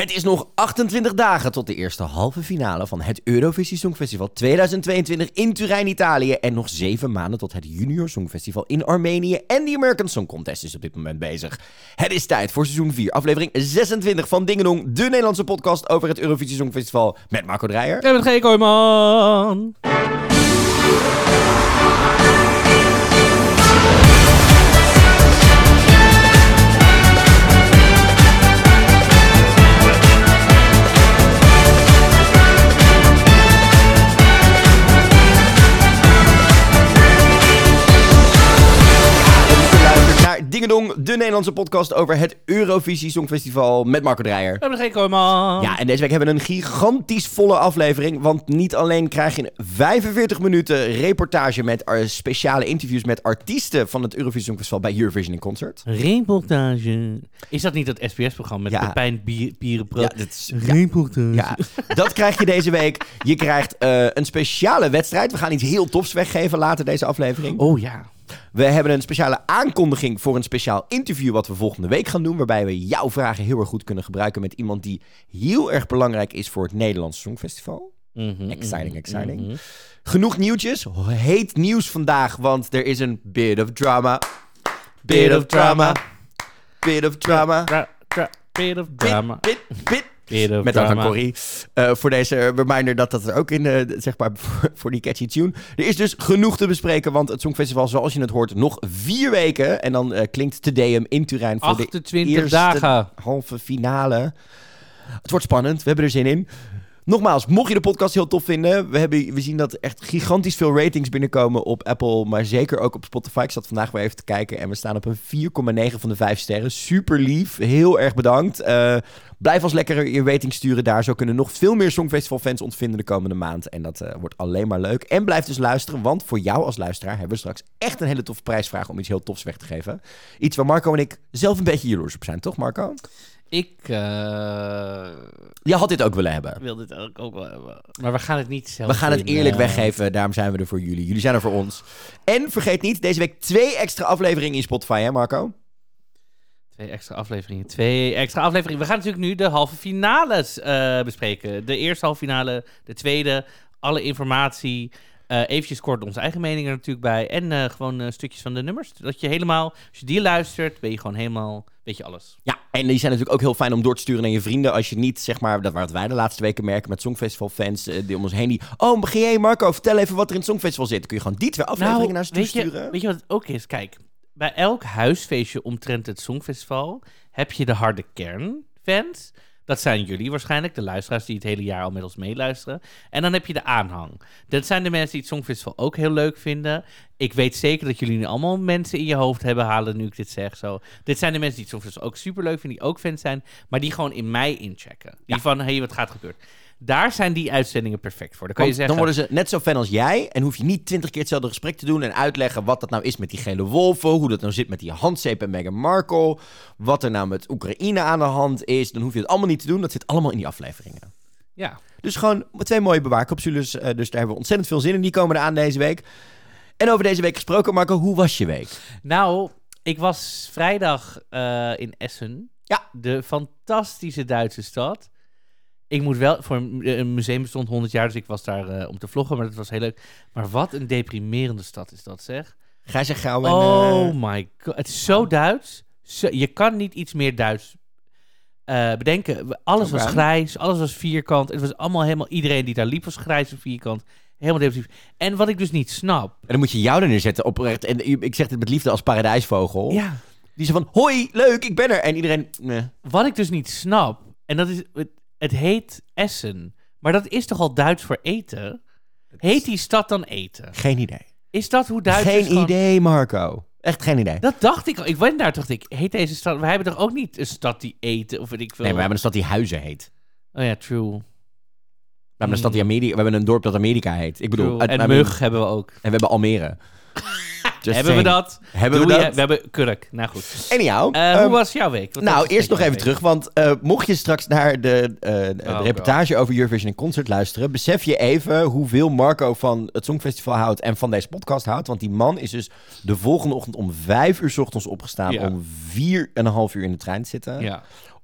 Het is nog 28 dagen tot de eerste halve finale van het Eurovisie Songfestival 2022 in Turijn, Italië. En nog 7 maanden tot het Junior Songfestival in Armenië. En de American Song Contest is op dit moment bezig. Het is tijd voor seizoen 4, aflevering 26 van Dingedong, de Nederlandse podcast over het Eurovisie Songfestival met Marco Dreyer. En met G. Kooijman. Dingedong, de Nederlandse podcast over het Eurovisie Songfestival met Marco Dreyer. En met G. Kooijman. Ja, en deze week hebben we een gigantisch volle aflevering. Want niet alleen krijg je in 45 minuten reportage met speciale interviews met artiesten van het Eurovisie Songfestival bij Eurovision in Concert. Reportage. Is dat niet dat SBS-programma met Pepijn Pierenpro? Ja, dat is reportage. Ja, dat krijg je deze week. Je krijgt een speciale wedstrijd. We gaan iets heel tofs weggeven later deze aflevering. Oh ja. We hebben een speciale aankondiging voor een speciaal interview wat we volgende week gaan doen. Waarbij we jouw vragen heel erg goed kunnen gebruiken met iemand die heel erg belangrijk is voor het Nederlandse Songfestival. Exciting. Genoeg nieuwtjes. Heet nieuws vandaag, want er is een bit of drama. Bit of drama. Met dank aan Corrie voor deze reminder dat er ook in, zeg maar, voor die catchy tune. Er is dus genoeg te bespreken, want het Songfestival, zoals je het hoort, nog 4 weken. En dan klinkt Te Deum in Turijn voor 28 de eerste dagen. Halve finale. Het wordt spannend, we hebben er zin in. Nogmaals, mocht je de podcast heel tof vinden, we zien dat echt gigantisch veel ratings binnenkomen op Apple, maar zeker ook op Spotify. Ik zat vandaag weer even te kijken en we staan op een 4,9 van de 5 sterren. Super lief, heel erg bedankt. Blijf ons lekker je rating sturen daar. Zo kunnen nog veel meer Songfestival-fans ontvinden de komende maand. En dat wordt alleen maar leuk. En blijf dus luisteren, want voor jou als luisteraar hebben we straks echt een hele toffe prijsvraag om iets heel tofs weg te geven. Iets waar Marco en ik zelf een beetje jaloers op zijn, toch Marco? Je had dit ook willen hebben. Ik wil dit ook wel hebben. Maar we gaan het niet zelf We gaan het eerlijk weggeven. Daarom zijn we er voor jullie. Jullie zijn er voor ons. En vergeet niet, deze week 2 extra afleveringen in Spotify, hè Marco? 2 extra afleveringen. We gaan natuurlijk nu de halve finales bespreken. De eerste halve finale, de tweede. Alle informatie. Eventjes kort onze eigen meningen er natuurlijk bij. En gewoon stukjes van de nummers. Dat je helemaal, als je die luistert, ben je gewoon helemaal, weet je alles. Ja, en die zijn natuurlijk ook heel fijn om door te sturen naar je vrienden. Als je niet, zeg maar, dat wat wij de laatste weken merken met Songfestival-fans die om ons heen. Begin jij Marco, vertel even wat er in het Songfestival zit. Dan kun je gewoon die 2 afleveringen naar ze sturen. Weet je wat het ook is? Kijk, bij elk huisfeestje omtrent het Songfestival heb je de harde kernfans. Dat zijn jullie waarschijnlijk, de luisteraars die het hele jaar al met ons meeluisteren. En dan heb je de aanhang. Dat zijn de mensen die het Songfestival ook heel leuk vinden. Ik weet zeker dat jullie nu allemaal mensen in je hoofd hebben halen nu ik dit zeg. Zo. Dit zijn de mensen die het Songfestival ook super leuk vinden, die ook fans zijn, maar die gewoon in mij inchecken. Die van, hey, wat gaat gebeuren? Daar zijn die uitzendingen perfect voor. Dan kan je zeggen, dan worden ze net zo fan als jij. En hoef je niet 20 keer hetzelfde gesprek te doen en uitleggen wat dat nou is met die gele wolven. Hoe dat nou zit met die handzeep en Meghan Markle. Wat er nou met Oekraïne aan de hand is. Dan hoef je het allemaal niet te doen. Dat zit allemaal in die afleveringen. Ja. Dus gewoon 2 mooie bewaarcapsules. Dus daar hebben we ontzettend veel zin in. Die komen eraan deze week. En over deze week gesproken, Marco, hoe was je week? Nou, ik was vrijdag in Essen. Ja. De fantastische Duitse stad. Ik moet wel, voor een museum bestond 100 jaar, dus ik was daar om te vloggen, maar dat was heel leuk. Maar wat een deprimerende stad is dat, zeg. Ga je gauw en... Oh my god, het is zo Duits. Je kan niet iets meer Duits bedenken. Alles was grijs, alles was vierkant. Het was allemaal helemaal, iedereen die daar liep was grijs en vierkant. Helemaal depressief. En wat ik dus niet snap... En dan moet je jou er neerzetten oprecht. En ik zeg dit met liefde als paradijsvogel. Ja. Die zei van, hoi, leuk, ik ben er. En iedereen... Wat ik dus niet snap, en dat is... Het heet Essen, maar dat is toch al Duits voor eten? Heet die stad dan eten? Geen idee. Is dat hoe Duitsers Geen idee, Marco. Echt geen idee. Dat dacht ik al. Ik ben daar, dacht ik, heet deze stad... Wij hebben toch ook niet een stad die eten, of weet ik veel... Nee, maar we hebben een stad die Huizen heet. Oh ja, true. We hebben een stad die Amerika... We hebben een dorp dat Amerika heet. Ik bedoel... En Mug hebben we ook. En we hebben Almere. Hebben we dat? Hebben we dat? We hebben Kurk. Nou goed. Anyhow. Hoe was jouw week? Eerst nog even terug. Want mocht je straks naar de reportage over Eurovision in Concert luisteren, besef je even hoeveel Marco van het Songfestival houdt en van deze podcast houdt. Want die man is dus de volgende ochtend om 5 uur 's ochtends opgestaan om 4,5 uur in de trein te zitten. Ja.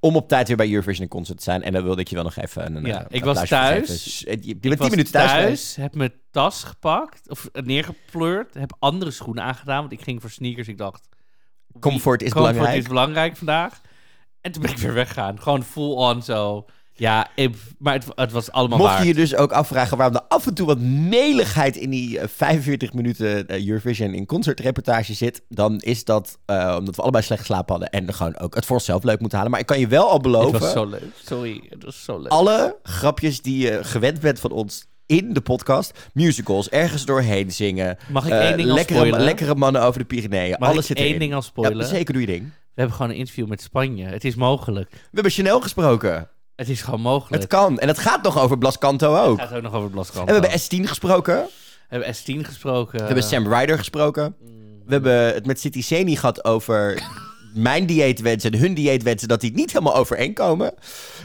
om op tijd weer bij Eurovision Concert te zijn. En dan wilde ik je wel nog even een ik was thuis. Je bent 10 minuten thuis geweest. Heb mijn tas gepakt, of neergepleurd. Heb andere schoenen aangedaan, want ik ging voor sneakers. Ik dacht, Comfort is belangrijk vandaag. En toen ben ik weer weggegaan. Gewoon full on zo. Ja, maar het was allemaal Mocht waard. je je dus ook afvragen waarom er af en toe wat meligheid in die 45 minuten Eurovision in concertreportage zit, dan is dat omdat we allebei slecht geslapen hadden en gewoon ook het voor onszelf leuk moeten halen. Maar ik kan je wel al beloven... Het was zo leuk. Sorry, het was zo leuk. Alle grapjes die je gewend bent van ons in de podcast, musicals, ergens doorheen zingen. Mag ik één ding al spoilen? Lekkere mannen over de Pyreneeën. Mag alles ik zit erin. één ding al spoilen? Ja, zeker, doe je ding. We hebben gewoon een interview met Spanje. Het is mogelijk. We hebben Chanel gesproken. Het is gewoon mogelijk. Het kan. En het gaat nog over Blas Canto ook. Het gaat ook nog over Blas Canto. En we hebben S10 gesproken. We hebben S10 gesproken. We hebben Sam Ryder gesproken. We hebben het met City Seni gehad over mijn dieetwensen en hun dieetwensen, dat die niet helemaal overeenkomen.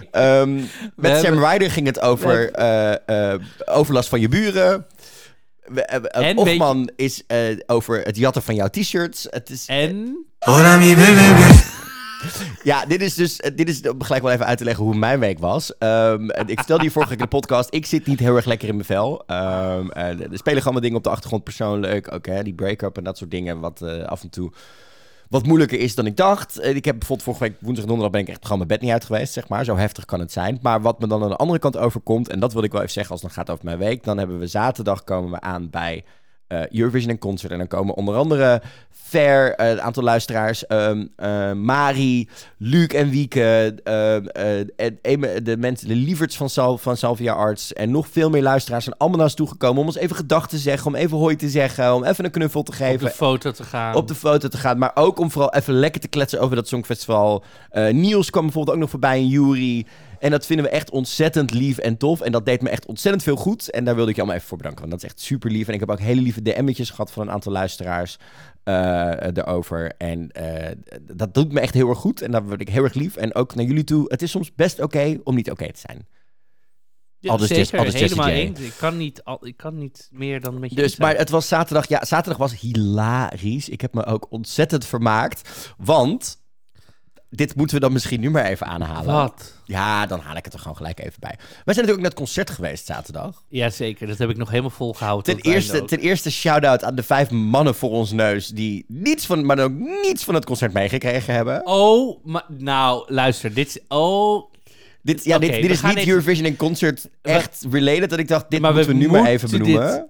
Met Sam Ryder ging het over overlast van je buren. Ochman is over het jatten van jouw t-shirts. Het is, Hola mi bebé. Ja, dit is om gelijk wel even uit te leggen hoe mijn week was. Ik vertelde je vorige keer in de podcast, ik zit niet heel erg lekker in mijn vel. Er spelen gewoon wat dingen op de achtergrond persoonlijk. Ook die break-up en dat soort dingen, wat af en toe wat moeilijker is dan ik dacht. Ik heb bijvoorbeeld vorige week woensdag en donderdag ben ik echt gewoon mijn bed niet uit geweest, zeg maar. Zo heftig kan het zijn. Maar wat me dan aan de andere kant overkomt, en dat wil ik wel even zeggen als het dan gaat over mijn week, dan hebben we zaterdag komen we aan bij Eurovision en Concert. En dan komen onder andere een aantal luisteraars, Mari, Luc en Wieke, de mensen, de lieverds van Salvia Arts en nog veel meer luisteraars zijn allemaal naar ons toegekomen om ons even gedag te zeggen, om even hoi te zeggen, om even een knuffel te geven. Op de foto te gaan, maar ook om vooral even lekker te kletsen over dat Songfestival. Niels kwam bijvoorbeeld ook nog voorbij en Yuri. En dat vinden we echt ontzettend lief en tof. En dat deed me echt ontzettend veel goed. En daar wilde ik je allemaal even voor bedanken. Want dat is echt super lief. En ik heb ook hele lieve DM'tjes gehad van een aantal luisteraars erover. En dat doet me echt heel erg goed. En daar word ik heel erg lief. En ook naar jullie toe. Het is soms best oké om niet oké te zijn. Ja, zeker. Helemaal eens. Ik kan niet meer dan met je dus, maar het was zaterdag. Ja, zaterdag was hilarisch. Ik heb me ook ontzettend vermaakt. Want dit moeten we dan misschien nu maar even aanhalen. Wat? Ja, dan haal ik het er gewoon gelijk even bij. Wij zijn natuurlijk naar het concert geweest zaterdag. Jazeker, dat heb ik nog helemaal volgehouden. Ten eerste shout-out aan de 5 mannen voor ons neus die niets van het concert meegekregen hebben. Oh, maar, nou, luister, dit is... Dit is niet Eurovision en Concert echt related, dat ik dacht, dit moeten we nu maar even benoemen.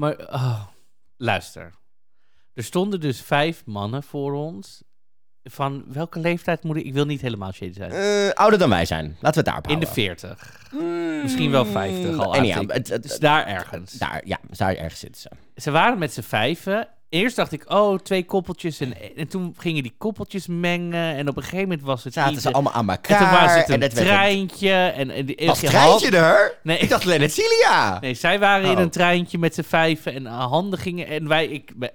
Luister. Er stonden dus 5 mannen voor ons. Van welke leeftijd moet ik... Ik wil niet helemaal shady zijn. Ouder dan wij zijn. Laten we het daarop houden. In de 40. Misschien wel 50 al. Dus daar ergens. Daar ergens zitten ze. Ze waren met z'n 5. Eerst dacht ik, 2 koppeltjes. En toen gingen die koppeltjes mengen. En op een gegeven moment was het zaten ze allemaal aan elkaar. En toen was het een treintje. Was het treintje er? Nee. Ik dacht Lennart Cilia. Nee, zij waren in een treintje met z'n 5 en handen gingen. En wij,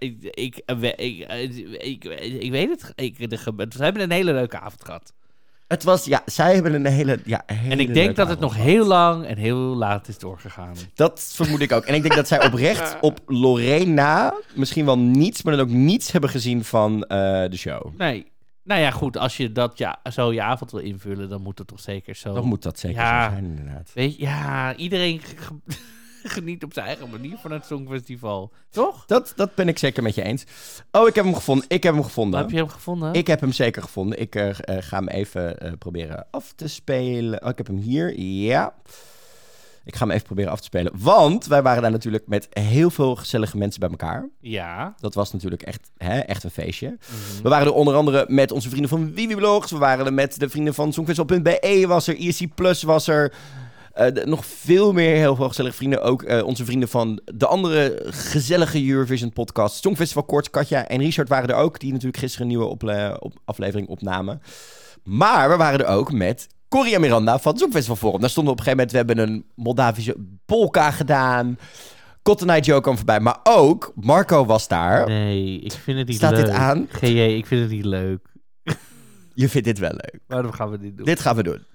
ik weet het. We hebben een hele leuke avond gehad. Het was, zij hebben een hele en ik denk dat het nog heel lang en heel laat is doorgegaan. Dat vermoed ik ook. En ik denk dat zij oprecht op Lorena misschien wel niets, maar dan ook niets hebben gezien van de show. Nee. Nou ja, goed. Als je dat zo je avond wil invullen, dan moet het toch zeker zo... Dan moet dat zeker zo zijn, inderdaad. Weet je, iedereen geniet op zijn eigen manier van het Songfestival. Toch? Dat ben ik zeker met je eens. Oh, ik heb hem gevonden. Heb je hem gevonden? Ik heb hem zeker gevonden. Ik ga hem even proberen af te spelen. Oh, ik heb hem hier. Ja. Ik ga hem even proberen af te spelen. Want wij waren daar natuurlijk met heel veel gezellige mensen bij elkaar. Ja. Dat was natuurlijk echt een feestje. Mm-hmm. We waren er onder andere met onze vrienden van Wiwiblogs. We waren er met de vrienden van Songfestival.be was er. ESC Plus was er. Nog veel meer heel veel gezellige vrienden. Ook onze vrienden van de andere gezellige Eurovision podcast. Songfestival Koorts, Katja en Richard waren er ook. Die natuurlijk gisteren een nieuwe aflevering opnamen. Maar we waren er ook met Corrie en Miranda van het Songfestival Forum. Daar stonden we op een gegeven moment. We hebben een Moldavische polka gedaan. Cotton Eye Joe kwam voorbij. Maar ook Marco was daar. Nee, ik vind het niet leuk. Staat dit aan? GJ, ik vind het niet leuk. Je vindt dit wel leuk. Waarom gaan we dit doen? Dit gaan we doen.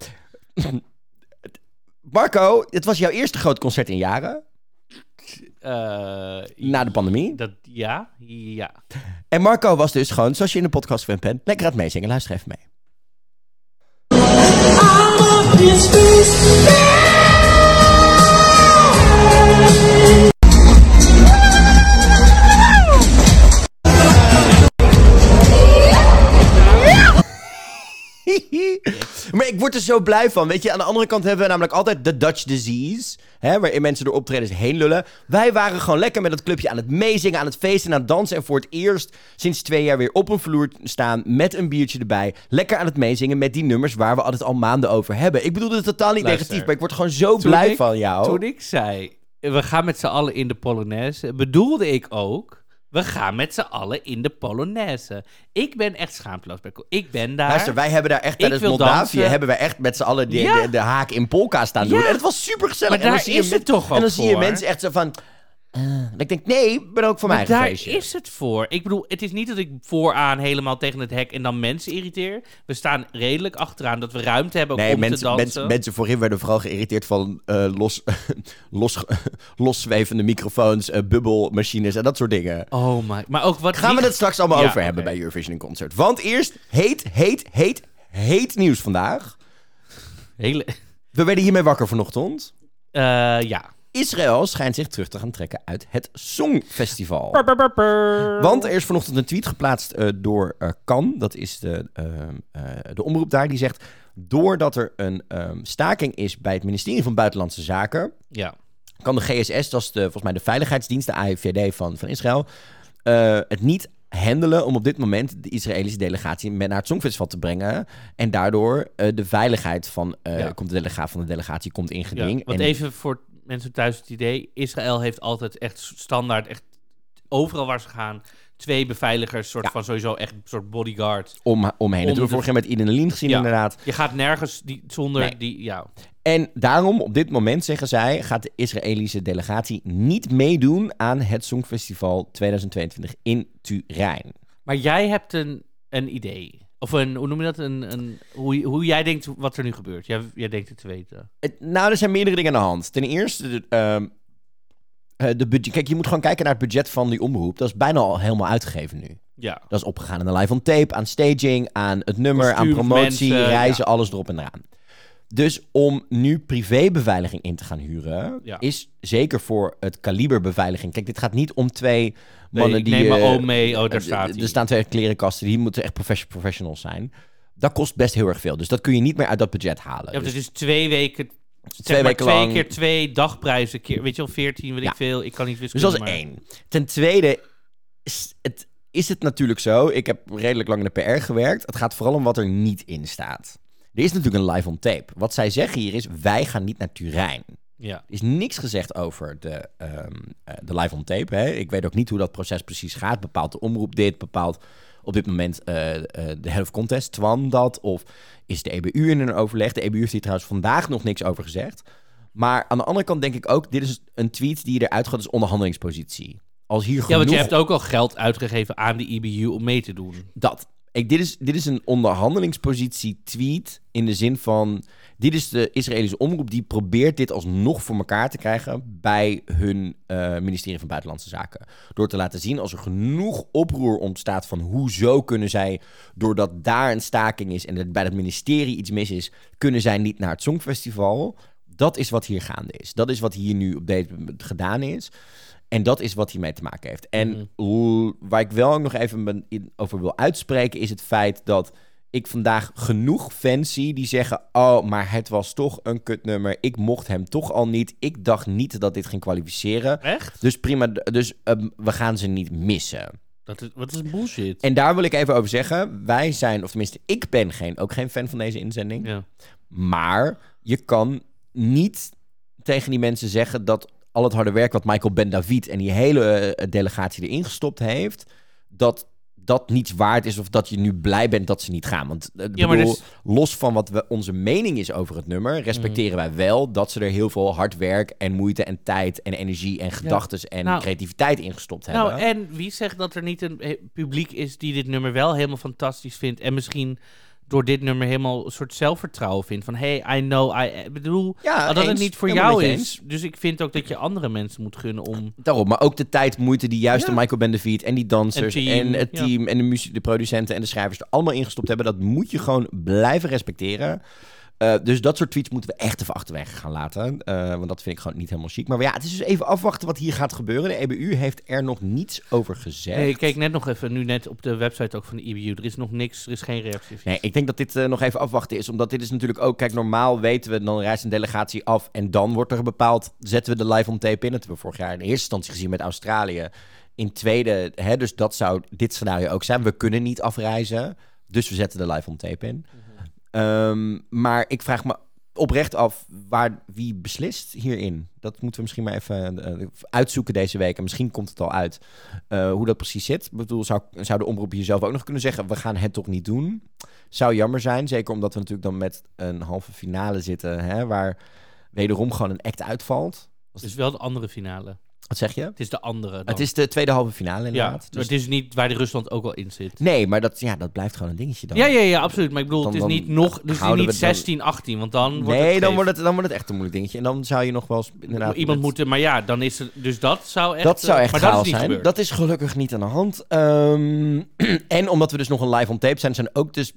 Marco, het was jouw eerste groot concert in jaren. Na de pandemie. Ja. En Marco was dus gewoon, zoals je in de podcast gewend bent, lekker aan het meezingen. Luister even mee. Maar ik word er zo blij van. Weet je, aan de andere kant hebben we namelijk altijd de Dutch disease. Hè, waarin mensen door optredens heen lullen. Wij waren gewoon lekker met dat clubje aan het meezingen, aan het feesten, aan het dansen. En voor het eerst sinds 2 jaar weer op een vloer staan met een biertje erbij. Lekker aan het meezingen met die nummers waar we altijd al maanden over hebben. Ik bedoel het totaal niet negatief, maar ik word gewoon zo blij van jou. Toen ik zei, we gaan met z'n allen in de Polonaise, bedoelde ik ook... We gaan met z'n allen in de Polonaise. Ik ben echt schaamteloos. Ik ben daar. Luister, wij hebben daar echt tijdens Moldavië... hebben wij echt met z'n allen de haak in polka staan doen. En het was super gezellig. Maar daar is het toch ook en dan zie je mensen echt zo van... ik denk, nee, ik ben ook voor mij daar feestje. Is het voor. Ik bedoel, het is niet dat ik vooraan helemaal tegen het hek en dan mensen irriteer. We staan redelijk achteraan dat we ruimte hebben om te dansen. Mensen voorin werden vooral geïrriteerd van loszwevende microfoons, bubbelmachines en dat soort dingen. Oh my. Maar ook wat gaan we het straks allemaal over hebben bij Eurovision in Concert. Want eerst heet nieuws vandaag. We werden hiermee wakker vanochtend. Ja. Israël schijnt zich terug te gaan trekken uit het Songfestival. Want er is vanochtend een tweet geplaatst door Kan. Dat is de omroep daar. Die zegt, doordat er een staking is bij het ministerie van Buitenlandse Zaken... kan de GSS, dat is volgens mij de veiligheidsdienst, de AIVD van Israël... het niet handelen om op dit moment de Israëlische delegatie naar het Songfestival te brengen. En daardoor de veiligheid van de delegatie komt in geding. Want even voor mensen thuis het idee, Israël heeft altijd echt standaard, echt overal waar ze gaan, 2 beveiligers, soort van sowieso echt een soort bodyguard. Omheen. Dat hebben we vorig jaar met Iden Lien gezien inderdaad. Je gaat nergens zonder die, ja. En daarom, op dit moment, zeggen zij, gaat de Israëlische delegatie niet meedoen aan het Songfestival 2022 in Turijn. Maar jij hebt een idee. Of hoe noem je dat? Hoe jij denkt wat er nu gebeurt. Jij denkt het te weten. Nou, er zijn meerdere dingen aan de hand. Ten eerste, de budget. Kijk, je moet gewoon kijken naar het budget van die omroep. Dat is bijna al helemaal uitgegeven nu. Ja. Dat is opgegaan aan de live on tape, aan staging, aan het nummer, aan promotie, mensen, reizen, alles erop en eraan. Dus om nu privébeveiliging in te gaan huren, is zeker voor het kaliber beveiliging. Kijk, dit gaat niet om 2 mannen die... Neem maar mee, daar staat hij. Er staan 2 klerenkasten, die moeten echt professionals zijn. Dat kost best heel erg veel. Dus dat kun je niet meer uit dat budget halen. Ja, dus het is 2 weken... 2 weken lang. 2 keer 2 dagprijzen, weet je wel, 14, weet ik veel. Ik kan niet wiskunde. Dus dat is 1. Ten tweede is het natuurlijk zo. Ik heb redelijk lang in de PR gewerkt. Het gaat vooral om wat er niet in staat. Er is natuurlijk een live on tape. Wat zij zeggen hier is, wij gaan niet naar Turijn. Ja. Er is niks gezegd over de live on tape. Hè. Ik weet ook niet hoe dat proces precies gaat. Bepaalt de omroep dit? Bepaalt op dit moment de Head of Contest, Twan, dat? Of is de EBU in een overleg? De EBU heeft hier trouwens vandaag nog niks over gezegd. Maar aan de andere kant denk ik ook, dit is een tweet die eruit gaat als onderhandelingspositie. Als hier genoeg... want je hebt ook al geld uitgegeven aan de EBU om mee te doen. Dit is een onderhandelingspositie tweet in de zin van... Dit is de Israëlische omroep die probeert dit alsnog voor elkaar te krijgen bij hun ministerie van Buitenlandse Zaken. Door te laten zien als er genoeg oproer ontstaat van hoezo kunnen zij, doordat daar een staking is en er bij het ministerie iets mis is, kunnen zij niet naar het Songfestival. Dat is wat hier gaande is. Dat is wat hier nu op deze gedaan is. En dat is wat hiermee te maken heeft. En waar ik wel nog even over wil uitspreken is het feit dat ik vandaag genoeg fans zie die zeggen, oh, maar het was toch een kutnummer. Ik mocht hem toch al niet. Ik dacht niet dat dit ging kwalificeren. Echt? Dus prima, we gaan ze niet missen. Wat is bullshit? En daar wil ik even over zeggen. Wij zijn, of tenminste, ik ben ook geen fan van deze inzending. Ja. Maar je kan niet tegen die mensen zeggen dat al het harde werk wat Michael Ben-David en die hele delegatie erin gestopt heeft, dat niets waard is of dat je nu blij bent dat ze niet gaan. Want los van wat onze mening is over het nummer, respecteren wij wel dat ze er heel veel hard werk en moeite en tijd en energie en gedachtes en creativiteit in gestopt hebben. Nou, en wie zegt dat er niet een publiek is die dit nummer wel helemaal fantastisch vindt en misschien door dit nummer helemaal een soort zelfvertrouwen vindt. Van, hey, I know, ik bedoel, Ja, dat het eens. niet voor Helemaal jou met je is. eens. Dus ik vind ook dat je andere mensen moet gunnen om... Daarom, maar ook de tijd, moeite die juist Ja. de Michael Bendeviet en die dansers En en het team, team en de producenten en de schrijvers er allemaal ingestopt hebben. Dat moet je gewoon blijven respecteren. Dus dat soort tweets moeten we echt even achterwege gaan laten. Want dat vind ik gewoon niet helemaal chic. Maar ja, het is dus even afwachten wat hier gaat gebeuren. De EBU heeft er nog niets over gezegd. Nee, ik keek net nog even, nu net op de website ook van de EBU. Er is nog niks, er is geen reactie. Nee, ik denk dat dit nog even afwachten is. Omdat dit is natuurlijk ook... Kijk, normaal weten we, dan reist een delegatie af en dan wordt er bepaald... Zetten we de live on tape in. Dat hebben we vorig jaar in eerste instantie gezien met Australië. In tweede, dus dat zou dit scenario ook zijn. We kunnen niet afreizen, dus we zetten de live on tape in. Maar ik vraag me oprecht af wie beslist hierin. Dat moeten we misschien maar even uitzoeken deze week. En misschien komt het al uit hoe dat precies zit. Ik bedoel, zou de omroep hier zelf ook nog kunnen zeggen... we gaan het toch niet doen? Zou jammer zijn, zeker omdat we natuurlijk dan met een halve finale zitten... waar wederom gewoon een act uitvalt. Het is wel de andere finale. Wat zeg je? Het is de andere dan. Het is de tweede halve finale ja, inderdaad. maar het is niet waar de Rusland ook al in zit. Nee, maar dat blijft gewoon een dingetje dan. Ja, absoluut. Maar ik bedoel, Dan- het is dan niet nog, dus houden niet we dan- 16, 18, want dan wordt Nee, het dan scheef. wordt het echt een moeilijk dingetje. En dan zou je nog wel eens inderdaad... Iemand moeten, maar ja, dan is het, dus dat zou echt... Dat zou echt maar dat is chaos niet zijn. gebeurd. Dat is gelukkig niet aan de hand. En omdat we dus nog een live on tape zijn ook dus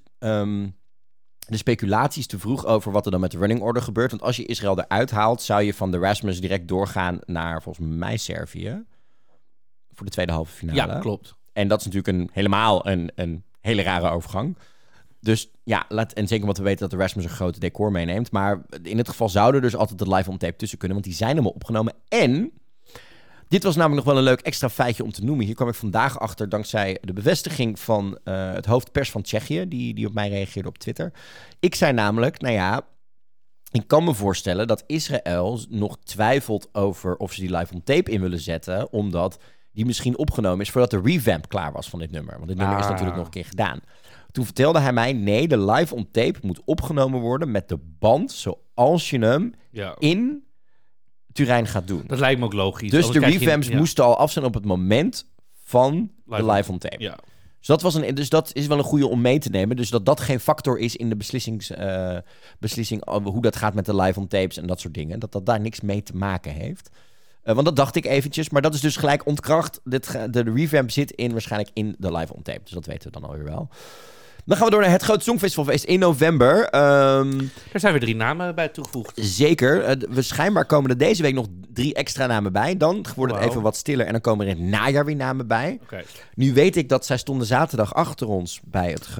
de speculaties te vroeg over wat er dan met de running order gebeurt. Want als je Israël eruit haalt, zou je van de Rasmus direct doorgaan naar volgens mij Servië. Voor de tweede halve finale. Ja, klopt. En dat is natuurlijk helemaal een hele rare overgang. Dus ja, en zeker omdat we weten dat de Rasmus een grote decor meeneemt. Maar in dit geval zou er dus altijd de live on tape tussen kunnen. Want die zijn helemaal opgenomen. En dit was namelijk nog wel een leuk extra feitje om te noemen. Hier kwam ik vandaag achter dankzij de bevestiging van het hoofdpers van Tsjechië. Die op mij reageerde op Twitter. Ik zei namelijk, ik kan me voorstellen dat Israël nog twijfelt over of ze die live on tape in willen zetten. Omdat die misschien opgenomen is voordat de revamp klaar was van dit nummer. Want dit nummer is natuurlijk nog een keer gedaan. Toen vertelde hij mij, nee, de live on tape moet opgenomen worden met de band zoals je hem in Turijn gaat doen. Dat lijkt me ook logisch. Dus de Anders krijg je- revamps moesten al af zijn op het moment van de Live live on tape. Ja. Dus dat is wel een goede om mee te nemen. Dus dat geen factor is in de beslissing over hoe dat gaat met de live on tapes en dat soort dingen. Dat daar niks mee te maken heeft. Want dat dacht ik eventjes. Maar dat is dus gelijk ontkracht. De revamp zit waarschijnlijk in de live on tape. Dus dat weten we dan alweer wel. Dan gaan we door naar het Groot Songfestivalfeest in november. Daar zijn weer 3 namen bij toegevoegd. Zeker. We schijnbaar komen er deze week nog 3 extra namen bij. Dan wordt het Wauw. even wat stiller. En dan komen er in het najaar weer namen bij. Oké. Nu weet ik dat zij stonden zaterdag achter ons bij het...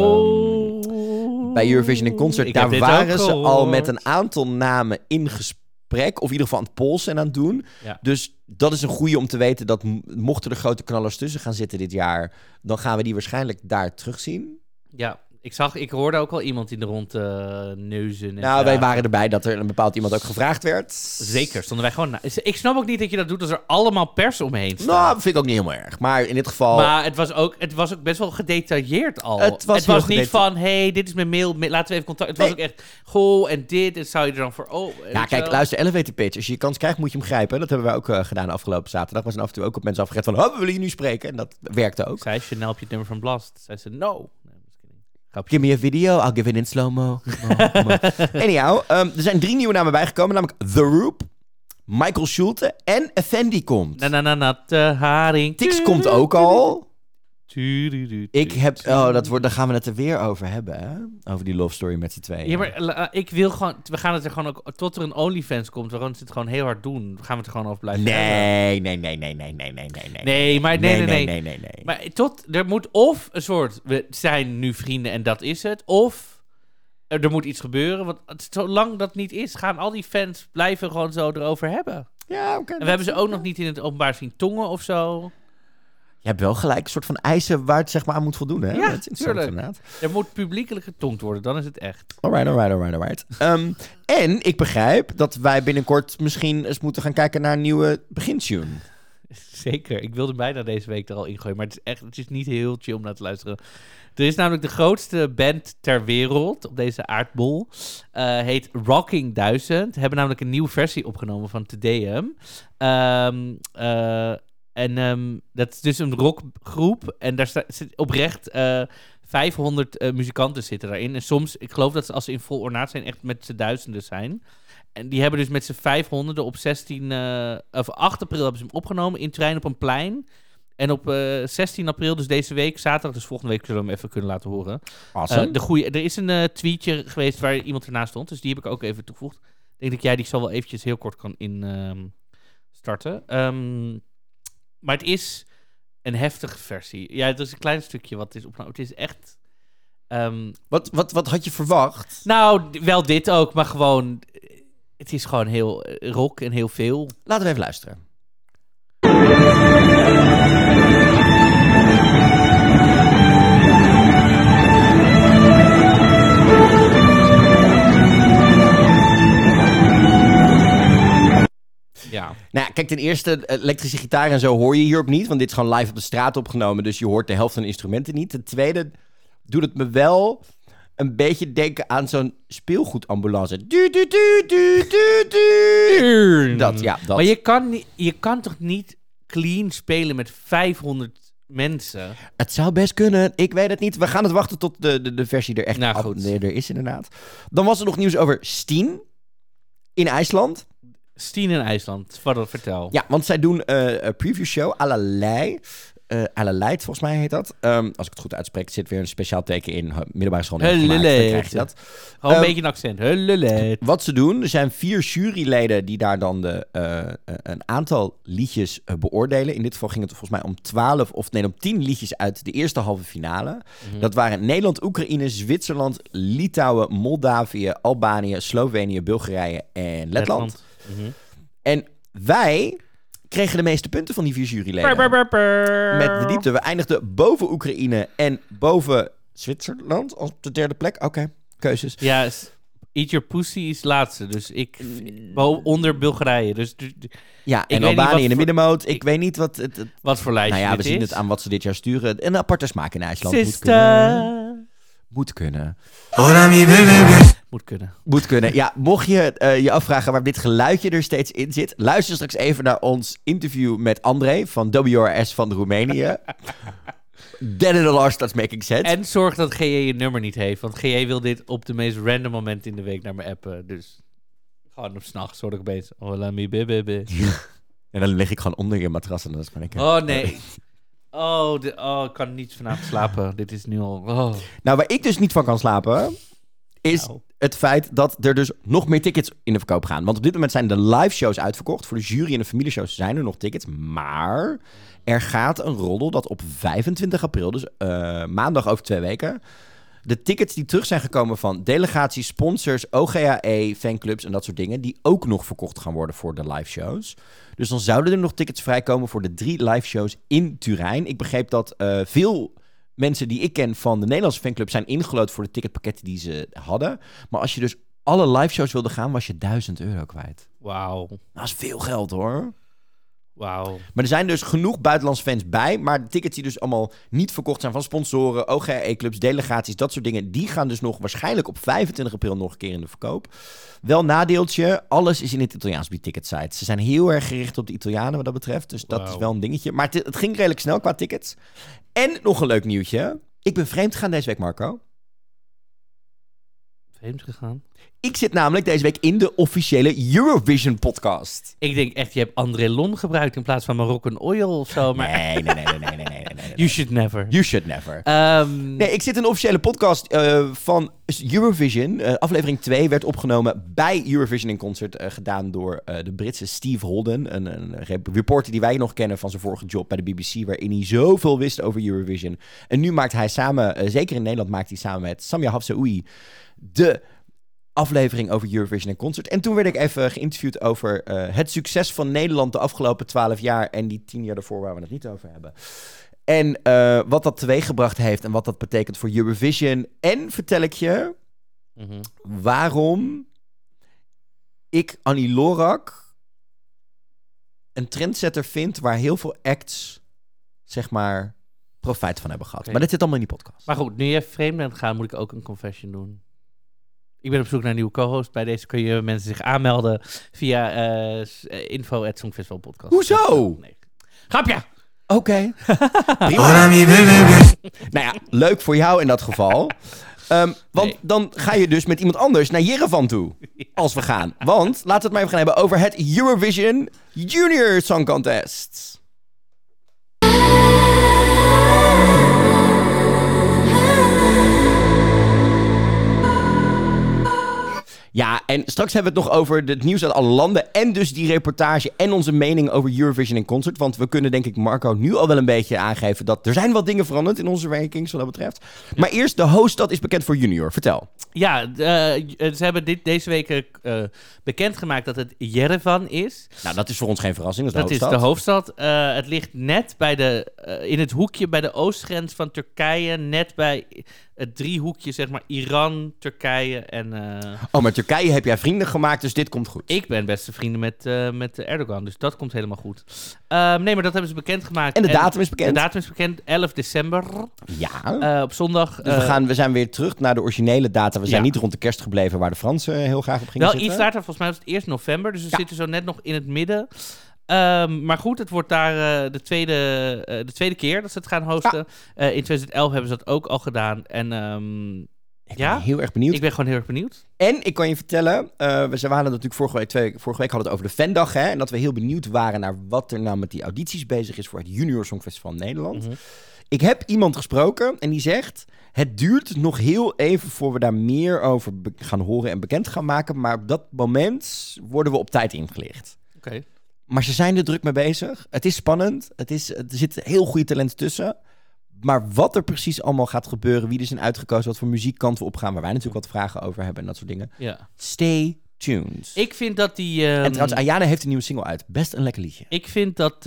Oh. bij Eurovision in Concert. Ik heb Daar dit waren ook ze gehoord. al met een aantal namen in gesprek. Of in ieder geval aan het polsen en aan het doen. Ja. Dus dat is een goede om te weten dat mochten er grote knallers tussen gaan zitten dit jaar, dan gaan we die waarschijnlijk daar terugzien. Ja, ik hoorde ook al iemand in de rond neuzen. En Nou, wij vragen. waren erbij dat er een bepaald iemand ook gevraagd werd. Zeker, stonden wij gewoon... Ik snap ook niet dat je dat doet als er allemaal pers omheen staat. Nou, dat vind ik ook niet helemaal erg. Maar in dit geval... Maar het was ook best wel gedetailleerd al. Het was heel niet gedeta- van, hey, dit is mijn mail, laten we even contact... Het was ook echt, goh, en dit, en zou je er dan voor... Oh, Ja, kijk, luister, elevator pitch. Als je kans krijgt, moet je hem grijpen. Dat hebben wij ook gedaan afgelopen zaterdag. We zijn af en toe ook op mensen afgered van, we willen je nu spreken. En dat werkte ook. Zei Chanel op je het nummer van Blast. Zei ze, no. Nee, just kidding. Grapje. Give me a video, I'll give it in slow-mo. Anyhow, er zijn 3 nieuwe namen bijgekomen. Namelijk The Roop, Michael Schulte en Effendi komt. Natte haring. Tix komt ook al. Ik heb... Oh, daar gaan we het er weer over hebben, hè? Over die love story met z'n tweeën. Ja, maar ik wil gewoon... We gaan het er gewoon ook... Tot er een OnlyFans komt, we gaan het gewoon heel hard doen. Gaan we het er gewoon over blijven hebben. Nee. Nee. Maar er moet of een soort... We zijn nu vrienden en dat is het. Of er moet iets gebeuren. Want zolang dat niet is, gaan al die fans blijven gewoon zo erover hebben. Ja, oké. En we hebben ze ook nog niet in het openbaar zien tongen of zo. Je hebt wel gelijk een soort van eisen waar het zeg maar aan moet voldoen, hè? Ja, Dat is interessant, tuurlijk. inderdaad. Er moet publiekelijk getongd worden, dan is het echt. Alright. En ik begrijp dat wij binnenkort misschien eens moeten gaan kijken naar een nieuwe begintune. Zeker. Ik wilde bijna deze week er al ingooien, maar het is niet heel chill om naar te luisteren. Er is namelijk de grootste band ter wereld op deze aardbol. Heet Rocking 1000. Hebben namelijk een nieuwe versie opgenomen van Te Deum. En dat is dus een rockgroep. En daar zit oprecht 500 muzikanten zitten daarin. En soms, ik geloof dat ze als ze in vol ornaat zijn, echt met z'n duizenden zijn. En die hebben dus met z'n 500 op 8 april hebben ze hem opgenomen in Turijn op een plein. En op 16 april, dus deze week, zaterdag, dus volgende week zullen we hem even kunnen laten horen. Awesome. Er is een tweetje geweest waar iemand ernaast stond, dus die heb ik ook even toegevoegd. Ik denk dat jij die zo wel eventjes heel kort kan starten. Maar het is een heftige versie. Ja, het is een klein stukje wat is opgenomen. Het is echt... Wat had je verwacht? Nou, wel dit ook, maar gewoon... Het is gewoon heel rock en heel veel. Laten we even luisteren. Ja. Nou, kijk, ten eerste, elektrische gitaar en zo hoor je hierop niet. Want dit is gewoon live op de straat opgenomen. Dus je hoort de helft van de instrumenten niet. Ten tweede doet het me wel een beetje denken aan zo'n speelgoedambulance. Dat. Maar je kan toch niet clean spelen met 500 mensen? Het zou best kunnen. Ik weet het niet. We gaan het wachten tot de versie er echt er is, inderdaad. Dan was er nog nieuws over Steen in IJsland. Steen in IJsland, vertel. Ja, want zij doen een preview show à la Lei. Leid, volgens mij heet dat. Als ik het goed uitspreek, zit weer een speciaal teken in. Middelbare school. Dan krijg je dat. Gewoon een beetje een accent. Wat ze doen, er zijn 4 juryleden die daar dan een aantal liedjes beoordelen. In dit geval ging het volgens mij om 10 liedjes uit de eerste halve finale. Mm-hmm. Dat waren Nederland, Oekraïne, Zwitserland, Litouwen, Moldavië, Albanië, Slovenië, Bulgarije en Letland. Mm-hmm. En wij kregen de meeste punten van die 4 juryleden. Met de diepte. We eindigden boven Oekraïne en boven Zwitserland als op de 3e plek. Oké, keuzes. Ja, Eat Your Pussy is laatste. Dus ik onder Bulgarije. Dus ja, en Albanië in de middenmoot. Ik weet niet wat wat voor lijstje we zien het aan wat ze dit jaar sturen. Een aparte smaak in IJsland. Moet kunnen. Moet kunnen. Ja, mocht je je afvragen waarom dit geluidje er steeds in zit, luister straks even naar ons interview met André van WRS van Roemenië. Then it all starts making sense. En zorg dat GJ je nummer niet heeft, want GJ wil dit op de meest random moment in de week naar me appen. Dus gewoon op 's nachts word ik opeens. Hola mi bebe. En dan lig ik gewoon onder je matras en dan kan ik. Oh nee. Ik kan niet vanavond slapen. Dit is nu al... Oh. Nou, waar ik dus niet van kan slapen, is het feit dat er dus nog meer tickets in de verkoop gaan. Want op dit moment zijn de live shows uitverkocht. Voor de jury en de familieshows zijn er nog tickets. Maar er gaat een roddel dat op 25 april, dus maandag over 2 weken, de tickets die terug zijn gekomen van delegaties, sponsors, OGAE, fanclubs en dat soort dingen, die ook nog verkocht gaan worden voor de live shows. Dus dan zouden er nog tickets vrijkomen voor de 3 live shows in Turijn. Ik begreep dat veel mensen die ik ken van de Nederlandse fanclub zijn ingelood voor de ticketpakketten die ze hadden. Maar als je dus alle live shows wilde gaan, was je €1000 kwijt. Wauw. Dat is veel geld, hoor. Wauw. Maar er zijn dus genoeg buitenlandse fans bij. Maar de tickets die dus allemaal niet verkocht zijn van sponsoren, OGE-clubs, delegaties, dat soort dingen, die gaan dus nog waarschijnlijk op 25 april nog een keer in de verkoop. Wel nadeeltje, alles is in het Italiaans op die ticketsite. Ze zijn heel erg gericht op de Italianen wat dat betreft. Dus dat is wel een dingetje. Maar het ging redelijk snel qua tickets. En nog een leuk nieuwtje. Ik ben vreemd gegaan deze week, Marco. Vreemd gegaan? Ik zit namelijk deze week in de officiële Eurovision podcast. Ik denk echt, je hebt André Lon gebruikt in plaats van Moroccan Oil of zo. Maar... Nee. You should never. You should never. Nee, ik zit in een officiële podcast van Eurovision. Aflevering 2 werd opgenomen bij Eurovision in Concert. Gedaan door de Britse Steve Holden. Een reporter die wij nog kennen van zijn vorige job bij de BBC. Waarin hij zoveel wist over Eurovision. En nu maakt hij samen, zeker in Nederland, maakt hij samen met Samia Hafsaoui de aflevering over Eurovision en Concert. En toen werd ik even geïnterviewd over het succes van Nederland de afgelopen 12 jaar en die 10 jaar daarvoor waar we het niet over hebben. En wat dat teweeggebracht heeft en wat dat betekent voor Eurovision. En vertel ik je waarom ik Annie Lorak een trendsetter vind waar heel veel acts, zeg maar, profijt van hebben gehad. Okay. Maar dat zit allemaal in die podcast. Maar goed, nu je vreemd bent gaan, moet ik ook een confession doen. Ik ben op zoek naar een nieuwe co-host. Bij deze kun je mensen zich aanmelden via info@songfestivalpodcast. Hoezo? Nee. Grapje! Oké. Prima. Hola mi bebé. Nou ja, leuk voor jou in dat geval. Want Nee. dan ga je dus met iemand anders naar Jerevan toe. Als we gaan. Want laten we het maar even gaan hebben over het Eurovision Junior Song Contest. Ja, en straks hebben we het nog over het nieuws uit alle landen. En dus die reportage en onze mening over Eurovision in concert. Want we kunnen denk ik Marco nu al wel een beetje aangeven dat er zijn wat dingen veranderd in onze rankings wat dat betreft. Maar eerst, de hoofdstad is bekend voor junior. Vertel. Ja, ze hebben deze week bekendgemaakt dat het Yerevan is. Nou, dat is voor ons geen verrassing. Dat is Dat is de hoofdstad. Het ligt net bij in het hoekje bij de oostgrens van Turkije. Net bij het driehoekje, zeg maar, Iran, Turkije en... Oh, maar Turkije heb jij vrienden gemaakt, dus dit komt goed. Ik ben beste vrienden met Erdogan, dus dat komt helemaal goed. Nee, maar dat hebben ze bekendgemaakt. En de datum is bekend? De datum is bekend, 11 december. Ja. Op zondag. Dus we zijn weer terug naar de originele data. We zijn Ja. niet rond de kerst gebleven waar de Fransen heel graag op gingen Wel zitten. iets later, volgens mij was het eerst november, dus we zitten zo net nog in het midden. Maar goed, het wordt daar de tweede keer dat ze het gaan hosten. In 2011 hebben ze dat ook al gedaan. En Ik ben heel erg benieuwd. ik ben gewoon heel erg benieuwd. En ik kan je vertellen, we waren natuurlijk vorige week hadden we het over de Fandag. Hè, en dat we heel benieuwd waren naar wat er nou met die audities bezig is voor het Junior Songfestival Nederland. Mhm. Ik heb iemand gesproken en die zegt, het duurt nog heel even voor we daar meer over gaan horen en bekend gaan maken. Maar op dat moment worden we op tijd ingelicht. Oké. Maar ze zijn er druk mee bezig. Het is spannend. Er zit heel goede talent tussen. Maar wat er precies allemaal gaat gebeuren, wie er zijn uitgekozen, wat voor muziekkant we opgaan, waar wij natuurlijk wat vragen over hebben en dat soort dingen. Ja. Stay tuned. Ik vind dat die... En trouwens, Ayana heeft een nieuwe single uit. Best een lekker liedje. Ik vind dat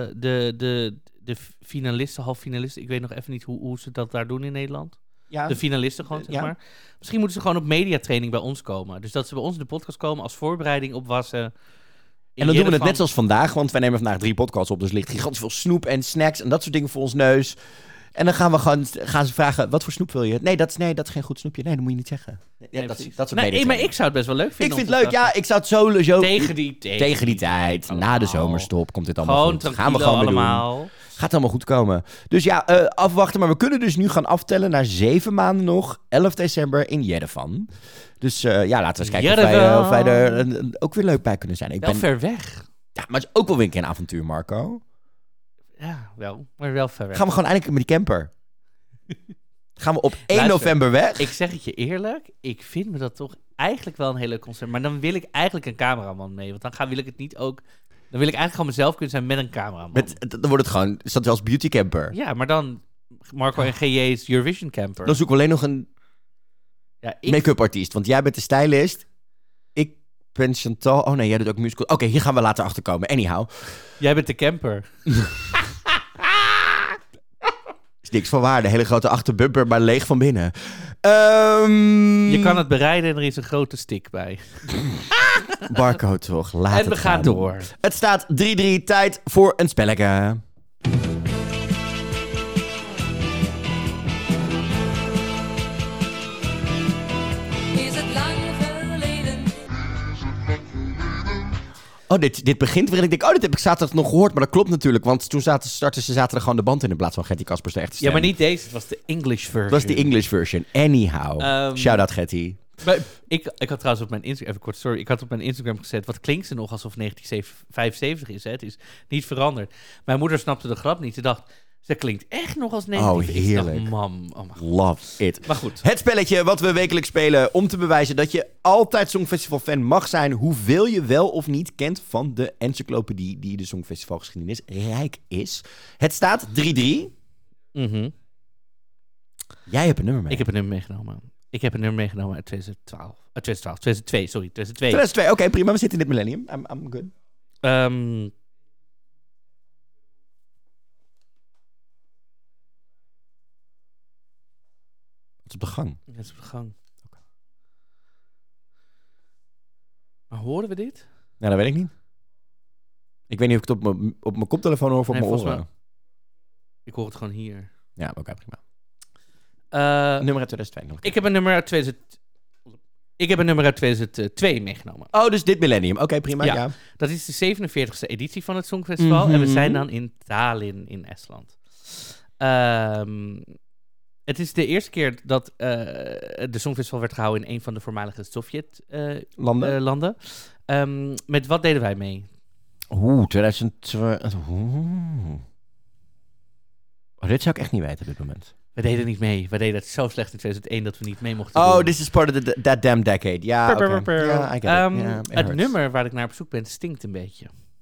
de finalisten, halffinalisten, ik weet nog even niet hoe ze dat daar doen in Nederland. Ja, De finalisten gewoon, zeg Ja. maar. Misschien moeten ze gewoon op mediatraining bij ons komen. Dus dat ze bij ons in de podcast komen als voorbereiding op Wassen. en dan doen we het net zoals vandaag, want wij nemen vandaag 3 podcasts op. Dus er ligt gigantisch veel snoep en snacks en dat soort dingen voor ons neus. En dan gaan ze vragen, wat voor snoep wil je? Nee, dat is geen goed snoepje. Nee, dat moet je niet zeggen. Ja, dat soort maar mediatraining. ik zou het best wel leuk Ik vinden. vind om het te leuk. Ja, ik zou het sowieso... Tegen die tijd, na de allemaal. zomerstop, komt dit allemaal Gewoon goed. Gaan we tranquilo gewoon weer doen. allemaal. Gaat allemaal goed komen. Dus ja, afwachten. Maar we kunnen dus nu gaan aftellen naar 7 maanden nog. 11 december in Yerevan. Dus laten we eens kijken of wij er ook weer leuk bij kunnen zijn. Wel ver weg. Ja, maar het is ook wel weer een keer een avontuur, Marco. Ja, wel. Maar wel ver weg. Gaan we gewoon eindelijk met die camper. Gaan we op 1 Luister, november weg. Ik zeg het je eerlijk, ik vind me dat toch eigenlijk wel een heel leuk concert. Maar dan wil ik eigenlijk een cameraman mee. Want dan wil ik het niet ook... Dan wil ik eigenlijk gewoon mezelf kunnen zijn met een cameraman. Dan wordt het gewoon, is dat als beauty camper. Ja, maar dan Marco en GJ's Eurovision camper. Dan zoeken we alleen nog een Ja, ik... make-up artiest. Want jij bent de stylist. Ik ben Chantal. Oh nee, jij doet ook musical. Oké, hier gaan we later achter komen. Anyhow. Jij bent de camper. Is niks van waarde. Hele grote achterbumper, maar leeg van binnen. Je kan het bereiden en er is een grote stick bij. Marco toch, laat En we gaan door. Het staat 3-3, tijd voor een spelletje. Is het lang geleden? Oh, dit begint weer en ik denk, dit heb ik zaterdag nog gehoord. Maar dat klopt natuurlijk, want toen startten ze zaterdag gewoon de band in plaats van Gertie Kaspers de echte stem. Ja, maar niet deze. Het was de English version. Dat was de English version. Anyhow. Shout-out Gertie. Maar ik had trouwens op mijn Instagram, even kort, sorry, ik had op mijn Instagram gezet, wat klinkt ze nog alsof 1975 is, hè? Het is niet veranderd. Mijn moeder snapte de grap niet. Ze dacht, ze klinkt echt nog als 19. Oh, heerlijk. Ik dacht, mam, oh mijn god. Love it. Maar goed. Het spelletje wat we wekelijks spelen om te bewijzen dat je altijd Songfestival-fan mag zijn, hoeveel je wel of niet kent van de encyclopedie die de Songfestivalgeschiedenis rijk is. Het staat 3-3. Mhm. Jij hebt een nummer mee. Ik heb een nummer meegenomen. Ik heb een nummer meegenomen uit 2002, sorry, 2002. 2002, oké, prima. We zitten in dit millennium. I'm good. Het is op de gang. Het is op de gang. Maar horen we dit? Nou, dat weet ik niet. Ik weet niet of ik het op mijn koptelefoon hoor of op Nee, mijn volgens oren. Ik hoor het gewoon hier. Ja, oké, prima. Uh, Nummer uit 2002. ik heb een nummer uit Ik heb een nummer uit 2002 meegenomen. Oh, dus dit millennium. Oké, prima. Ja. Ja. Dat is de 47e editie van het Songfestival. En we zijn dan in Tallinn in Estland. Het is de eerste keer dat de Songfestival werd gehouden in een van de voormalige Sovjet-landen. Landen. Met wat deden wij mee? 2002. Oh, dit zou ik echt niet weten op dit moment. We deden niet mee. We deden het zo slecht in 2001 dat we niet mee mochten Oh, doen. this is part of that damn decade. Ja, oké. Ja, I get it. Yeah, it het hurts. nummer waar ik naar op zoek ben stinkt een beetje.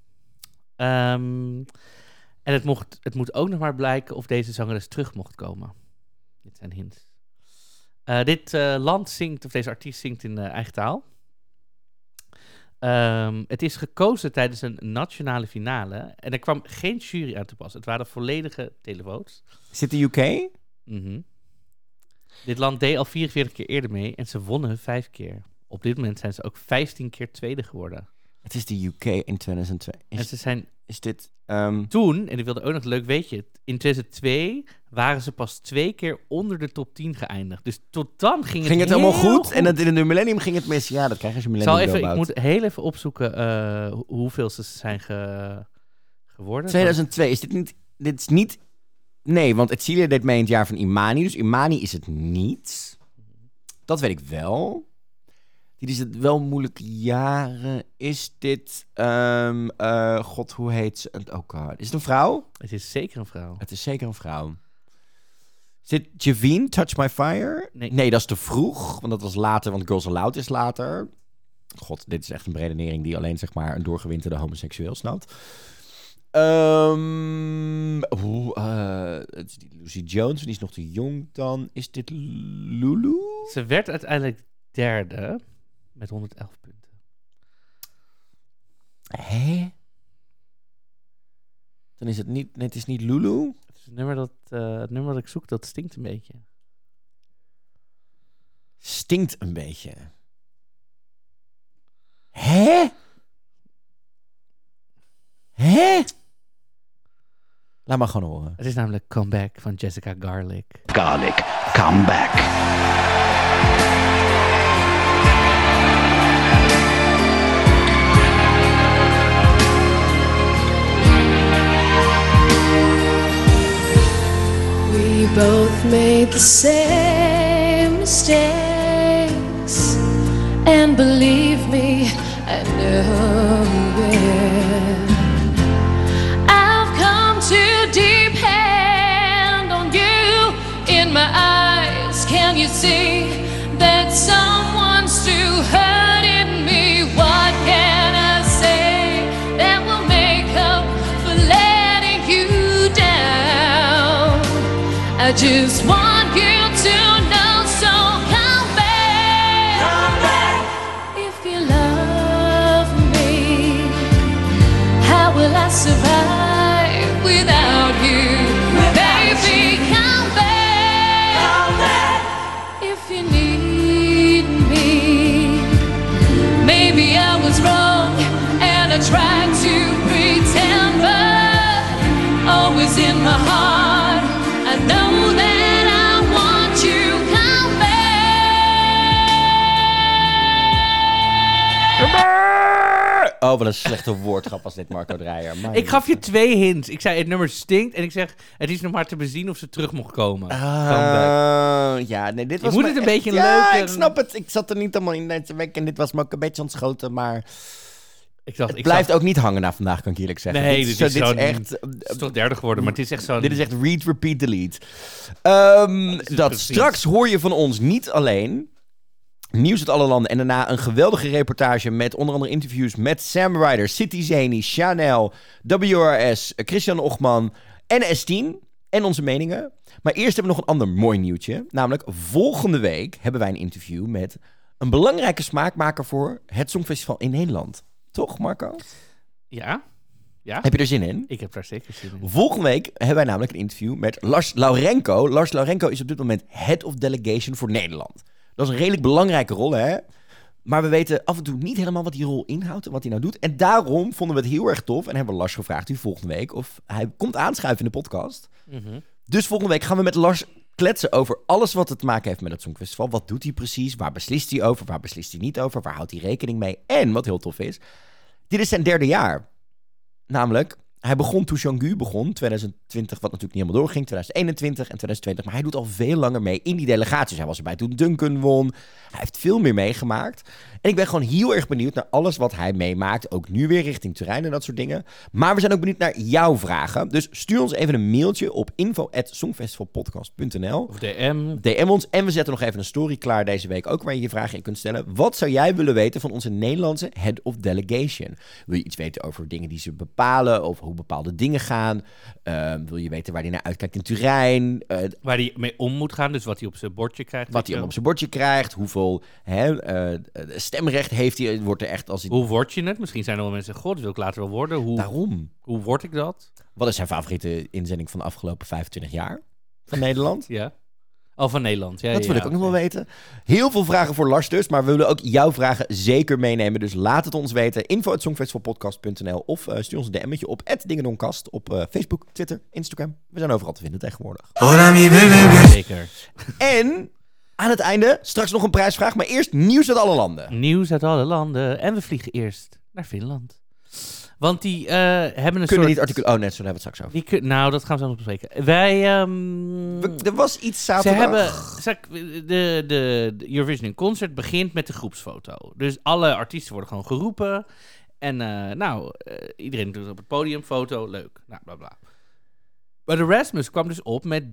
En het moet ook nog maar blijken of deze zangeres terug mocht komen. Dit zijn hints. Dit land zingt, of deze artiest zingt in eigen taal. Het is gekozen tijdens een nationale finale. En er kwam geen jury aan te pas. Het waren volledige televotes. Zit de UK? Mhm. Dit land deed al 44 keer eerder mee en ze wonnen 5 keer. Op dit moment zijn ze ook 15 keer tweede geworden. Het is de UK in 2002. En ze zijn Is dit... toen, en ik wilde ook nog leuk weetje, in 2002 waren ze pas 2 keer onder de top 10 geëindigd. Dus tot dan ging ging het heel helemaal goed? En in de millennium ging het mis. Ja, dat krijg je als je millennium ik moet heel even opzoeken hoeveel ze zijn geworden. 2002. Is dit niet... Dit is niet... Nee, want Etcilia deed mee in het jaar van Imani. Dus Imani is het niet. Dat weet ik wel. Dit is het wel moeilijke jaren. Is dit... God, hoe heet ze? Oh god. Is het een vrouw? Het is zeker een vrouw. Het is zeker een vrouw. Is dit Javine, Touch My Fire? Nee, dat is te vroeg. Want dat was later, want Girls Aloud is later. God, dit is echt een beredenering die alleen zeg maar een doorgewinterde homoseksueel snapt. Het is die Lucy Jones, die is nog te jong dan. Is dit Lulu? Ze werd uiteindelijk derde met 111 punten. Hè? Dan is het niet... Nee, het is niet Lulu. Het is het nummer dat ik zoek, dat stinkt een beetje. Stinkt een beetje. Hè? Hè? Laat maar gewoon horen. Het is namelijk Comeback van Jessica Garlic. Garlic, come back. We both made the same mistakes, and believe me, I know it. I've come to depend on you. In my eyes, can you see that someone's still hurting me? What can I say that will make up for letting you down? I just want you to know, so come back. Come back. If you love me, how will I survive without you? Baby, come back. Come back. If you need me, maybe I was wrong and I tried to pretend, but always in my heart I know that I want you. Come back. Oh, wat een slechte woordgrap was dit, Marco Dreyer. Maar Ik gaf je 2 hints. Ik zei het nummer stinkt en ik zeg het is nog maar te bezien of ze terug mocht komen. Comeback. Ja, nee, dit Je was moet me het een echt- beetje Ja, leuk ik snap het. Ik zat er niet helemaal in deze week en dit was me ook een beetje ontschoten, maar Ik dacht, het blijft ook niet hangen na vandaag, kan ik eerlijk zeggen. Nee, dit dit is is zo'n- echt... Het is toch derde geworden, maar het is echt zo'n... Dit is echt read, repeat, delete. Dat precies. straks hoor je van ons niet alleen nieuws uit alle landen en daarna een geweldige reportage met onder andere interviews met Sam Ryder, City Zeni, Chanel, WRS, Christian Ochman en S10 en onze meningen. Maar eerst hebben we nog een ander mooi nieuwtje. Namelijk volgende week hebben wij een interview met een belangrijke smaakmaker voor het Songfestival in Nederland. Toch, Marco? Ja? Ja? Heb je er zin in? Ik heb daar zeker zin in. Volgende week hebben wij namelijk een interview met Lars Laurenko. Lars Laurenko is op dit moment Head of Delegation voor Nederland. Dat is een redelijk belangrijke rol, hè? Maar we weten af en toe niet helemaal wat die rol inhoudt en wat hij nou doet. En daarom vonden we het heel erg tof en hebben we Lars gevraagd volgende week of hij komt aanschuiven in de podcast. Mhm. Dus volgende week gaan we met Lars kletsen over alles wat het te maken heeft met het Songfestival. Wat doet hij precies? Waar beslist hij over? Waar beslist hij niet over? Waar houdt hij rekening mee? En, wat heel tof is, dit is zijn 3e jaar. Namelijk, hij begon toen Jean-Gu begon, 2020, wat natuurlijk niet helemaal doorging, 2021 en 2020. Maar hij doet al veel langer mee in die delegaties. Hij was erbij toen Duncan won. Hij heeft veel meer meegemaakt. En ik ben gewoon heel erg benieuwd naar alles wat hij meemaakt. Ook nu weer richting Turijn en dat soort dingen. Maar we zijn ook benieuwd naar jouw vragen. Dus stuur ons even een mailtje op info@songfestivalpodcast.nl Of DM. DM ons en we zetten nog even een story klaar deze week ook waar je je vragen in kunt stellen. Wat zou jij willen weten van onze Nederlandse Head of Delegation? Wil je iets weten over dingen die ze bepalen, over hoe bepaalde dingen gaan? Wil je weten waar hij naar uitkijkt in Turijn? Waar hij mee om moet gaan, dus wat hij op zijn bordje krijgt. Wat hij allemaal op zijn bordje krijgt? Hoeveel stemrecht heeft hij? Wordt er echt als hij... Hoe word je het? Misschien zijn er wel mensen, god, dat wil ik later wel worden. Daarom. Hoe word ik dat? Wat is zijn favoriete inzending van de afgelopen 25 jaar van Nederland? Ja. Oh, van Nederland. Ja, Dat wil ik ook nog wel weten. Heel veel vragen voor Lars dus, maar we willen ook jouw vragen zeker meenemen. Dus laat het ons weten. info@songfestivalpodcast.nl of stuur ons een DM'tje op @dingendonkast op Facebook, Twitter, Instagram. We zijn overal te vinden tegenwoordig. Hola mi bebé. Zeker. En aan het einde straks nog een prijsvraag, maar eerst nieuws uit alle landen. Nieuws uit alle landen. En we vliegen eerst naar Finland. Want die hebben een Kunnen soort... niet artikel... Oh, net zo hebben we het straks over. Nou, dat gaan we zo nog bespreken. Wij... Er was iets Ze zaterdag. hebben... De Eurovision Concert begint met de groepsfoto. Dus alle artiesten worden gewoon geroepen. En iedereen doet op het podium foto. Leuk. Nou, bla bla. Maar de Rasmus kwam dus op met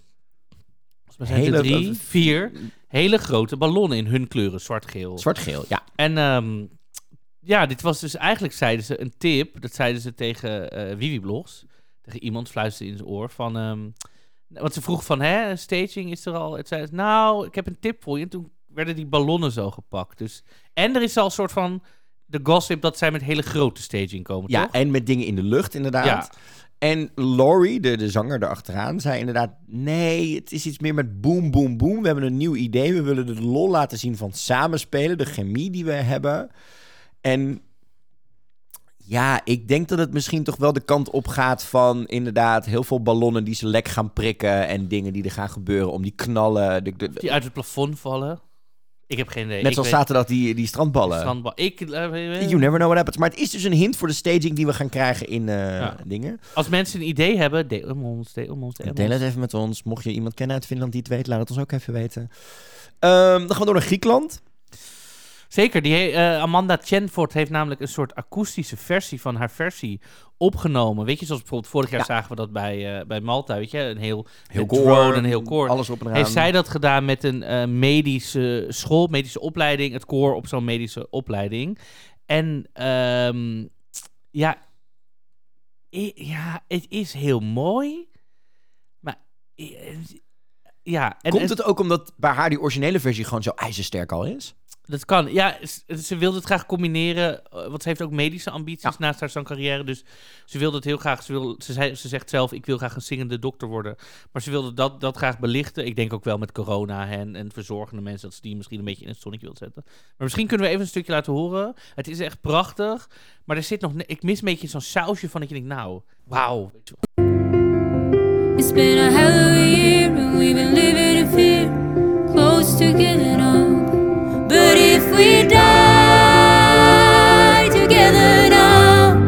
4 hele grote ballonnen in hun kleuren. Zwart-geel. Zwart-geel, ja. En dit was dus eigenlijk, zeiden ze, een tip. Dat zeiden ze tegen Wiwi Blogs. Tegen iemand fluisterde in zijn oor van... want ze vroeg van, staging is er al? Het zei, nou, ik heb een tip voor je. En toen werden die ballonnen zo gepakt. Dus, en er is al een soort van de gossip dat zij met hele grote staging komen, Ja, toch? en met dingen in de lucht inderdaad. Ja. En Laurie, de zanger erachteraan, zei inderdaad... Nee, het is iets meer met boom, boom, boom. We hebben een nieuw idee. We willen de lol laten zien van samenspelen. De chemie die we hebben. En ja, ik denk dat het misschien toch wel de kant op gaat van... inderdaad, heel veel ballonnen die ze lek gaan prikken... en dingen die er gaan gebeuren om die knallen. Die uit het plafond vallen. Ik heb geen idee. Net zoals zaterdag die strandballen. You never know what happens. Maar het is dus een hint voor de staging die we gaan krijgen in dingen. Als mensen een idee hebben, deel ons. Deel het even met ons. Mocht je iemand kennen uit Finland die het weet, laat het ons ook even weten. Dan gaan we door naar Griekenland. Zeker, Amanda Chenford heeft namelijk een soort akoestische versie van haar versie opgenomen. Weet je, zoals bijvoorbeeld vorig jaar zagen we dat bij Malta, weet je, een heel koor, een heel koor. Alles op en eraan. Heeft zij dat gedaan met een medische school, medische opleiding, het koor op zo'n medische opleiding. En het is heel mooi, maar en Komt het ook omdat bij haar die originele versie gewoon zo ijzersterk al is? Dat kan. Ja, ze wilde het graag combineren. Want ze heeft ook medische ambities naast haar zangcarrière. Dus ze wilde het heel graag. Ze zegt zelf, ik wil graag een zingende dokter worden. Maar ze wilde dat graag belichten. Ik denk ook wel met corona en verzorgende mensen... dat ze die misschien een beetje in het zonnetje wil zetten. Maar misschien kunnen we even een stukje laten horen. Het is echt prachtig. Maar er zit nog... Ik mis een beetje zo'n sausje van dat je denkt, nou, wauw. It's been a hell of a year and we've been living in fear, close to giving up. But if we die together now,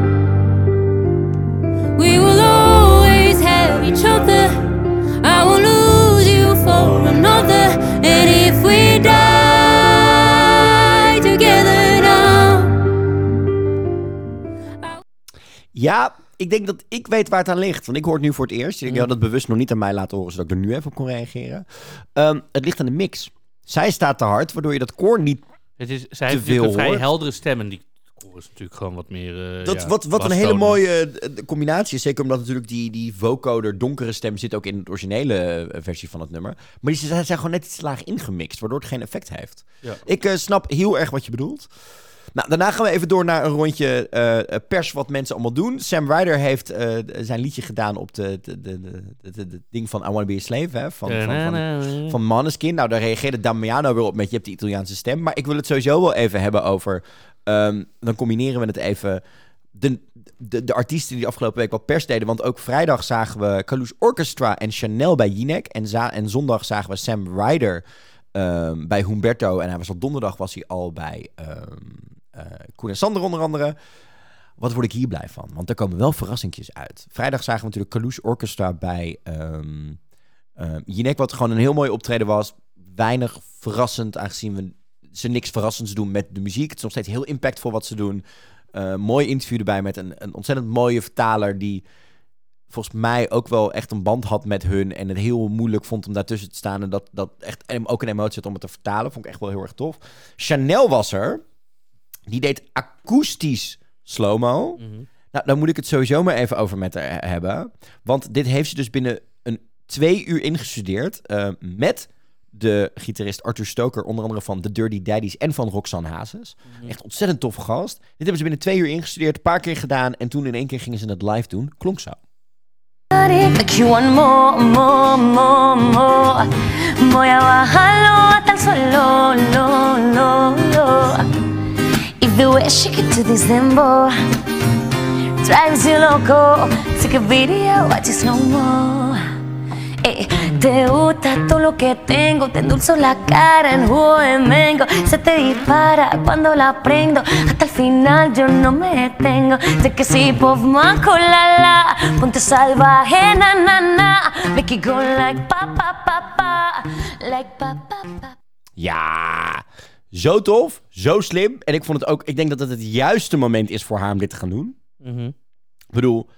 we will always have each other. I won't lose you for another. And if we die together now. Ja, ik denk dat ik weet waar het aan ligt. Want ik hoor het nu voor het eerst. Ik had het bewust nog niet aan mij laten horen, zodat ik er nu even op kon reageren. Het ligt aan de mix. Zij staat te hard, waardoor je dat koor niet Zij heeft veel een vrij hoort. heldere stem en die koor is natuurlijk gewoon wat meer... wat een hele mooie combinatie is. Zeker omdat natuurlijk die vocoder donkere stem zit ook in de originele versie van het nummer. Maar die zijn gewoon net iets te laag ingemixt, waardoor het geen effect heeft. Ja. Ik snap heel erg wat je bedoelt. Nou, daarna gaan we even door naar een rondje pers wat mensen allemaal doen. Sam Ryder heeft zijn liedje gedaan op de ding van I Wanna Be a Slave, hè, van Måneskin. Nou, daar reageerde Damiano weer op met je hebt de Italiaanse stem. Maar ik wil het sowieso wel even hebben over... dan combineren we het even... de artiesten die afgelopen week wat pers deden. Want ook vrijdag zagen we Kalush Orchestra en Chanel bij Jinek. En zondag zagen we Sam Ryder bij Humberto. En hij was op donderdag al bij Koen en Sander onder andere. Wat word ik hier blij van? Want er komen wel verrassingjes uit. Vrijdag zagen we natuurlijk Kalush Orchestra bij Jinek. Wat gewoon een heel mooi optreden was. Weinig verrassend, aangezien ze niks verrassends doen met de muziek. Het is nog steeds heel impactvol wat ze doen. Mooi interview erbij met een ontzettend mooie vertaler die volgens mij ook wel echt een band had met hun en het heel moeilijk vond om daartussen te staan en dat echt ook een emotie had om het te vertalen. Vond ik echt wel heel erg tof. Chanel was er. Die deed akoestisch slow-mo. Mm-hmm. Nou, dan moet ik het sowieso maar even over met haar hebben. Want dit heeft ze dus binnen 2 uur ingestudeerd met de gitarist Arthur Stoker, onder andere van The Dirty Daddies en van Roxanne Hazes. Mm-hmm. Echt ontzettend toffe gast. Dit hebben ze binnen 2 uur ingestudeerd, een paar keer gedaan en toen in 1 keer gingen ze het live doen. Klonk zo. Voy a bajarlo hasta el suelo, y the way she get to this dembow drives you loco. Take a video, watch it slow mo. Te gusta todo lo que tengo, te endulzo la cara en jugo de mango. Se te dispara cuando la prendo, hasta el final yo no me detengo. De que si pop man con la, ponte salvaje na na na. Make it go like pa pa pa pa, like pa pa pa. Ja, zo tof, zo slim. En ik vond het ook, ik denk dat het juiste moment is voor haar om dit te gaan doen. Mm-hmm. Ik bedoel,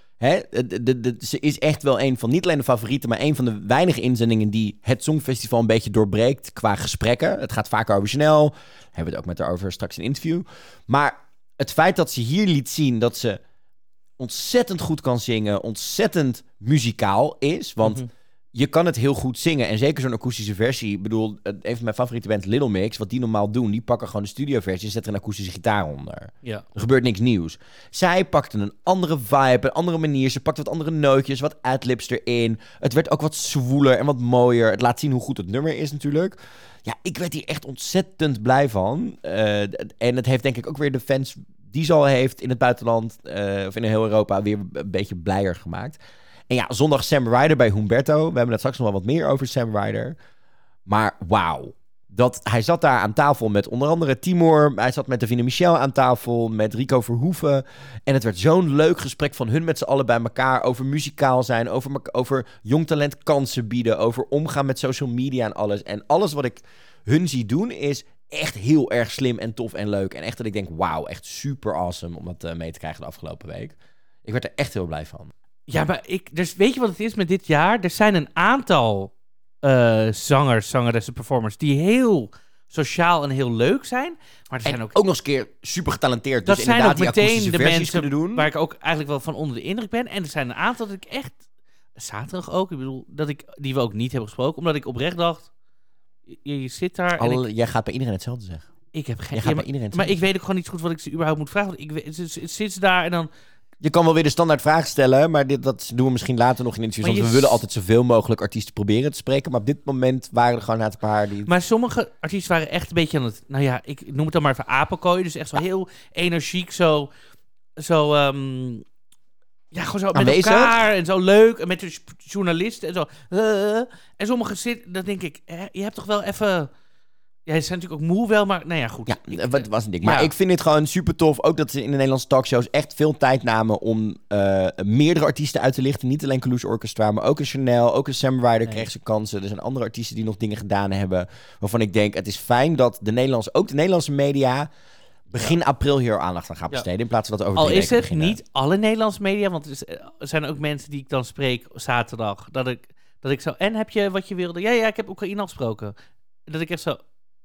ze is echt wel een van, niet alleen de favorieten, maar een van de weinige inzendingen die het Songfestival een beetje doorbreekt qua gesprekken. Het gaat vaker over Chanel. Daar hebben we het ook met haar over straks in een interview. Maar het feit dat ze hier liet zien dat ze ontzettend goed kan zingen, ontzettend muzikaal is, want je kan het heel goed zingen. En zeker zo'n akoestische versie. Ik bedoel, een van mijn favoriete bands, Little Mix, wat die normaal doen, die pakken gewoon de studioversie en zetten er een akoestische gitaar onder. Ja. Er gebeurt niks nieuws. Zij pakte een andere vibe, een andere manier. Ze pakte wat andere nootjes, wat adlibs erin. Het werd ook wat zwoeler en wat mooier. Het laat zien hoe goed het nummer is natuurlijk. Ja, ik werd hier echt ontzettend blij van. En het heeft denk ik ook weer de fans die ze al heeft in het buitenland, of in heel Europa, weer een beetje blijer gemaakt. En ja, zondag Sam Ryder bij Humberto. We hebben het straks nog wel wat meer over Sam Ryder. Maar wauw. Hij zat daar aan tafel met onder andere Timur. Hij zat met Davina Michel aan tafel. Met Rico Verhoeven. En het werd zo'n leuk gesprek van hun met z'n allen bij elkaar. Over muzikaal zijn. Over jong talent kansen bieden. Over omgaan met social media en alles. En alles wat ik hun zie doen is echt heel erg slim en tof en leuk. En echt dat ik denk, wauw, echt super awesome om dat mee te krijgen de afgelopen week. Ik werd er echt heel blij van. Ja, maar dus weet je wat het is met dit jaar? Er zijn een aantal zangers, zangeressen, performers die heel sociaal en heel leuk zijn. Maar er zijn ook nog eens een keer super getalenteerd. Dat dus zijn ook die meteen de mensen doen. Waar ik ook eigenlijk wel van onder de indruk ben. En er zijn een aantal dat ik echt, zaterdag ook, ik bedoel, die we ook niet hebben gesproken. Omdat ik oprecht dacht, je zit daar. Jij gaat bij iedereen hetzelfde zeggen. Ik heb geen. Maar ik weet ook gewoon niet zo goed wat ik ze überhaupt moet vragen. Want zit ze daar en dan. Je kan wel weer de standaard vraag stellen, maar dat doen we misschien later nog in interviews. Want we willen altijd zoveel mogelijk artiesten proberen te spreken. Maar op dit moment waren er gewoon een paar die... Maar sommige artiesten waren echt een beetje aan het... Nou ja, ik noem het dan maar even apenkooien. Dus echt zo heel energiek, zo gewoon zo aanwezig. Met elkaar en zo leuk. En met de journalisten en zo. En sommige zitten, dan denk ik, je hebt toch wel even... Ja, ze zijn natuurlijk ook moe wel, maar nou ja, goed. Ja, dat was een ding. Maar ik vind het gewoon super tof. Ook dat ze in de Nederlandse talkshows echt veel tijd namen om meerdere artiesten uit te lichten. Niet alleen Kalush Orchestra, maar ook een Chanel, ook een Sam Ryder kreeg ze kansen. Er zijn andere artiesten die nog dingen gedaan hebben. Waarvan ik denk, het is fijn dat de Nederlandse media begin april hier aandacht aan gaat besteden. In plaats van dat over 3 weken beginnen. Niet alle Nederlandse media, want er zijn ook mensen die ik dan spreek zaterdag. Dat ik zo, en heb je wat je wilde? Ja, ik heb Oekraïne afgesproken. Dat ik echt zo...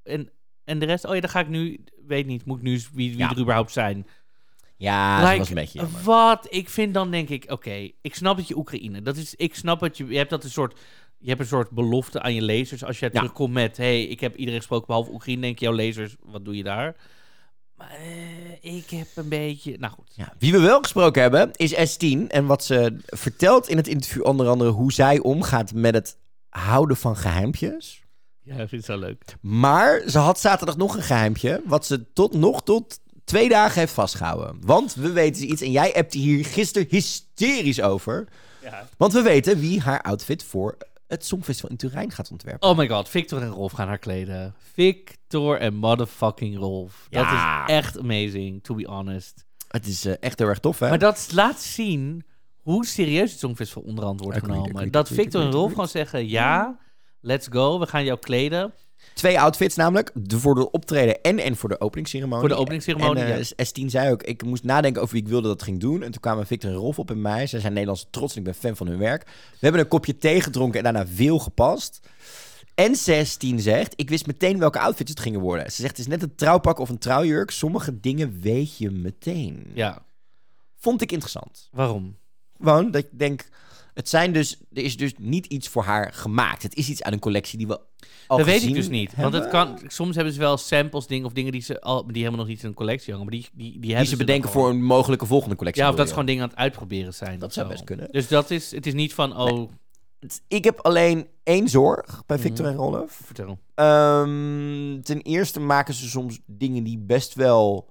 En de rest, dan ga ik nu, weet niet, moet ik nu wie er überhaupt zijn. Ja, dat was een beetje jammer. Wat ik vind, dan denk ik, oké, ik snap dat je Oekraïne, ik snap dat je hebt een soort belofte aan je lezers. Als jij terugkomt met, ik heb iedereen gesproken behalve Oekraïne, denk je, jouw lezers, wat doe je daar? Maar ik heb een beetje, nou goed. Ja, wie we wel gesproken hebben, is S10. En wat ze vertelt in het interview, onder andere hoe zij omgaat met het houden van geheimpjes. Ja, ik vind het zo leuk. Maar ze had zaterdag nog een geheimpje, wat ze tot 2 dagen heeft vastgehouden. Want we weten iets en jij appte hier gisteren hysterisch over. Ja. Want we weten wie haar outfit voor het Songfestival in Turijn gaat ontwerpen. Oh my god, Victor en Rolf gaan haar kleden. Victor en motherfucking Rolf. Ja. Dat is echt amazing, to be honest. Het is echt heel erg tof, hè? Maar dat laat zien hoe serieus het Songfestival onderhand wordt genomen. Dat Victor en Rolf gewoon zeggen, ja, let's go, we gaan jou kleden. 2 outfits namelijk, voor de optreden en voor de openingsceremonie. Voor de openingsceremonie, En ja. S10 zei ook, ik moest nadenken over wie ik wilde dat ging doen. En toen kwamen Victor en Rolf op bij mij. Zij zijn Nederlandse trots en ik ben fan van hun werk. We hebben een kopje thee gedronken en daarna veel gepast. En 16 zegt, ik wist meteen welke outfits het gingen worden. Ze zegt, het is net een trouwpak of een trouwjurk. Sommige dingen weet je meteen. Ja, Vond ik interessant. waarom? Gewoon dat ik denk, er is dus niet iets voor haar gemaakt. Het is iets uit een collectie die we al Dat weet gezien ik dus niet. hebben. Want het kan, soms hebben ze wel samples, dingen of dingen die helemaal nog niet in een collectie hangen. Maar die hebben Die ze bedenken dan voor gewoon. een mogelijke volgende collectie. Ja, of dat bedoel ze je? gewoon dingen aan het uitproberen zijn. Dat of zou zo. best kunnen. Dus het is niet van, oh, Ik heb alleen 1 zorg bij Victor Mhm. en Rolf. vertel. Ten eerste maken ze soms dingen die best wel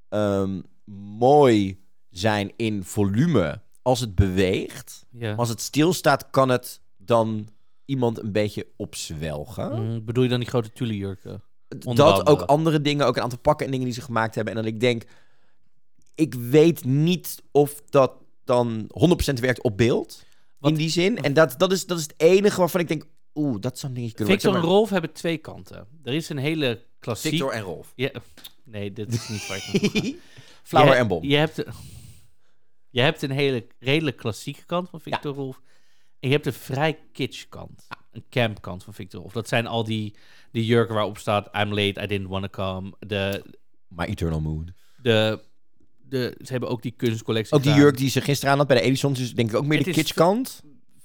mooi zijn in volume als het beweegt. Ja. Maar als het stilstaat, kan het dan iemand een beetje opzwelgen. Bedoel je dan die grote tullejurken? onder Dat, andere. ook andere dingen, ook een aantal pakken en dingen die ze gemaakt hebben. En dat ik denk, ik weet niet of dat dan 100% werkt op beeld. Wat- In die zin. En dat is het enige waarvan ik denk, dat zou een dingetje kunnen Victor en worden. Rolf hebben 2 kanten. Er is een hele klassiek... Victor en Rolf. Ja, nee, dit is niet waar ik naartoe ga. Flower en Bom. Je hebt een hele redelijk klassieke kant van Victor Rolf. En je hebt een vrij kitsch kant. Een camp kant van Victor Rolf. Dat zijn al die jurken waarop staat I'm late, I didn't want to come. My Eternal Mood. Ze hebben ook die kunstcollectie Ook die gedaan. jurk die ze gisteren aan had bij de Edisons, dus denk ik ook meer Het de is kitsch kant.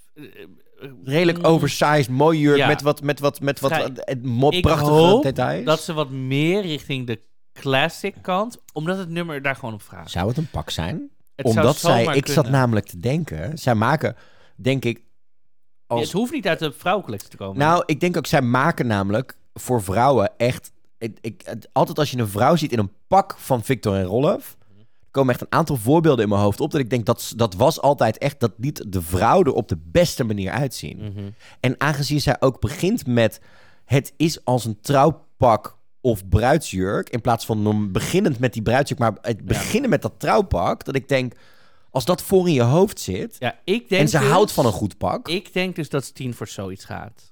Mm, Redelijk oversized, mooi jurk Ja. met wat Vrij- Ik prachtige hoop details. dat ze wat meer richting de classic kant, omdat het nummer daar gewoon op vraagt. Zou het een pak zijn? Het zou Omdat zomaar ik zat kunnen. namelijk te denken, zij maken, denk ik, Het hoeft niet uit de vrouwencollectie te komen. Nou, ik denk ook, zij maken namelijk voor vrouwen echt... altijd als je een vrouw ziet in een pak van Victor en Rolf... komen echt een aantal voorbeelden in mijn hoofd op... dat ik denk, dat was altijd echt... dat liet de vrouw er op de beste manier uitzien. Mhm. En aangezien zij ook begint met... het is als een trouwpak of bruidsjurk... in plaats van beginnend met die bruidsjurk... maar het beginnen met dat trouwpak... dat ik denk, als dat voor in je hoofd zit... Ja, ik denk en ze dus- houdt van een goed pak... Ik denk dus dat Steen voor zoiets gaat.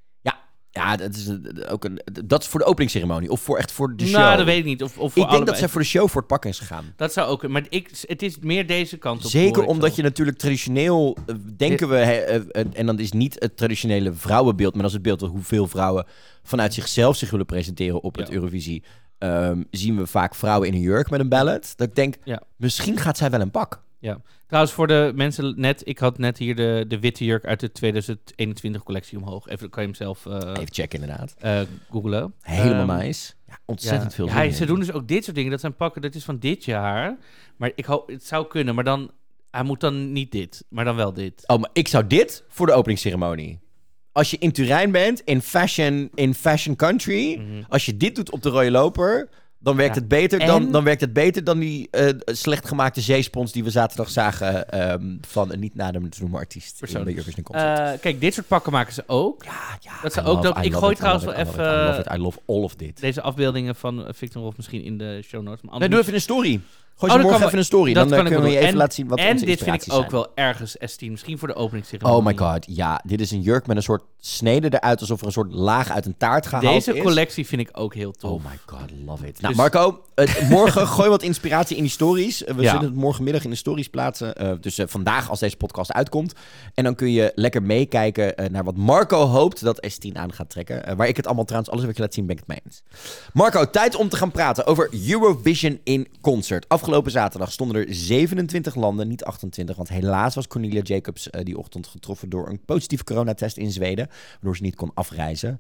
Ja, dat is dat is voor de openingsceremonie. Of voor de show. Nou, dat weet ik niet. Of voor Ik denk allebei. dat zij voor de show voor het pak is gegaan. Dat zou ook... Maar het is meer deze kant op. Zeker hoor ik omdat zo. je natuurlijk traditioneel... denken we... en dan is niet het traditionele vrouwenbeeld... maar dat is het beeld hoeveel vrouwen... vanuit zichzelf zich willen presenteren op het Ja. Eurovisie... zien we vaak vrouwen in een jurk met een ballad. Dat ik denk, Ja. misschien gaat zij wel een pak. Ja. Trouwens, voor de mensen net... Ik had net hier de witte jurk uit de 2021 collectie omhoog. Even, kan je hem zelf Even checken inderdaad. googlen. Helemaal nice. Ja, ontzettend veel zin in. Ze doen dus ook dit soort dingen. Dat zijn pakken, dat is van dit jaar. Maar ik hoop, het zou kunnen. Maar dan... Hij moet dan niet dit, maar dan wel dit. Oh, maar ik zou dit voor de openingsceremonie. Als je in Turijn bent, in fashion country... als je dit doet op de rode loper... dan werkt, Ja. het beter En- dan werkt het beter dan die slecht gemaakte zeespons... die we zaterdag zagen van een niet nader te noemen artiest. Persoon. In de Eurovision Concert. Kijk, dit soort pakken maken ze ook. Ja, dat ze I ook love- dat- I ik love gooi it, I trouwens love wel it, I even- love it, I love all of dit. Deze afbeeldingen van Victor Rolf misschien in de show notes. Maar Nee, doe even een story. Gooi Oh, ze dat morgen kan even een story. dat Dan kan ik kunnen we wel je doen. even laten zien wat En onze dit vind ik inspiraties ook zijn. wel ergens S10. Misschien voor de openingsceremonie. Oh my god, ja. Dit is een jurk met een soort snede eruit... alsof er een soort laag uit een taart gehaald is. Deze collectie vind ik ook heel tof. Oh my god, love it. Nou, Dus- Marco, morgen gooi wat inspiratie in die stories. We Ja. zullen het morgenmiddag in de stories plaatsen. Dus vandaag als deze podcast uitkomt. En dan kun je lekker meekijken naar wat Marco hoopt dat S10 aan gaat trekken. Waar ik het allemaal trouwens, alles wat je laat zien, ben ik het mee eens. Marco, tijd om te gaan praten over Eurovision in concert. Afgelopen zaterdag stonden er 27 landen, niet 28. Want helaas was Cornelia Jacobs die ochtend getroffen door een positieve coronatest in Zweden. Waardoor ze niet kon afreizen.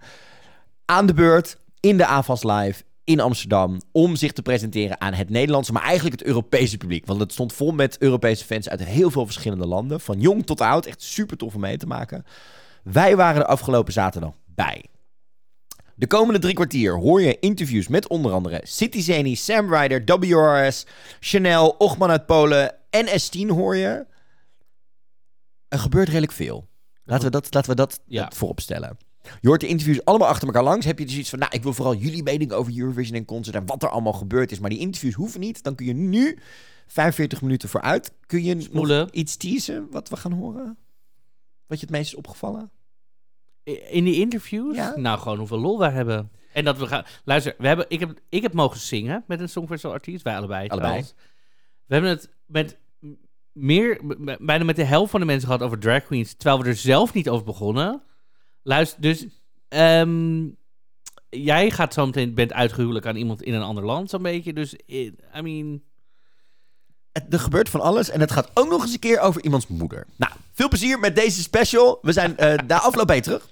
Aan de beurt, in de AFAS Live in Amsterdam, om zich te presenteren aan het Nederlandse, maar eigenlijk het Europese publiek. Want het stond vol met Europese fans uit heel veel verschillende landen. Van jong tot oud, echt super tof om mee te maken. Wij waren er afgelopen zaterdag bij. De komende 3 kwartier hoor je interviews met onder andere City Zeni, Sam Ryder, WRS, Chanel, Ochman uit Polen en S10 hoor je. Er gebeurt redelijk veel. Laten we dat voorop stellen. Je hoort de interviews allemaal achter elkaar langs. Heb je dus iets van, ik wil vooral jullie mening over Eurovision en Concert en wat er allemaal gebeurd is. Maar die interviews hoeven niet. Dan kun je nu 45 minuten vooruit. Kun je nog iets teasen wat we gaan horen? Wat je het meest is opgevallen? In die interviews? Ja? Nou, gewoon hoeveel lol wij hebben. En dat we gaan... Luister, ik heb mogen zingen met een Songfestival artiest. Wij allebei. We hebben het met bijna met de helft van de mensen gehad over drag queens, terwijl we er zelf niet over begonnen. Luister, dus jij gaat zo meteen, bent uitgehuwelijk aan iemand in een ander land, zo'n beetje. Dus, er gebeurt van alles en het gaat ook nog eens een keer over iemands moeder. Nou, veel plezier met deze special. We zijn na afloop bij je terug.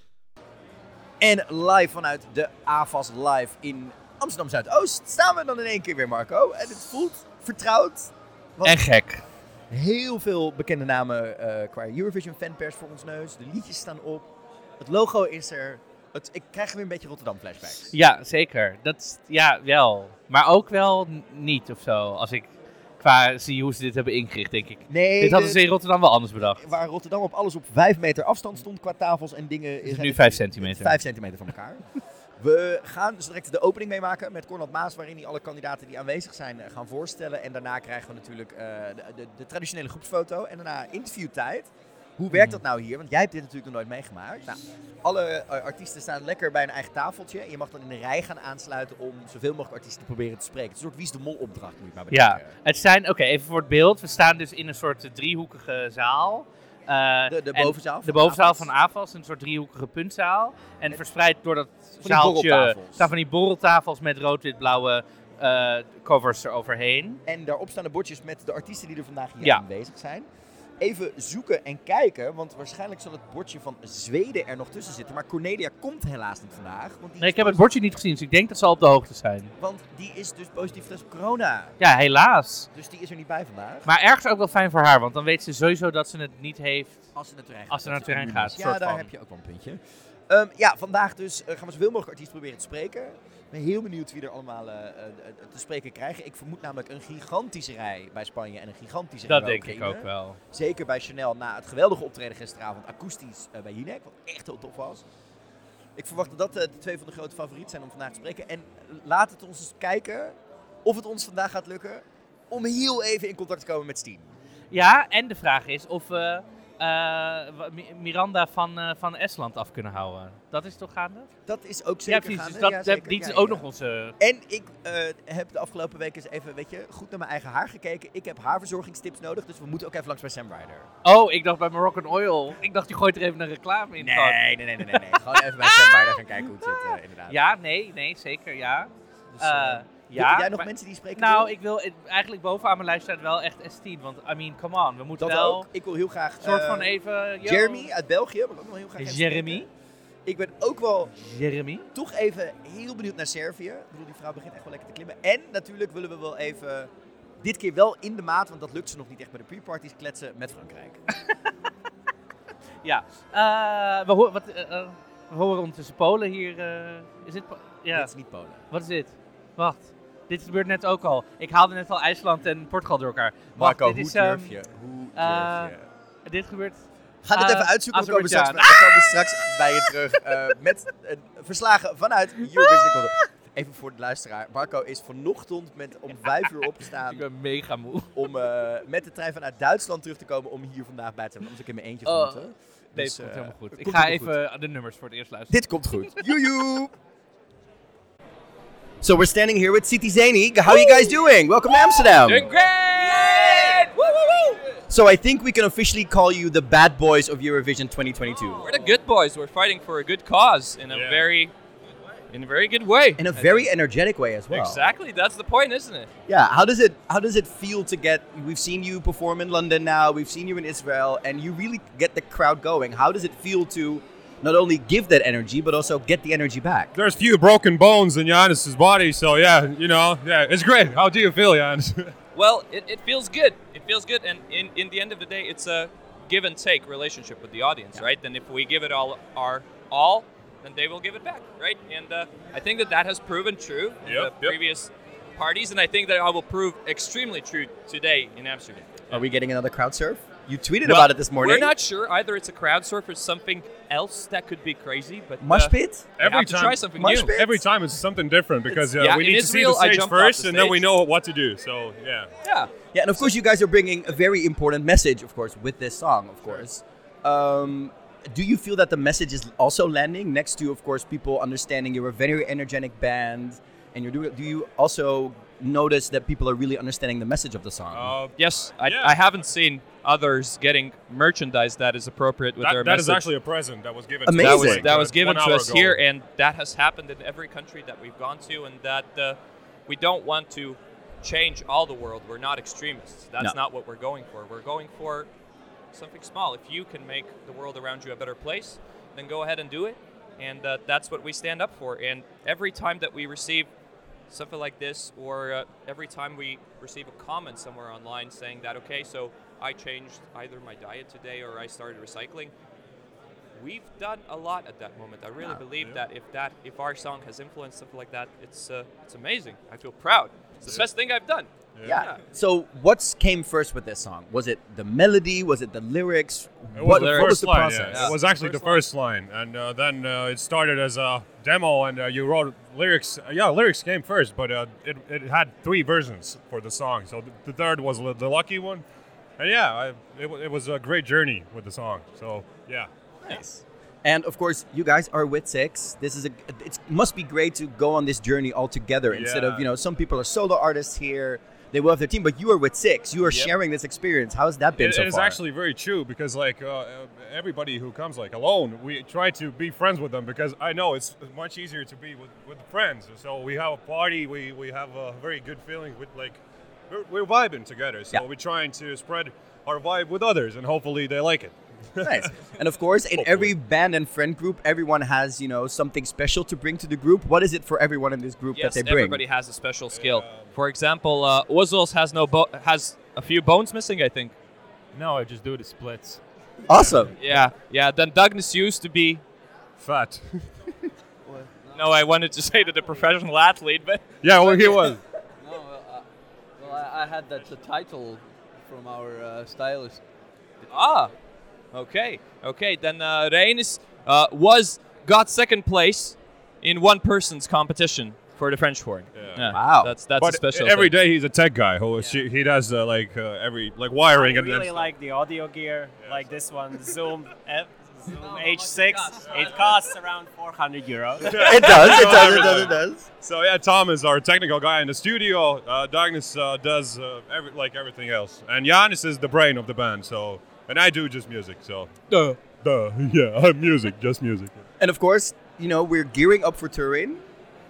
En live vanuit de AFAS Live in Amsterdam Zuidoost staan we dan in één keer weer, Marco. En het voelt vertrouwd. En gek. Heel veel bekende namen qua Eurovision fanpers voor ons neus. De liedjes staan op. Het logo is er. Ik krijg weer een beetje Rotterdam flashbacks. Ja, zeker. Ja, wel. Maar ook wel niet of zo. Als ik zie hoe ze dit hebben ingericht, denk ik. Nee, dit hadden ze in Rotterdam wel anders bedacht. Waar Rotterdam op alles op 5 meter afstand stond qua tafels en dingen. Is nu 5 centimeter. 5 centimeter van elkaar. We gaan dus direct de opening meemaken met Cornald Maas, waarin hij alle kandidaten die aanwezig zijn gaan voorstellen. En daarna krijgen we natuurlijk de traditionele groepsfoto en daarna interviewtijd. Hoe werkt dat nou hier? Want jij hebt dit natuurlijk nog nooit meegemaakt. Nou, alle artiesten staan lekker bij een eigen tafeltje. En je mag dan in de rij gaan aansluiten om zoveel mogelijk artiesten te proberen te spreken. Het is een soort Wie is de Mol opdracht, moet je maar bedenken. Ja, het zijn, even voor het beeld. We staan dus in een soort driehoekige zaal. De bovenzaal. De bovenzaal van AFAS, een soort driehoekige puntzaal. En verspreid door dat zaaltje staan van die borreltafels met rood-wit-blauwe covers eroverheen. En daarop staan de bordjes met de artiesten die er vandaag hier aanwezig zijn. Even zoeken en kijken, want waarschijnlijk zal het bordje van Zweden er nog tussen zitten. Maar Cornelia komt helaas niet vandaag. Want ik heb het bordje niet gezien, dus ik denk dat ze al op de hoogte zijn. Want die is dus positief getest op corona. Ja, helaas. Dus die is er niet bij vandaag. Maar ergens ook wel fijn voor haar, want dan weet ze sowieso dat ze het niet heeft als ze naar het terrein gaat. Ja, daar heb je ook wel een puntje. Vandaag dus gaan we zoveel mogelijk artiesten proberen te spreken. Ik ben heel benieuwd wie er allemaal te spreken krijgen. Ik vermoed namelijk een gigantische rij bij Spanje en een gigantische rij bij Oekraïne. Dat denk ik ook wel. Zeker bij Chanel na het geweldige optreden gisteravond akoestisch bij Jinek, wat echt heel tof was. Ik verwacht dat de 2 van de grote favorieten zijn om vandaag te spreken. En laat het ons eens kijken of het ons vandaag gaat lukken om heel even in contact te komen met Steen. Ja, en de vraag is of we Miranda van Estland af kunnen houden. Dat is toch gaande? Dat is ook zeker gaande. Dus die is ook nog onze... En ik heb de afgelopen weken eens even, weet naar mijn eigen haar gekeken. Ik heb haarverzorgingstips nodig, dus we moeten ook even langs bij Sam Ryder. Oh, ik dacht bij Moroccan Oil. Ik dacht, je gooit er even een reclame in. Nee. Gewoon even bij Sam Ryder gaan kijken hoe het zit, inderdaad. Ja, nee, zeker, ja. Dus, jij nog mensen die spreken? Nou, ik wil eigenlijk bovenaan mijn lijst staat wel echt S10. Want, come on, we moeten dat wel... Ook. Ik wil heel graag... soort van even... Jeremy uit België, wil ik ook nog heel graag Jeremy? Ik ben ook wel... Jeremy? Toch even heel benieuwd naar Servië. Ik bedoel, die vrouw begint echt wel lekker te klimmen. En natuurlijk willen we wel even... Dit keer wel in de maat, want dat lukt ze nog niet echt bij de pre-parties, kletsen met Frankrijk. Ja. We horen ondertussen Polen hier. Is dit... Dit is niet Polen. Wat is dit? Wacht. Dit gebeurt net ook al. Ik haalde net al IJsland en Portugal door elkaar. Marco, hoe durf je? Dit gebeurt... Ga dit even uitzoeken. We komen straks bij je terug met verslagen vanuit Eurovision. Even voor de luisteraar. Marco is vanochtend om 5 uur opgestaan. Ik ben mega moe. Om met de trein vanuit Duitsland terug te komen om hier vandaag bij te zijn. Anders ik in mijn eentje moeten. Nee, het komt helemaal goed. Ik ga even de nummers voor het eerst luisteren. Dit komt goed. Joejoe! So we're standing here with City Zeni. How are you guys doing? Welcome to Amsterdam. Doing great! Woo, woo, woo! So I think we can officially call you the bad boys of Eurovision 2022. We're the good boys. We're fighting for a good cause in a very good way. In a very energetic way as well. Exactly. That's the point, isn't it? Yeah. How does it feel to get? We've seen you perform in London now. We've seen you in Israel, and you really get the crowd going. How does it feel to not only give that energy, but also get the energy back? There's few broken bones in Giannis's body, so it's great. How do you feel, Giannis? Well, it feels good. It feels good, and in the end of the day, it's a give and take relationship with the audience, right? And if we give it all our all, then they will give it back, right? And I think that has proven true in the previous parties, and I think that it will prove extremely true today in Amsterdam. Are we getting another crowd surf? You tweeted about it this morning. We're not sure. Either it's a crowd surf or something else that could be crazy. But Mosh pit? Every to try something Mosh new. pit? Every time it's something different because we in need to see the Israel, I stage jumped off first, the and then we stage. know what to do. So yeah. Yeah, and of course you guys are bringing a very important message, of course, with this song, of course. Do you feel that the message is also landing next to, of course, people understanding you're a very energetic band, and do you also notice that people are really understanding the message of the song? Yes, I haven't seen others getting merchandise that is appropriate with their That message. is actually a present that was given Amazing. to us. That was given 1 to hour us ago. here, and that has happened in every country that we've gone to, and that we don't want to change all the world. We're not extremists. That's not what we're going for. We're going for something small. If you can make the world around you a better place, then go ahead and do it, and that's what we stand up for. And every time that we receive something like this, or every time we receive a comment somewhere online saying that, okay, so I changed either my diet today or I started recycling, we've done a lot at that moment. I really believe that if our song has influenced something like that, it's amazing. I feel proud. It's the best thing I've done. Yeah. So what came first with this song? Was it the melody? Was it the lyrics? It was What the was first the line. process? Yeah. It was actually the first line, and then it started as a demo, and you wrote lyrics. Lyrics came first, but it had 3 versions for the song. So the third was the lucky one, and it was a great journey with the song. So yeah. Nice. And of course, you guys are with Six. This is it must be great to go on this journey all together instead of some people are solo artists here. They will have their team, but you are with Six. You are sharing this experience. How has that been so far? It is actually very true because everybody who comes alone, we try to be friends with them because I know it's much easier to be with friends. So we have a party, we have a very good feeling with we're vibing together. So we're trying to spread our vibe with others, and hopefully they like it. Nice. And of course, in every band and friend group, everyone has, something special to bring to the group. What is it for everyone in this group that they bring? Everybody has a special skill. For example, Ozils has a few bones missing, I think. No, I just do the splits. Awesome. Yeah. Then Douglas used to be fat. No, I wanted to say to the professional athlete, but yeah, well, he was. I had the title from our stylist. Okay. Then Reinis got second place in one person's competition for the French horn. Yeah. Wow. That's but a special every thing. day he's a tech guy who he does every wiring I and really like the audio gear, like this one, Zoom H6. It costs around 400 euros. It does. So yeah, Tom is our technical guy in the studio. Douglas does everything else, and Janis is the brain of the band. So, and I do just music. So, yeah, I'm music, just music. And of course, we're gearing up for touring.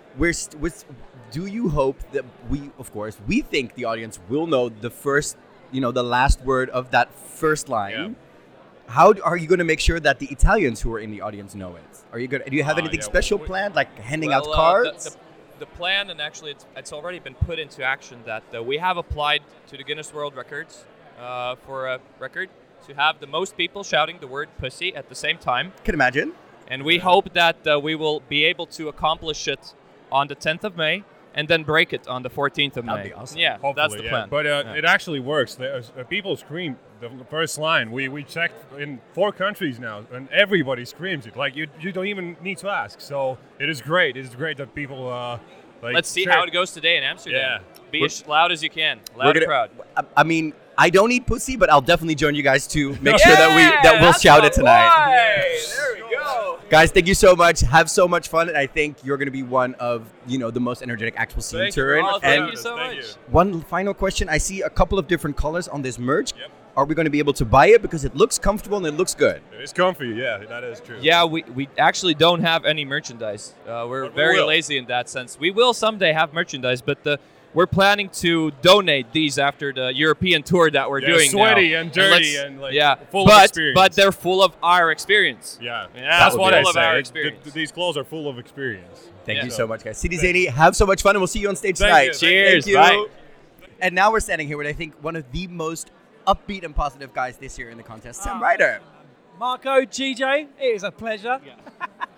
Do you hope that we think the audience will know the first, the last word of that first line? Yeah. How are you going to make sure that the Italians who are in the audience know it? Do you have anything special planned, like handing out cards? The plan, and actually it's already been put into action, that we have applied to the Guinness World Records for a record to have the most people shouting the word pussy at the same time. Can imagine. And we hope that we will be able to accomplish it on the 10th of May and then break it on the 14th of May. That'd be awesome. Yeah, Hopefully, that's the plan. But it actually works. People scream the first line. We checked in 4 countries now, and everybody screams it. Like you don't even need to ask. So it is great. It is great that people Let's see cheer. how it goes today in Amsterdam. Yeah. Be as loud as you can. Loud and proud. I mean, I don't eat pussy, but I'll definitely join you guys to make sure that we'll shout it tonight. There we go. Guys, thank you so much. Have so much fun, and I think you're going to be one of the most energetic acts we'll see in Turin. Thank you so much. One final question: I see a couple of different colors on this merch. Yep. Are we going to be able to buy it because it looks comfortable and it looks good? It's comfy. Yeah, that is true. Yeah, we actually don't have any merchandise. We're very lazy in that sense. We will someday have merchandise, but we're planning to donate these after the European tour that we're doing sweaty now. and dirty and full but, of experience. But they're full of our experience. Yeah, that's what I say. Our Our experience. these clothes are full of experience. Thank you so much, guys. Sidi Zany, have so much fun, and we'll see you on stage tonight. Cheers. Thank you. Bye. And now we're standing here with, I think, one of the most upbeat and positive guys this year in the contest, Sam Ryder. Marco, GJ, it is a pleasure.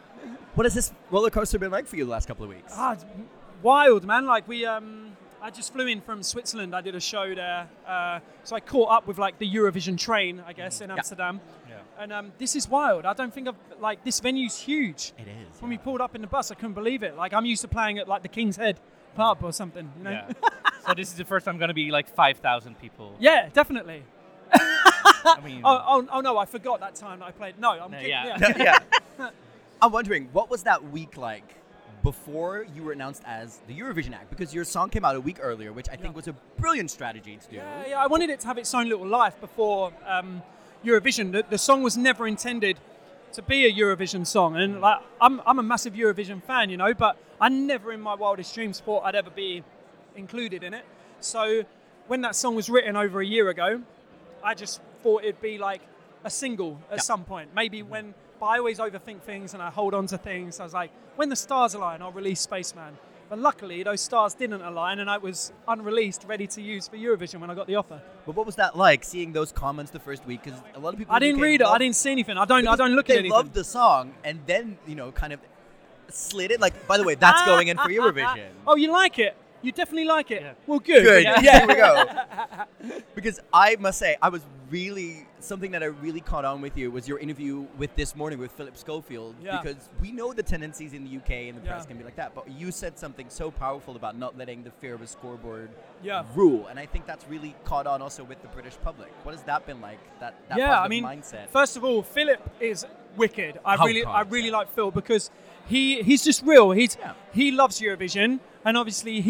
What has this roller coaster been like for you the last couple of weeks? It's wild, man. Like I just flew in from Switzerland. I did a show there, so I caught up with like the Eurovision train, I guess, in Amsterdam. Yeah. And this is wild. I don't think this venue's huge. It is. When we pulled up in the bus, I couldn't believe it. Like I'm used to playing at like the King's Head pub or something, you know. Yeah. So this is the first time going to be like 5,000 people. Yeah, definitely. I mean, oh no, I forgot that time that I played. No, I'm kidding. Yeah. I'm wondering, what was that week like before you were announced as the Eurovision act? Because your song came out a week earlier, which I think was a brilliant strategy to do. Yeah, I wanted it to have its own little life before Eurovision. The song was never intended to be a Eurovision song, and like I'm a massive Eurovision fan, you know, but I never in my wildest dreams thought I'd ever be included in it. So when that song was written over a year ago, I just thought it'd be like a single at some point. Maybe when, but I always overthink things and I hold on to things. I was like, when the stars align, I'll release Spaceman. But luckily, those stars didn't align, and I was unreleased, ready to use for Eurovision when I got the offer. But what was that like, seeing those comments the first week? Because a lot of people. I didn't read it. I didn't see anything. I don't look at anything. They loved the song, and then kind of slid it. Like, by the way, that's going in for Eurovision. Oh, you like it? You definitely like it? Yeah. Well, good. Good. Yeah, here we go. Because I must say, something that I really caught on with you was your interview with This Morning with Philip Schofield. Yeah. Because we know the tendencies in the UK and the press can be like that, but you said something so powerful about not letting the fear of a scoreboard rule. And I think that's really caught on also with the British public. What has that been like, that positive mindset? First of all, Philip is wicked. I really like Phil because he's just real. He loves Eurovision, and obviously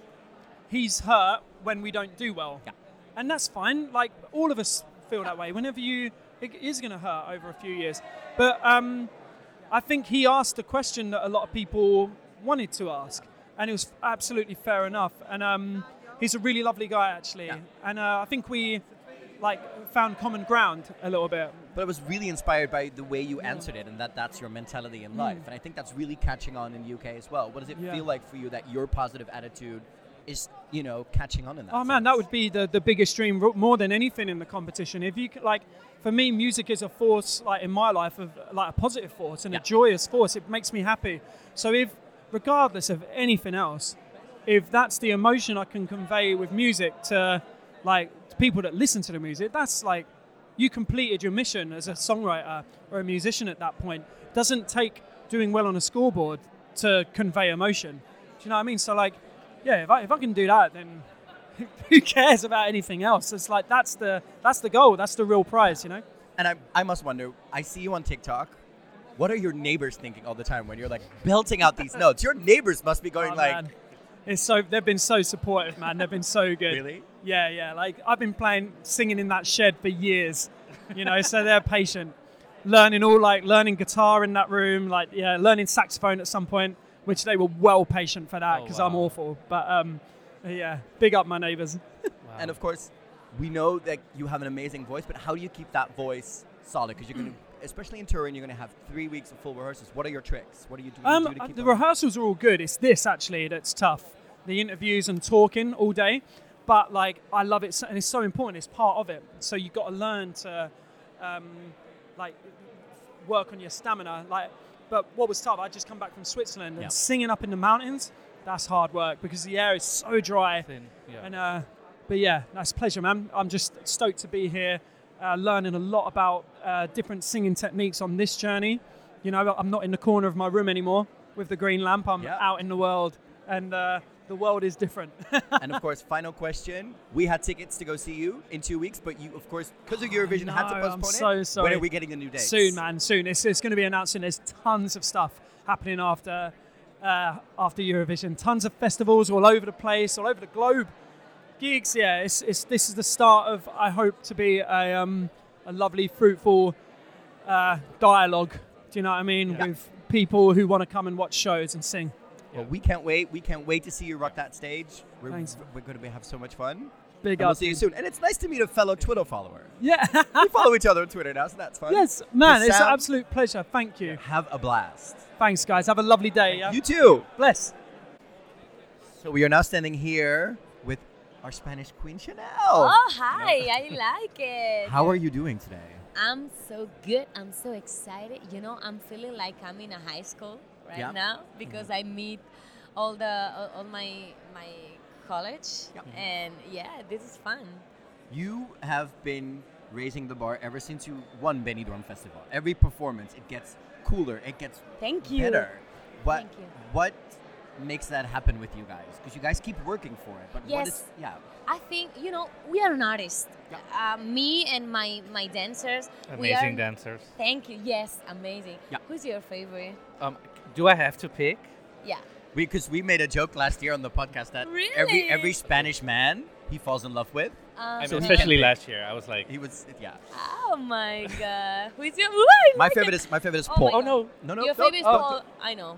he's hurt when we don't do well. Yeah. And that's fine. Like, all of us feel that way. Whenever it is going to hurt over a few years. But I think he asked a question that a lot of people wanted to ask, and it was absolutely fair enough. And he's a really lovely guy, actually. Yeah. And I think we found common ground a little bit. But I was really inspired by the way you answered it, and that's your mentality in life. And I think that's really catching on in the UK as well. What does it feel like for you that your positive attitude is, catching on in that sense? Man, that would be the biggest dream, more than anything in the competition. If you for me, music is a force, in my life, of a positive force and a joyous force. It makes me happy. So if, regardless of anything else, if that's the emotion I can convey with music to people that listen to the music, that's you completed your mission as a songwriter or a musician at that point. It doesn't take doing well on a scoreboard to convey emotion. Do you know what I mean? So if I can do that, then who cares about anything else? It's that's the goal. That's the real prize, And I must wonder, I see you on TikTok. What are your neighbors thinking all the time when you're belting out these notes? Your neighbors must be going man. They've been so supportive, man. They've been so good. Really? Yeah. I've been singing in that shed for years, so they're patient. Learning guitar in that room, learning saxophone at some point, which they were well patient for that because I'm awful. But big up my neighbors. Wow. And of course, we know that you have an amazing voice, but how do you keep that voice solid? Because you're going to, especially in touring, you're going to have 3 weeks of full rehearsals. What are your tricks? What do you do to keep the rehearsals are all good. It's this, actually, that's tough. The interviews and talking all day. But, I love it, and it's so important. It's part of it. So you've got to learn to, work on your stamina. But what was tough, I just come back from Switzerland and singing up in the mountains, that's hard work because the air is so dry. And but that's a pleasure, man. I'm just stoked to be here, learning a lot about different singing techniques on this journey. I'm not in the corner of my room anymore with the green lamp. I'm out in the world, and the world is different. And of course, final question. We had tickets to go see you in 2 weeks, but you, of course, because of Eurovision, had to postpone I'm so sorry. When are we getting the new dates? Soon, man, soon. It's going to be announcing. There's tons of stuff happening after Eurovision. Tons of festivals all over the place, all over the globe. Gigs, this is the start of, I hope, to be a lovely, fruitful dialogue. Do you know what I mean? Yeah. With people who want to come and watch shows and sing. Well, we can't wait. We can't wait to see you rock that stage. Thanks. We're going to have so much fun. Big up. We'll see you soon. And it's nice to meet a fellow Twitter follower. Yeah. We follow each other on Twitter now, so that's fun. Yes, man, it's an absolute pleasure. Thank you. Have a blast. Thanks, guys. Have a lovely day. Yeah? You too. Bless. So we are now standing here with our Spanish Queen, Chanel. Oh, hi. I like it. How are you doing today? I'm so good. I'm so excited. I'm feeling like I'm in a high school. right Yeah. now because I meet all my college, and this is fun. You have been raising the bar ever since you won Benidorm Festival. Every performance, it gets cooler, it gets Thank you. better. Thank you. What makes that happen with you guys? Because you guys keep working for it. But what is Yes. I think we are an artist. Me and my dancers. Amazing dancers. Thank you. Yes, amazing. Yeah. Who's your favorite? Do I have to pick? Yeah. Because we made a joke last year on the podcast that Really? every Spanish man he falls in love with. Especially last year, I was like, he was Oh my god. Who is your? My favorite is Oh Paul. my God. No. Your favorite is Paul. I know.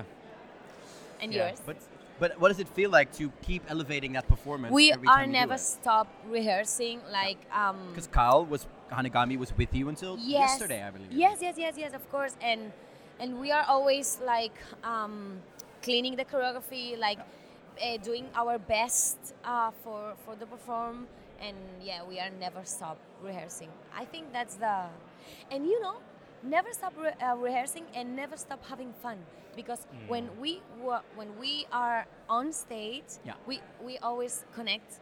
And Yeah. yours? But what does it feel like to keep elevating that performance? We every are time you do never it? stop rehearsing. Like Because Hanegami was with you until yesterday, I believe. Yes, of course. And we are always like cleaning the choreography, like doing our best for the perform. And we are never stop rehearsing. I think that's and never stop rehearsing and never stop having fun. Because when we are on stage, we always connect.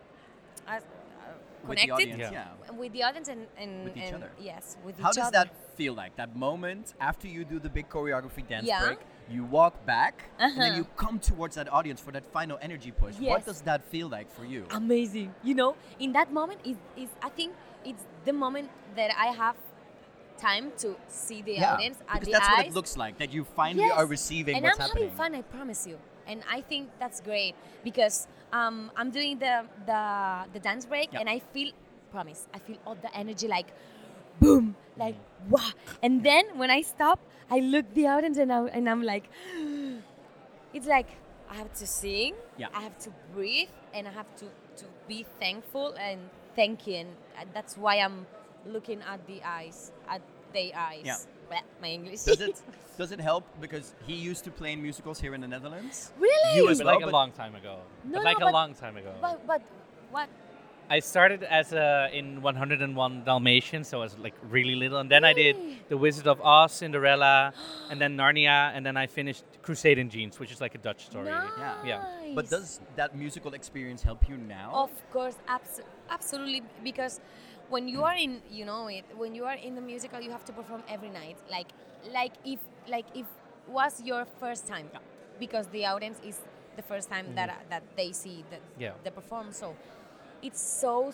With the Connected audience, with the audience and with each other. Yes, with How each does other. that feel like? That moment after you do the big choreography dance Yeah. break, you walk back, and then Uh-huh. you come towards that audience for that final energy push. What Yes. does that feel like for you? Amazing. In that moment is I think it's the moment that I have time to see the audience at because the that's eyes. what it looks like. That you finally are receiving and what's I'm happening. having fun, I promise you. And I think that's great because I'm doing the dance break and I feel all the energy like boom, like wow. And then when I stop, I look the audience and I'm like, it's like I have to sing, I have to breathe, and I have to be thankful and thank you. And that's why I'm looking at their eyes. Yeah. Bleh, my English. Does it help because he used to play in musicals here in the Netherlands? Really? You as but well, like a long time ago. No, but like no, a long time ago. But what? I started as in 101 Dalmatians, so I was like really little, and then I did The Wizard of Oz, Cinderella, and then Narnia, and then I finished Crusade in Jeans, which is like a Dutch story. Yeah. But does that musical experience help you now? Of course, absolutely. Because when you are in, when you are in the musical, you have to perform every night. Like if was your first time, because the audience is the first time that they see the perform. So it's so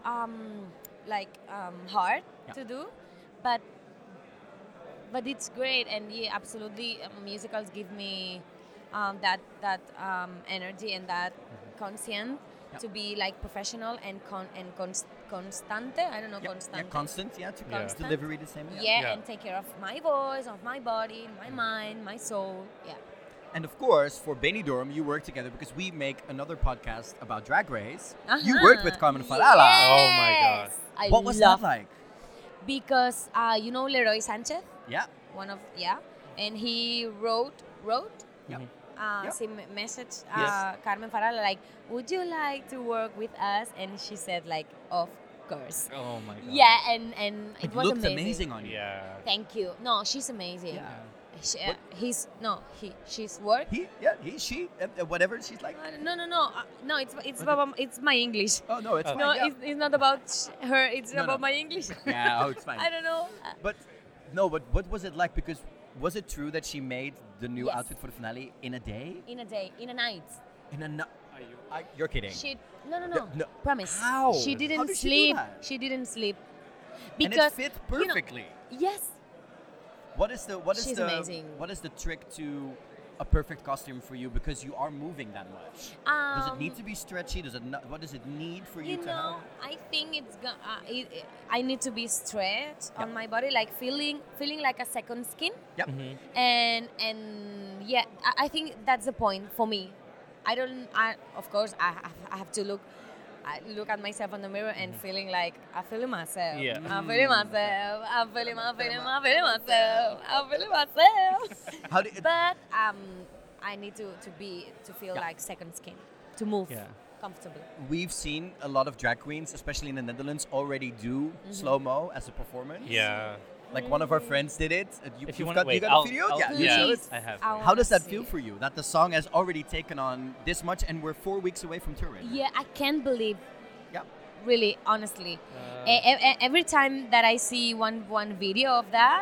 hard to do, but it's great. And absolutely, musicals give me that energy and that conscience to be like professional and constante. I don't know, constante. Constant, to Constant. delivery the same. And take care of my voice, of my body, my mind, my soul. Yeah. And of course, for Benidorm, you work together because we make another podcast about Drag Race. You Uh-huh. worked with Carmen Farala. Oh my God. I What was love that like? Because Leroy Sanchez, Yeah. one of and he wrote message Yes. Carmen Farala like, would you like to work with us? And she said like, of course. Oh my God. Yeah, and it It was looked amazing. amazing on you. Yeah. Thank you. No, she's amazing. Yeah. She's work. She, whatever she's like. No. It's my English. Oh no, it's fine. No, yeah. it's not about her. It's No, about no. my English. Yeah, it's fine. I don't know. But what was it like? Because was it true that she made the new Yes. outfit for the finale in a day? In a day, in a night. You're kidding. No. Promise. How? She How didn't did she do sleep. that? She didn't sleep. And it Because fit perfectly. Yes. What is She's amazing. What is the trick to a perfect costume for you? Because you are moving that much. Does it need to be stretchy? What does it need for you to have? I think I need to be stretched on my body, like feeling like a second skin. Yep. And I think that's the point for me. Of course, I have to look at myself in the mirror and feeling like I'm feeling myself. Yeah. I'm feeling myself. I'm feeling myself. But I need to feel like second skin, to move comfortably. We've seen a lot of drag queens, especially in the Netherlands, already do slow-mo as a performance. Yeah. Like one of our friends did it. If you You've wanna- got, you wait, got a video? I'll- Yeah, yeah, show it. I have. How does that feel for you? That the song has already taken on this much, and we're 4 weeks away from touring. Yeah, I can't believe. Yeah. Really, honestly, every time that I see one video of that,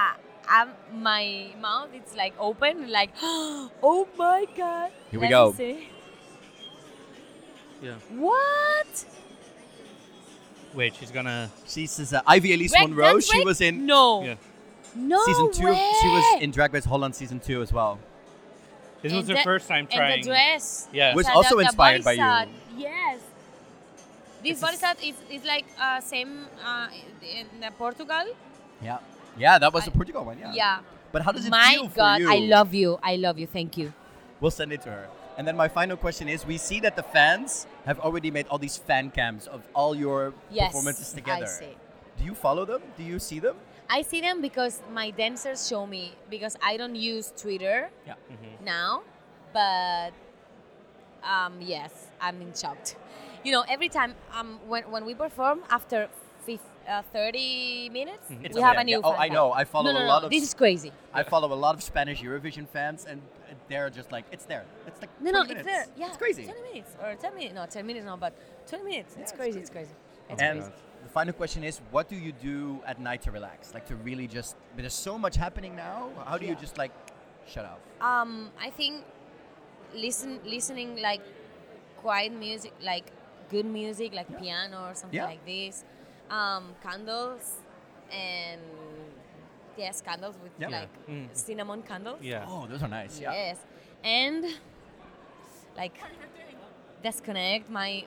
my mouth it's like open, like, oh my god. Here we Let go. me see. Yeah. What? Wait, she's gonna. She's Ivy Elise Monroe. She was in No. Yeah. No season 2. way. She was in Drag Race Holland season 2 as well. This was And her the- first time trying. And the dress. Yeah. Was the- also the inspired by body you. set, Yes. This body set is like same in Portugal. Yeah. Yeah, that was the Portugal one. Yeah. Yeah. But how does it My feel for God, you? I love you. I love you. Thank you. We'll send it to her. And then my final question is: we see that the fans have already made all these fan cams of all your Yes, performances together. I see. Do you follow them? Do you see them? I see them because my dancers show me, because I don't use Twitter Yeah. now, but yes, I'm in shock. You know, every time when we perform after 30 minutes, It's we have there. a new Yeah. Oh, fan I know. I follow no, a lot of. This is crazy. I follow a lot of Spanish Eurovision fans, and they're just like, it's there. It's like No, 20 it's minutes. there. Yeah, It's crazy. 20 minutes or 10 minutes. No, 10 minutes, no, but 20 minutes. It's crazy. It's crazy. It's And crazy. the final question is: what do you do at night to relax? Like to really just. There's so much happening now. How do you Yeah. just like shut off? I think listening like quiet music, like good music, like piano or something Yeah. like this. Candles and yes, candles with Yeah. like cinnamon candles. Yeah. Oh, those are nice. Yeah. Yes, and like disconnect my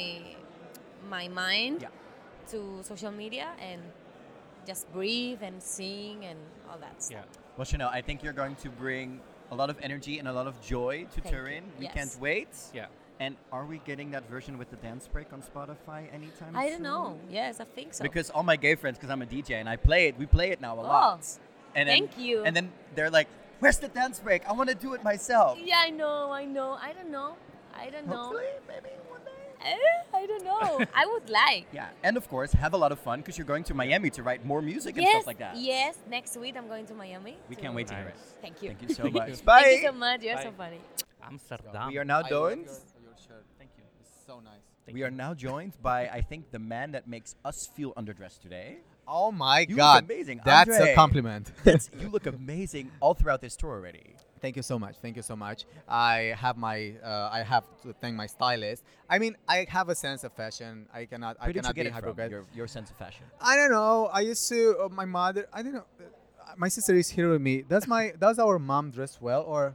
mind to social media and just breathe and sing and all that stuff. Yeah. Well, Chanel, I think you're going to bring a lot of energy and a lot of joy to Thank you. Turin. We Yes. can't wait. Yeah. And are we getting that version with the dance break on Spotify anytime I soon? don't know. Yes, I think so. Because all my gay friends, because I'm a DJ and I play it, we play it now a Oh, lot. And then, thank you. And then they're like, "Where's the dance break? I want to do it myself." Yeah, I know. I don't know. Hopefully, maybe one day. I don't know. I would like. Yeah, and of course, have a lot of fun because you're going to Miami to write more music and Yes, stuff like that. yes. Next week I'm going to Miami. We can't wait to hear it. Thank you. Thank you so much. Thank Bye. you so much. You're so funny. Amsterdam. We are now joined. Your shirt. Thank you. It's so nice. We are now joined by, I think, the man that makes us feel underdressed today. Oh my You God. look amazing. That's Andre. a compliment. You look amazing all throughout this tour already. Thank you so much. Thank you so much. I have to thank my stylist. I mean, I have a sense of fashion. I Where cannot did you be get it from? hypocrite. Your sense of fashion. I don't know. I used to my mother. I don't know. My sister is here with me. Does our mom dress well or?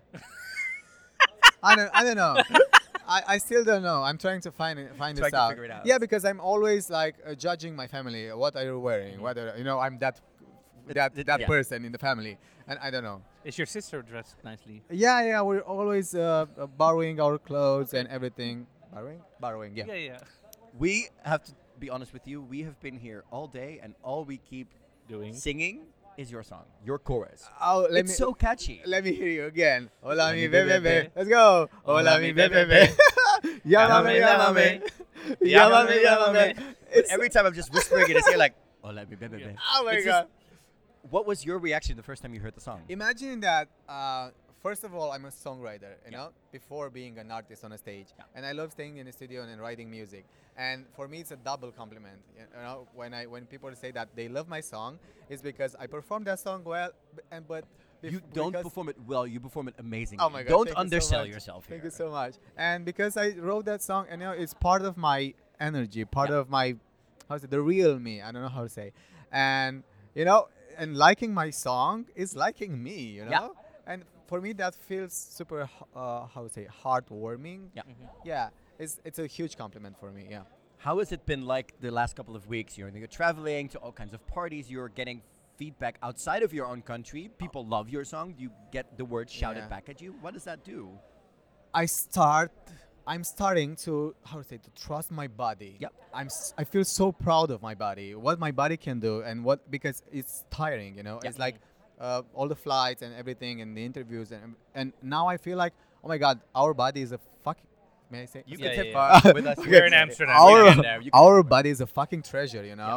I don't know. I still don't know. I'm trying to find this Trying to out. figure it out. Yeah, because I'm always like judging my family. What are you wearing? Whether I'm that yeah. person in the family, and I don't know. Is your sister dressed nicely? Yeah. We're always borrowing our clothes and everything. Borrowing. Yeah. Yeah. We have to be honest with you. We have been here all day, and all we keep Doing? singing is your song, your chorus. Oh, It's so catchy. Let me hear you again. Hola mi bebé. bebé. Let's go. Hola mi bebé. Llámame, llámame. Llámame. But every time I'm just whispering it, it's here like, oh, let me, baby. Oh my It's God. What was your reaction the first time you heard the song? Imagine that. First of all, I'm a songwriter, you know, before being an artist on a stage, and I love staying in the studio and writing music. And for me, it's a double compliment. You know, when people say that they love my song, it's because I perform that song well, but You don't perform it well. You perform it amazingly. Oh my God! Don't thank you so undersell much. yourself here. Thank you so much. And because I wrote that song, and it's part of my energy, part of my, the real me. I don't know how to say. And and liking my song is liking me. You know. Yeah. And for me, that feels super, heartwarming. Yeah. Yeah. It's a huge compliment for me. Yeah. How has it been like the last couple of weeks? You're traveling to all kinds of parties. You're getting feedback outside of your own country. People love your song. You get the words shouted back at you. What does that do? I'm starting to trust my body. Yep. I feel so proud of my body, what my body can do, and because it's tiring, It's like all the flights and everything and the interviews and now I feel like, oh my God, our body is a fucking. May I say? You can take part with us. We're in Amsterdam. Our body is a fucking treasure,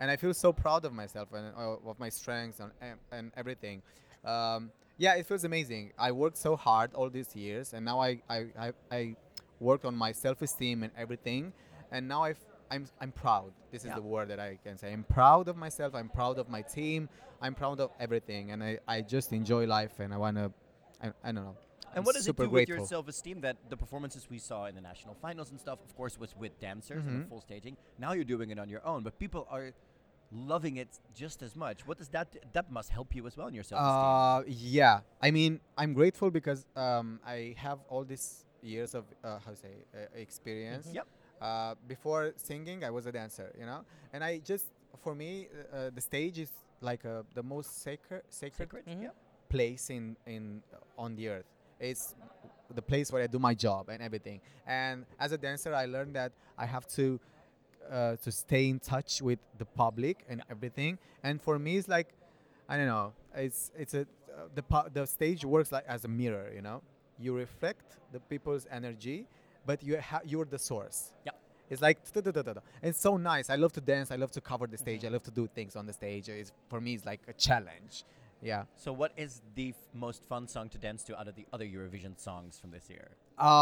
and I feel so proud of myself and of my strengths and everything. Yeah, it feels amazing. I worked so hard all these years, and now I worked on my self-esteem and everything, and now I'm proud. This is the word that I can say. I'm proud of myself. I'm proud of my team. I'm proud of everything, and I just enjoy life, and I wanna. I don't know. And what does it do with your self-esteem that the performances we saw in the national finals and stuff, of course, was with dancers and the full staging. Now you're doing it on your own, but people are loving it just as much. What does that must help you as well in your self-esteem? Yeah, I mean, I'm grateful because I have all these years of experience. Yep. Before singing, I was a dancer, you know, and I just for me the stage is like the most sacred place in on the earth. It's the place where I do my job and everything. And as a dancer, I learned that I have to stay in touch with the public and everything. And for me, it's like, I don't know. It's the stage works like as a mirror. You know, you reflect the people's energy, but you're the source. Yeah. It's like it's so nice. I love to dance. I love to cover the stage. I love to do things on the stage. For me, it's like a challenge. Yeah. So what is the most fun song to dance to out of the other Eurovision songs from this year?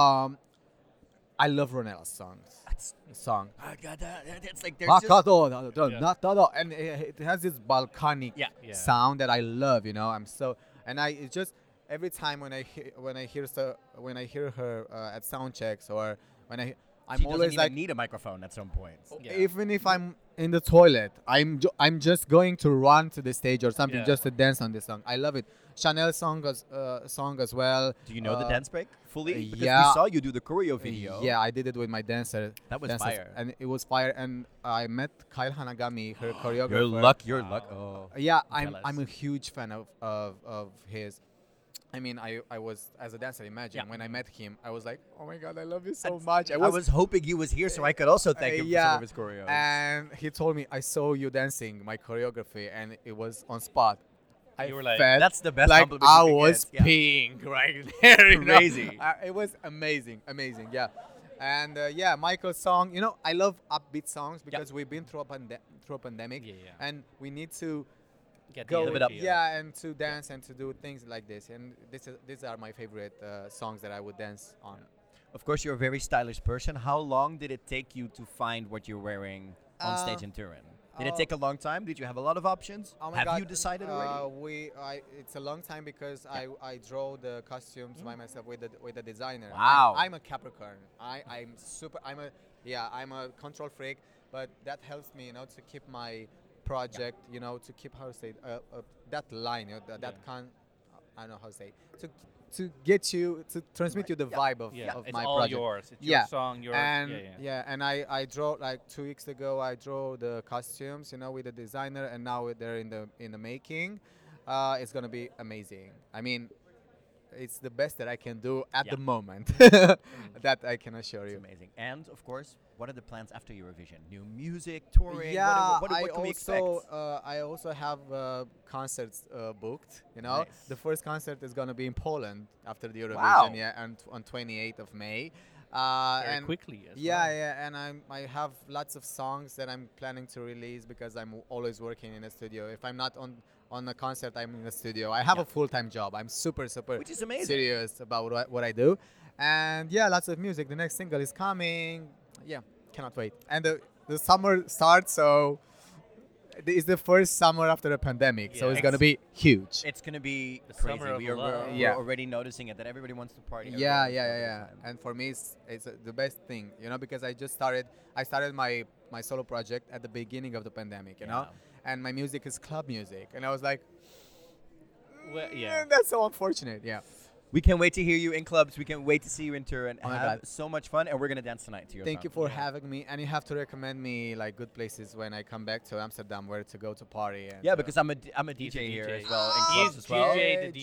I love Ronela's songs. That's song. It's like there's just and it has this Balkanic sound that I love. You know, it's just every time when I hear her at sound checks or when I'm always like need a microphone at some point. Even if I'm in the toilet, I'm just going to run to the stage or something just to dance on this song. I love it. Chanel's song as well. Do you know the dance break fully? Because we saw you do the choreo video. Yeah, I did it with my dancer. That was fire. And it was fire. And I met Kyle Hanagami, her choreographer. Your luck. Oh. Yeah, I'm a huge fan of his. I mean, I was, as a dancer, imagine, when I met him, I was like, oh my God, I love you so much. I was hoping he was here so I could also thank him for some of his choreos. And he told me, I saw you dancing my choreography, and it was on spot. You were like, that's the best like compliment I you was get. peeing right there. Crazy. It was amazing, yeah. And Michael's song, you know, I love upbeat songs because we've been through a pandemic, and we need to live it up. And to dance and to do things like this. And these are my favorite songs that I would dance on. Of course, you're a very stylish person. How long did it take you to find what you're wearing on stage in Turin? Did it take a long time? Did you have a lot of options? Oh my have God. you decided already? It's a long time because I draw the costumes by myself with the designer. Wow. I'm a Capricorn. I'm a control freak, but that helps me, you know, to keep my project, you know, to keep that line, you know, I don't know how to say it, to get you to transmit you the vibe of my all project. Yours. It's your song, your and I draw like 2 weeks ago. I draw the costumes, you know, with the designer, and now they're in the making. It's gonna be amazing. I mean, it's the best that I can do at the moment. That I can assure you. It's amazing. And of course, what are the plans after Eurovision? New music, touring? Yeah, what can we expect? I also have concerts booked. You know, the first concert is gonna be in Poland after the Eurovision. Wow. Yeah, and on 28th of May. Very quickly as well. And I have lots of songs that I'm planning to release because I'm always working in a studio. If I'm not on a concert, I'm in the studio. I have a full-time job. I'm super which is amazing. serious about what I do. And yeah, lots of music. The next single is coming. Yeah, cannot wait. And the summer starts, so it's the first summer after the pandemic, so it's going to be huge. It's going to be The crazy. summer of We're love. already noticing it, that everybody wants to party. Yeah. And for me, it's the best thing, you know, because I started my solo project at the beginning of the pandemic, you know, and my music is club music, and I was like, that's so unfortunate. Yeah. We can't wait to hear you in clubs. We can't wait to see you in Turin. Oh my Have God. so much fun, and we're gonna dance tonight to your Thank song. you for having me, and you have to recommend me like good places when I come back to Amsterdam, where to go to party. And because I'm a DJ here as well, in clubs as well.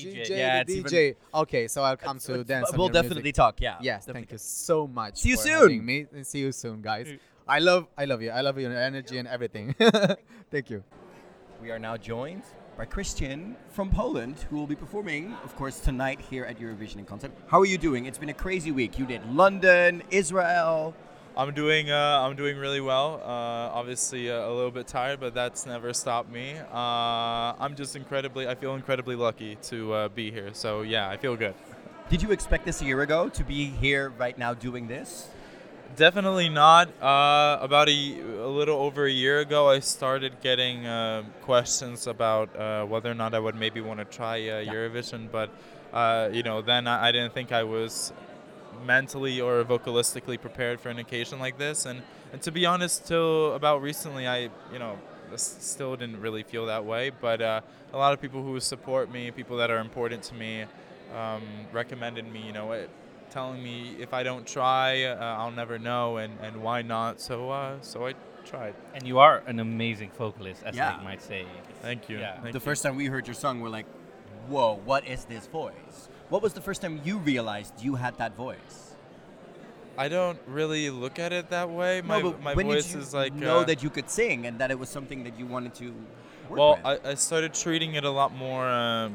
DJ. Okay, so I'll come to dance. We'll definitely talk. Yeah. Yes. Thank you so much. See you for soon. having me, and see you soon, guys. I love you. I love your energy and everything. Thank you. We are now joined by Christian from Poland, who will be performing, of course, tonight here at Eurovision in concert. How are you doing? It's been a crazy week. You did London, Israel, I'm doing really well. Obviously a little bit tired, but that's never stopped me. I feel incredibly lucky to be here. So yeah, I feel good. Did you expect this a year ago to be here right now doing this? Definitely not. About a little over a year ago, I started getting questions about whether or not I would maybe want to try Eurovision, but then I didn't think I was mentally or vocalistically prepared for an occasion like this, and to be honest, till about recently, I still didn't really feel that way. But a lot of people who support me, people that are important to me, recommended me. Telling me if I don't try, I'll never know, and why not? So I tried. And you are an amazing vocalist, as they might say. Thank you. Yeah. The first time we heard your song, we're like, whoa, what is this voice? What was the first time you realized you had that voice? I don't really look at it that way. My when voice did you is like know that you could sing and that it was something that you wanted to work well, with? I started treating it a lot more,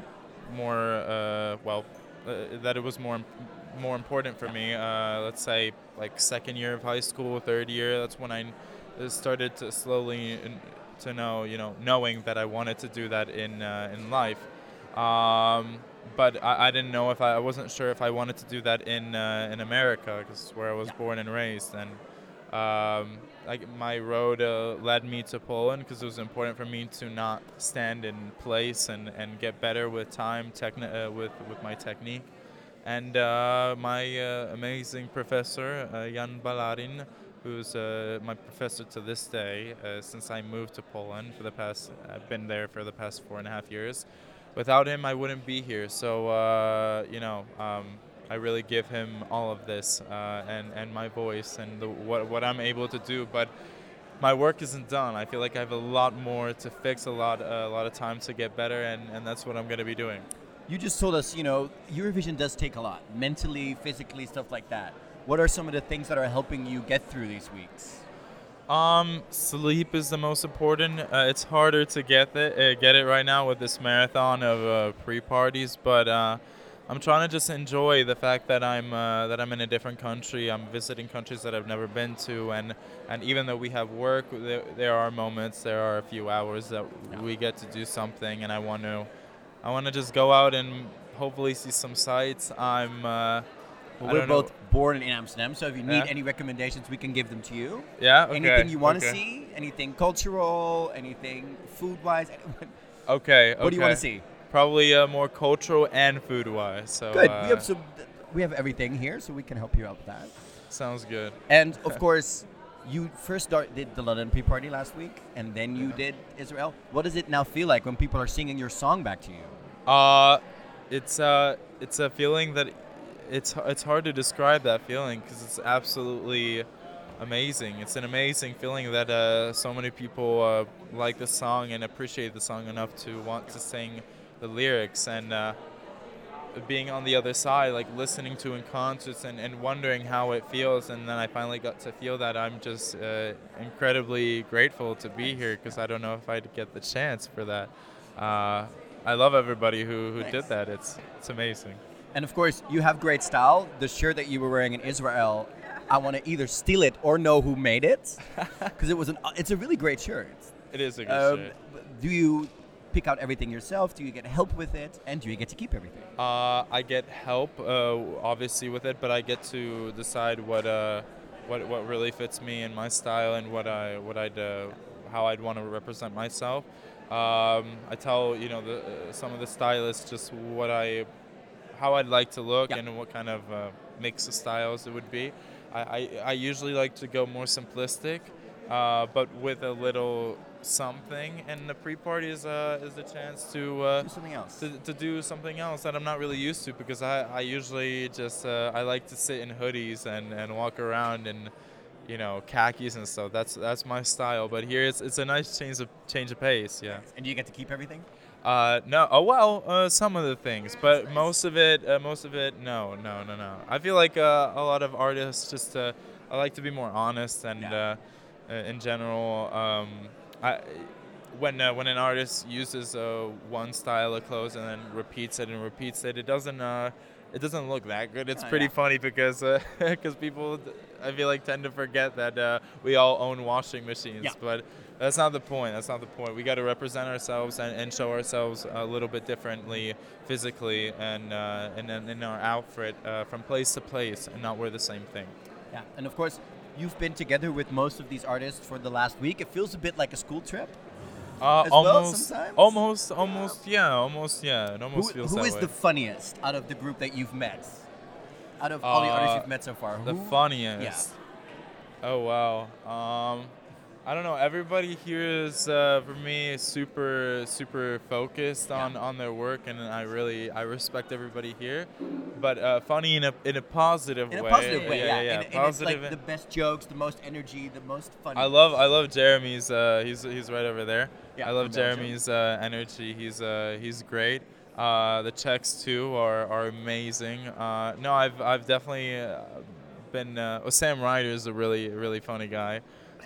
that it was more important for me. Let's say like second year of high school, third year. That's when I started to slowly knowing that I wanted to do that in life. But I didn't know I wasn't sure if I wanted to do that in America, because where I was born and raised, and my road led me to Poland because it was important for me to not stand in place and get better with time, with my technique. And my amazing professor, Jan Balarin, who's my professor to this day, since I moved to Poland I've been there for the past 4.5 years. Without him, I wouldn't be here. So, I really give him all of this and my voice and what I'm able to do. But my work isn't done. I feel like I have a lot more to fix, a lot of time to get better, and that's what I'm going to be doing. You just told us, Eurovision does take a lot, mentally, physically, stuff like that. What are some of the things that are helping you get through these weeks? Sleep is the most important. It's harder to get it right now with this marathon of pre-parties, but I'm trying to just enjoy the fact that I'm in a different country. I'm visiting countries that I've never been to, and even though we have work, there are moments, there are a few hours that we get to do something, and I want to just go out and hopefully see some sights. We're both born in Amsterdam, so if you need any recommendations, we can give them to you. Yeah, okay. Anything you want to see? Anything cultural? Anything food-wise? Okay. What do you want to see? Probably more cultural and food-wise. So good. We have everything here, so we can help you out with that. Sounds good. And of course, you first did the London pre-party last week, and then you did Israel. What does it now feel like when people are singing your song back to you? It's a feeling that it's hard to describe that feeling because it's absolutely amazing. It's an amazing feeling that so many people like the song and appreciate the song enough to want to sing the lyrics, and being on the other side, like listening to in concerts and wondering how it feels, and then I finally got to feel that. I'm just incredibly grateful to be here because I don't know if I'd get the chance for that. I love everybody who did that. It's amazing. And of course, you have great style. The shirt that you were wearing in Israel, I want to either steal it or know who made it, because it's a really great shirt. It is a good shirt. Do you pick out everything yourself? Do you get help with it? And do you get to keep everything? I get help, obviously, with it, but I get to decide what really fits me and my style and how I'd want to represent myself. I tell some of the stylists just how I'd like to look and what kind of mix of styles it would be. I usually like to go more simplistic, but with a little something, and the pre-party is a chance to do something else. To do something else that I'm not really used to, because I usually just I like to sit in hoodies and walk around in khakis and stuff. That's my style. But here it's a nice change of pace. Yeah. And do you get to keep everything? No. Oh well, some of the things, but most of it, no. I feel like a lot of artists just I like to be more honest, and in general, when an artist uses one style of clothes and then repeats it, it doesn't it doesn't look that good. It's Oh, pretty yeah. funny because people, I feel like, tend to forget that we all own washing machines. Yeah. But that's not the point. That's not the point. We got to represent ourselves and show ourselves a little bit differently physically and in our outfit from place to place and not wear the same thing. Yeah, and of course, you've been together with most of these artists for the last week. It feels a bit like a school trip. As well Almost, sometimes? almost, yeah. It almost feels Who that is way. the funniest out of the group that you've met? Out of all the artists you've met so far, The who? funniest. Yeah. Oh wow. I don't know. Everybody here is for me super focused on their work, and I respect everybody here. But funny in a positive way. In a positive way, yeah. Yeah. And it's Positive. like the best jokes, the most energy, the most fun. I love Jeremy's. He's right over there. Yeah, I love from Belgium. Jeremy's energy. He's great. The Czechs too are amazing. No, I've definitely been. Sam Ryder is a really funny guy.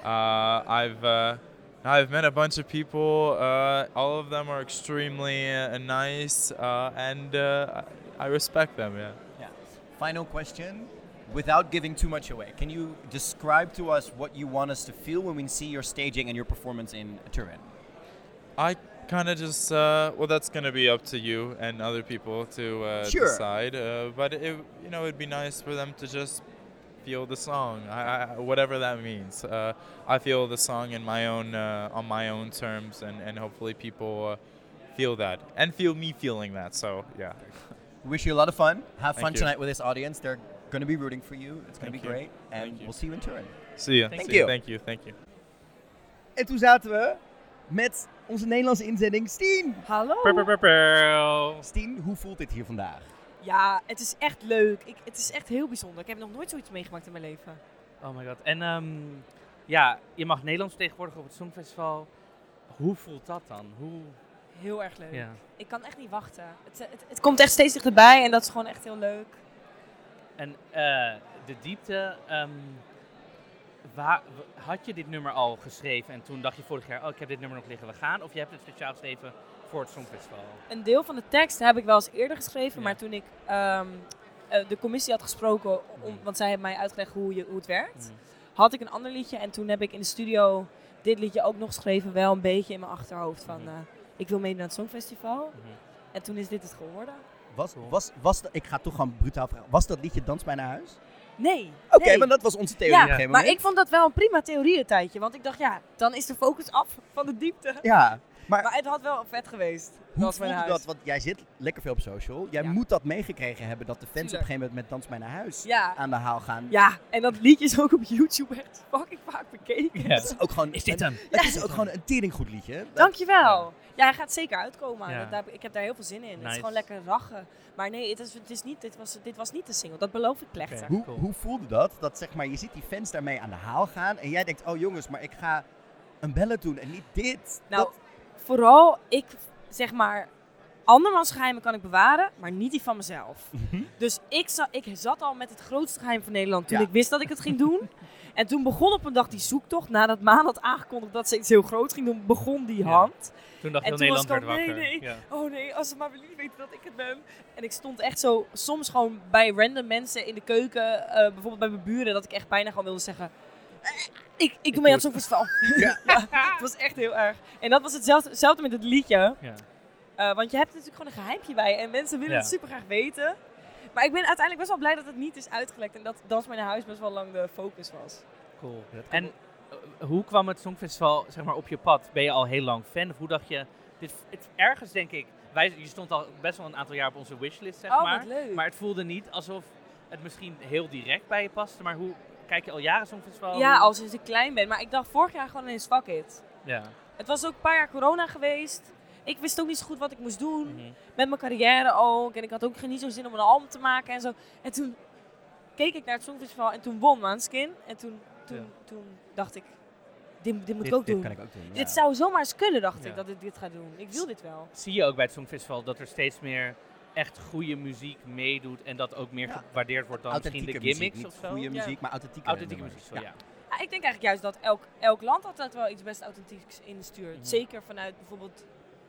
I've met a bunch of people. All of them are extremely nice, and I respect them. Yeah. Yeah. Final question. Without giving too much away, can you describe to us what you want us to feel when we see your staging and your performance in Turin? I kind of just that's gonna be up to you and other people to Sure. decide. But it'd be nice for them to just feel the song, whatever that means. I feel the song in my own on my own terms, and hopefully people feel that and feel me feeling that. So yeah. Wish you a lot of fun. Have Thank fun you. tonight with this audience. They're going to be rooting for you. It's going to Thank be you. great. And Thank you. we'll see you in Turin. See ya. Thank See ya. you. Thank you. En toen zaten we met onze Nederlandse inzending Stien. Hallo. Stien, hoe voelt dit hier vandaag? Ja, het is echt leuk. Het is echt heel bijzonder. Ik heb nog nooit zoiets meegemaakt in mijn leven. Oh my god. En ja, je mag Nederlands vertegenwoordigen op het Songfestival. Hoe voelt dat dan? Heel erg leuk. Ja. Ik kan echt niet wachten. Het komt echt steeds dichterbij en dat is gewoon echt heel leuk. En de diepte, had je dit nummer al geschreven en toen dacht je vorig jaar, ik heb dit nummer nog liggen, we gaan? Of je hebt het speciaal geschreven voor het Songfestival? Een deel van de tekst heb ik wel eens eerder geschreven, maar toen ik de commissie had gesproken, want zij hebben mij uitgelegd hoe het werkt, had ik een ander liedje en toen heb ik in de studio dit liedje ook nog geschreven, wel een beetje in mijn achterhoofd van ik wil meedoen aan het Songfestival. En toen is dit het geworden. Ik ga toch gewoon brutaal vragen. Was dat liedje Dans mij naar huis? Nee. Oké, nee. maar dat was onze theorie op een gegeven maar moment. ik vond dat wel een prima theorie een tijdje, want ik dacht dan is de focus af van de diepte. Ja, maar het had wel vet geweest. Hoe Dans mij voelde naar dat? huis. Want jij zit lekker veel op social. Jij moet dat meegekregen hebben dat de fans op een gegeven moment met Dans mij naar huis aan de haal gaan. Ja, en dat liedje is ook op YouTube echt fucking vaak bekeken. Het is ook gewoon, Is dit hem? Het is ook gewoon een teringgoed liedje. Dankjewel. Ja, hij gaat zeker uitkomen. Ja. Ik heb daar heel veel zin in. Het Nice. is gewoon lekker rachen. Maar nee, dit was niet de single. Dat beloof ik plechtig. Hoe voelde dat? Dat zeg maar, je ziet die fans daarmee aan de haal gaan en jij denkt, oh jongens, maar ik ga een ballad doen en niet dit. Nou, vooral ik zeg maar, andermans geheimen kan ik bewaren, maar niet die van mezelf. Dus ik zat al met het grootste geheim van Nederland toen ik wist dat ik het ging doen. En toen begon op een dag die zoektocht. Nadat Maan had aangekondigd dat ze iets heel groot ging doen, begon die hand. Toen dacht en heel toen Nederland was ik werd al, wakker. nee. Ja. Oh nee, als ze maar willen weten dat ik het ben. En ik stond echt zo, soms gewoon bij random mensen in de keuken, bijvoorbeeld bij mijn buren, dat ik echt bijna gewoon wilde zeggen, ik doe mee aan het Songfestival. Ja. Het was echt heel erg. En dat was hetzelfde met het liedje. Ja. Want je hebt natuurlijk gewoon een geheimpje bij en mensen willen het super graag weten. Maar ik ben uiteindelijk best wel blij dat het niet is uitgelekt en dat Dans mij naar huis best wel lang de focus was. Cool. En hoe kwam het Songfestival zeg maar, op je pad? Ben je al heel lang fan? Of hoe dacht je, het ergens denk ik, je stond al best wel een aantal jaar op onze wishlist, zeg maar. Wat leuk. Maar het voelde niet alsof het misschien heel direct bij je paste. Maar hoe kijk je al jaren Songfestival? Ja, al sinds ik klein ben. Maar ik dacht vorig jaar gewoon ineens fuck it. Ja. Het was ook een paar jaar corona geweest. Ik wist ook niet zo goed wat ik moest doen. Met mijn carrière ook. En ik had ook niet zo zin om een album te maken en zo. En toen keek ik naar het Songfestival en toen won Måneskin. En toen dacht ik, dit moet ik ook doen. Kan ik ook doen. Dit zou zomaar eens kunnen, dacht Ja. ik, dat ik dit ga doen. Ik wil dit wel. Zie je ook bij het Songfestival dat er steeds meer echt goede muziek meedoet en dat ook meer gewaardeerd wordt dan misschien de gimmicks muziek, of zo? Goede muziek, maar authentieke muziek, nummers. ja. Ja, ik denk eigenlijk juist dat elk land altijd wel iets best authentieks instuurt. Zeker vanuit bijvoorbeeld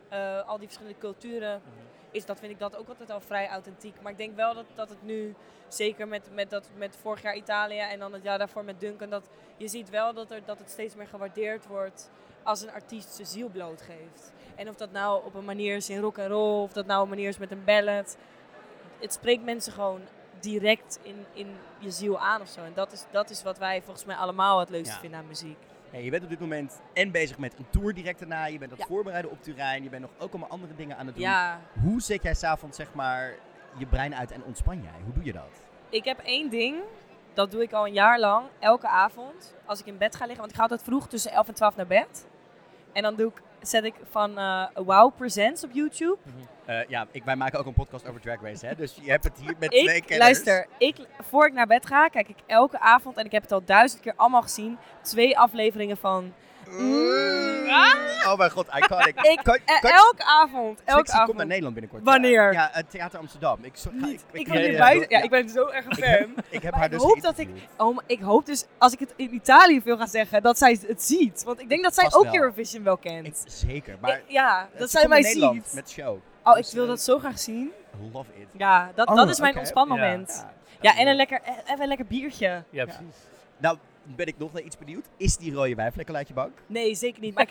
al die verschillende culturen, vind ik dat ook altijd al vrij authentiek. Maar ik denk wel dat het nu, zeker met vorig jaar Italië en dan het jaar daarvoor met Duncan, dat je ziet wel dat het steeds meer gewaardeerd wordt als een artiest zijn ziel blootgeeft. En of dat nou op een manier is in rock en roll, of dat nou een manier is met een ballad. Het spreekt mensen gewoon direct in je ziel aan of zo. En dat is wat wij volgens mij allemaal het leukste vinden aan muziek. Hey, je bent op dit moment bezig met een tour direct daarna. Je bent aan het voorbereiden op Turijn. Je bent nog ook allemaal andere dingen aan het doen. Ja. Hoe zet jij s'avonds zeg maar je brein uit en ontspan jij? Hoe doe je dat? Ik heb één ding, dat doe ik al een jaar lang, elke avond, als ik in bed ga liggen. Want ik ga altijd vroeg tussen 11 en 12 naar bed. En dan zet ik van Wow Presents op YouTube. Wij maken ook een podcast over Drag Race, hè? Dus je hebt het hier met 2 kenners. Luister, voor ik naar bed ga, kijk ik elke avond, en ik heb het al 1000 keer allemaal gezien, 2 afleveringen van... Oh mijn god, iconic. Elke avond. Trixie komt naar Nederland binnenkort. Wanneer? Ja, het Theater Amsterdam. Ik ben zo erg een fan. Ik heb haar dus ik hoop dus, als ik het in Italië veel ga zeggen, dat zij het ziet. Want ik denk dat zij Vast ook wel. Eurovision wel kent. Zeker, maar dat zij mij ziet. Met show. Oh, ik wil dat zo graag zien. Love it. Ja, dat is mijn ontspanmoment. Ja, en een lekker biertje. Ja, precies. Nou, ben ik nog naar iets benieuwd. Is die rode wijnvlekken uit je bank? Nee, zeker niet. Maar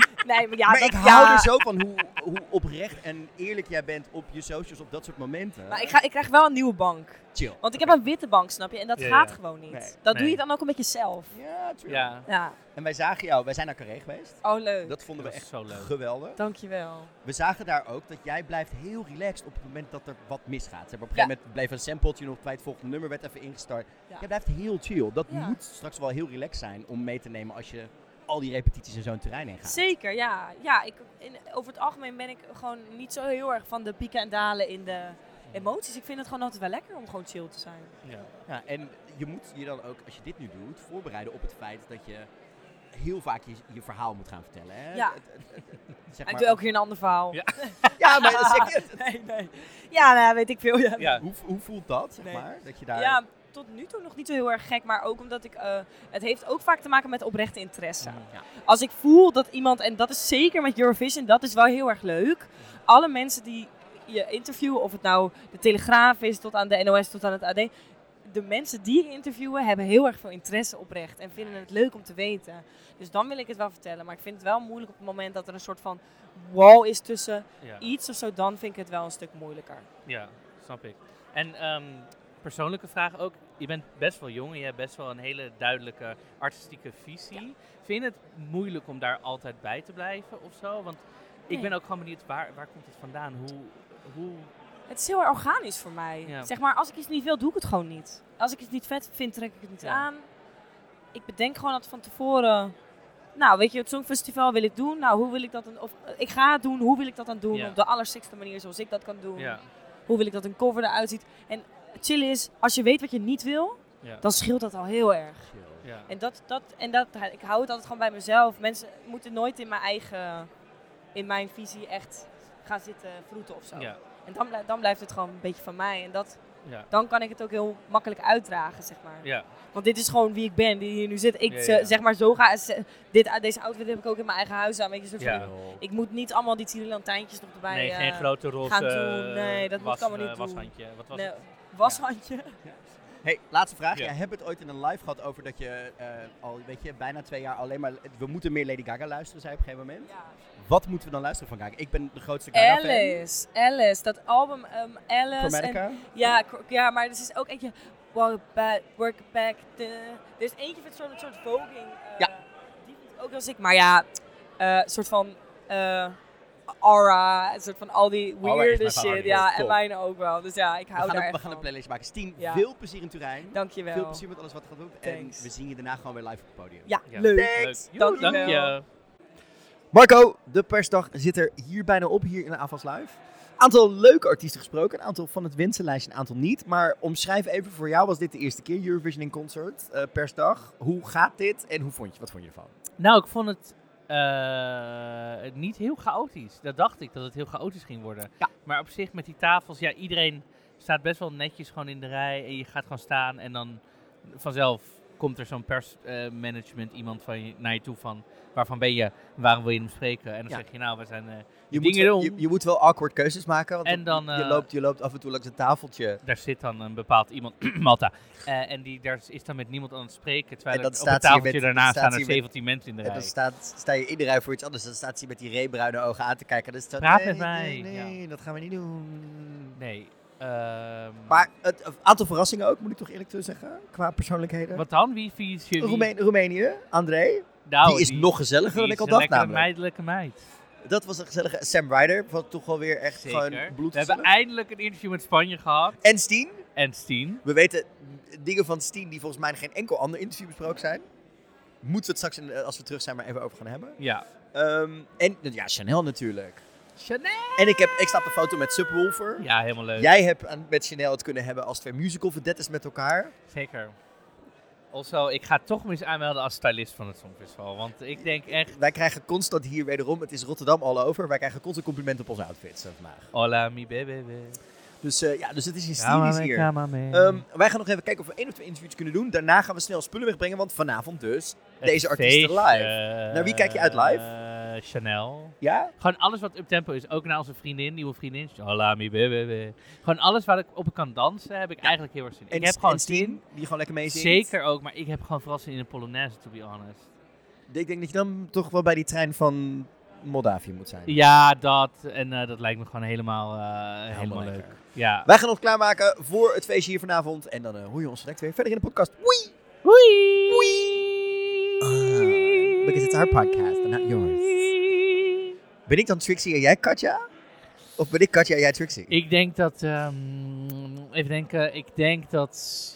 ik hou er zo van hoe oprecht en eerlijk jij bent op je socials op dat soort momenten. Maar ik krijg wel een nieuwe bank. Chill. Want ik heb een witte bank, snap je? En dat gaat gewoon niet. Nee. Dat doe je dan ook een beetje zelf. Ja, true. Ja. En wij zagen jou, wij zijn naar Carré geweest. Oh, leuk. Dat vonden we Dat echt is zo leuk. geweldig. Dankjewel. We zagen daar ook dat jij blijft heel relaxed op het moment dat er wat misgaat. Zeg maar, op een gegeven moment bleef een sampletje nog bij het volgende nummer, werd even ingestart. Ja. Jij blijft heel chill. Dat moet straks wel heel relaxed zijn om mee te nemen als je al die repetities in zo'n terrein heen gaat. Zeker, ja. Over het algemeen ben ik gewoon niet zo heel erg van de pieken en dalen in de emoties. Ik vind het gewoon altijd wel lekker om gewoon chill te zijn. Ja, en je moet je dan ook, als je dit nu doet, voorbereiden op het feit dat je heel vaak je verhaal moet gaan vertellen. Hè? Ja. Zeg Ik maar, doe elke keer een ander verhaal. Ja, maar dat zeg je. Nee. Ja, nou, weet ik veel. Ja. Hoe voelt dat, zeg maar? Dat je daar... Ja, tot nu toe nog niet zo heel erg gek, maar ook omdat het heeft ook vaak te maken met oprechte interesse. Ja. Als ik voel dat iemand, en dat is zeker met Eurovision, dat is wel heel erg leuk. Alle mensen die je interviewen, of het nou de Telegraaf is, tot aan de NOS, tot aan het AD. De mensen die ik interviewen hebben heel erg veel interesse oprecht en vinden het leuk om te weten. Dus dan wil ik het wel vertellen. Maar ik vind het wel moeilijk op het moment dat er een soort van wall is tussen iets of zo. Dan vind ik het wel een stuk moeilijker. Ja, snap ik. En persoonlijke vraag ook. Je bent best wel jong en je hebt best wel een hele duidelijke artistieke visie. Ja. Vind je het moeilijk om daar altijd bij te blijven of zo? Want ik ben ook gewoon benieuwd, waar komt het vandaan? Hoe... Het is heel erg organisch voor mij. Ja. Zeg maar, als ik iets niet wil, doe ik het gewoon niet. Als ik het niet vet vind, trek ik het niet aan. Ik bedenk gewoon dat van tevoren... Nou, weet je, het Songfestival wil ik doen. Nou, hoe wil ik dat dan... Of ik ga het doen, hoe wil ik dat dan doen? Ja. Op de allersixte manier zoals ik dat kan doen. Ja. Hoe wil ik dat een cover eruit ziet? En chill is, als je weet wat je niet wil, dan scheelt dat al heel erg. Ja. En ik hou het altijd gewoon bij mezelf. Mensen moeten nooit in mijn visie echt gaan zitten vroeten of zo. Ja. En dan blijft het gewoon een beetje van mij. En dan kan ik het ook heel makkelijk uitdragen, zeg maar. Ja. Want dit is gewoon wie ik ben, die hier nu zit. Ik zeg maar deze outfit heb ik ook in mijn eigen huis aan. Weet je, ik moet niet allemaal die tierenlantijntjes nog erbij Nee, geen grote roze gaan doen. Nee, dat moet ik allemaal niet doen. Washandje. Wat was het? Washandje. Ja. Hey, laatste vraag. Jij hebt het ooit in een live gehad over dat je al, bijna 2 jaar alleen maar... We moeten meer Lady Gaga luisteren, zei je op een gegeven moment. Ja. Wat moeten we dan luisteren van Gaga? Ik ben de grootste Gaga-fan. Alice. Dat album Alice. Chromatica? Ja, maar er is ook eentje... Work back. Er is eentje met zo'n soort voging. Die vind ik ook als ik... Maar ja, soort van... Aura, een soort van al die weirde shit. Ja, en mijne ook wel. Dus ja, ik hou daar echt We gaan een playlist maken. Stien, Ja. veel plezier in Turijn. Dankjewel. Veel plezier met alles wat je gaat doen. Thanks. En we zien je daarna gewoon weer live op het podium. Ja, leuk. Thanks. Dank je. Marco, de persdag zit er hier bijna op, hier in de AFAS Live. Aantal leuke artiesten gesproken, een aantal van het wensenlijstje, een aantal niet. Maar omschrijf even, voor jou was dit de eerste keer Eurovision in concert, persdag. Hoe gaat dit en wat vond je ervan? Nou, ik vond het niet heel chaotisch. Dat dacht ik, dat het heel chaotisch ging worden. Ja. Maar op zich met die tafels, iedereen staat best wel netjes gewoon in de rij. En je gaat gewoon staan en dan vanzelf komt er zo'n persmanagement iemand naar je toe van... Waarvan ben je, waarom wil je hem spreken? En dan zeg je, nou, we zijn je moet wel awkward keuzes maken, want en dan, je loopt af en toe langs een tafeltje. Daar zit dan een bepaald iemand, Malta, en daar is dan met niemand aan het spreken, terwijl en op het tafeltje daarna staan er 17 mensen in de rij. En dan sta je in de rij voor iets anders, dan staat ze met die reebruine ogen aan te kijken. Dus praat met mij. Nee, dat gaan we niet doen. Nee. Maar het aantal verrassingen ook, moet ik toch eerlijk toe zeggen, qua persoonlijkheden. Wat dan? Wie is je? Roemenië, André. Nou, die is nog gezelliger dan ik al dacht namelijk. Een meidelijke meid. Dat was een gezellige Sam Ryder, wat toch wel weer echt gewoon bloed. We hebben eindelijk een interview met Spanje gehad. En Steen. We weten dingen van Steen die volgens mij in geen enkel ander interview besproken zijn. Moeten we het straks, als we terug zijn, maar even over gaan hebben. Ja. En ja, Chanel natuurlijk. Chanel! En ik sta op een foto met Subwoofer. Ja, helemaal leuk. Jij hebt met Chanel het kunnen hebben als 2 musical vedettes met elkaar. Zeker. Also, ik ga toch eens aanmelden als stylist van het Songfestival. Want ik denk echt... Wij krijgen constant hier wederom, het is Rotterdam all over. Wij krijgen constant complimenten op onze outfits vandaag. Hola, mi bebe. Dus het is hysterisch hier. Wij gaan nog even kijken of we 1 of 2 interviews kunnen doen. Daarna gaan we snel spullen wegbrengen, want vanavond dus deze artiesten live. Naar wie kijk je uit live? Chanel. Ja? Gewoon alles wat uptempo is. Ook naar onze nieuwe vriendin. Hola, mi bebe. Gewoon alles waar ik op kan dansen, heb ik eigenlijk heel erg zin in. Ik heb gewoon Steen, die gewoon lekker meezingt. Zeker ook, maar ik heb gewoon vooral zin in een Polonaise, to be honest. Ik denk dat je dan toch wel bij die trein van Moldavië moet zijn. Ja, dat. En dat lijkt me gewoon helemaal leuk. Ja. Wij gaan ons klaarmaken voor het feestje hier vanavond. En dan hoor je ons direct weer verder in de podcast. Wee! Because it's our podcast and not yours. Ben ik dan Trixie en jij Katja? Of ben ik Katja en jij Trixie? Ik denk dat... even denken. Ik denk dat...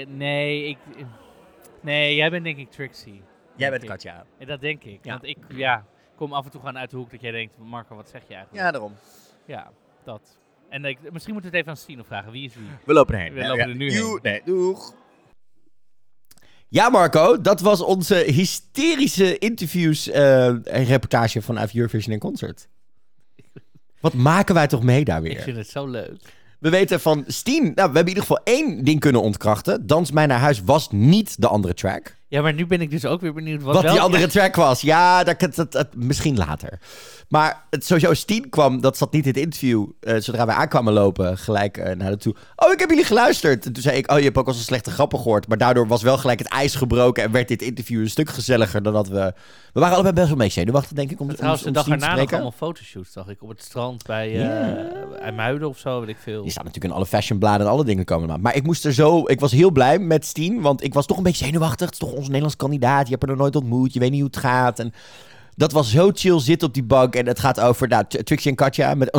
Nee, jij bent denk ik Trixie. Jij bent Katja. Dat denk ik. Ja. Want ik kom af en toe gewoon uit de hoek dat jij denkt... Marco, wat zeg je eigenlijk? Ja, daarom. Ja, dat. En misschien moeten we het even aan Stino vragen. Wie is wie? We lopen erheen. We lopen er nu heen. Nee, doeg. Ja, Marco, dat was onze hysterische interviews en reportage vanuit Eurovision in Concert. Wat maken wij toch mee daar weer? Ik vind het zo leuk. We weten van Steen, we hebben in ieder geval 1 ding kunnen ontkrachten. Dans mij naar huis was niet de andere track. Ja, maar nu ben ik dus ook weer benieuwd wat die andere track was. Ja, dat misschien later. Maar sowieso Steen kwam, dat zat niet in het interview. Zodra wij aankwamen lopen, gelijk naar de toe. Oh, ik heb jullie geluisterd. En toen zei ik, je hebt ook al zo'n slechte grappen gehoord. Maar daardoor was wel gelijk het ijs gebroken en werd dit interview een stuk gezelliger dan dat we... We waren allebei best wel mee zenuwachtig, denk ik, om trouwens, de dag erna nog allemaal foto's. fotoshoots, zag ik. Op het strand bij IJmuiden of zo, weet ik veel. Die staan natuurlijk in alle fashionbladen en alle dingen komen. Maar ik was heel blij met Steen, want ik was toch een beetje zenuwachtig. Het is toch onze Nederlands kandidaat. Je hebt er nog nooit ontmoet. Je weet niet hoe het gaat. En dat was zo chill zitten op die bank. En het gaat over Trixie en Katja met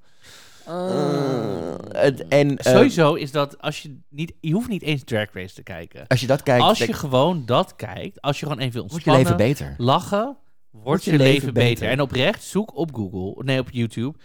sowieso is dat als je hoeft niet eens Drag Race te kijken. Als je dat kijkt, als je gewoon dat kijkt, als je gewoon even ontspannen, wordt je leven beter. Lachen, wordt je leven beter. En oprecht zoek op op YouTube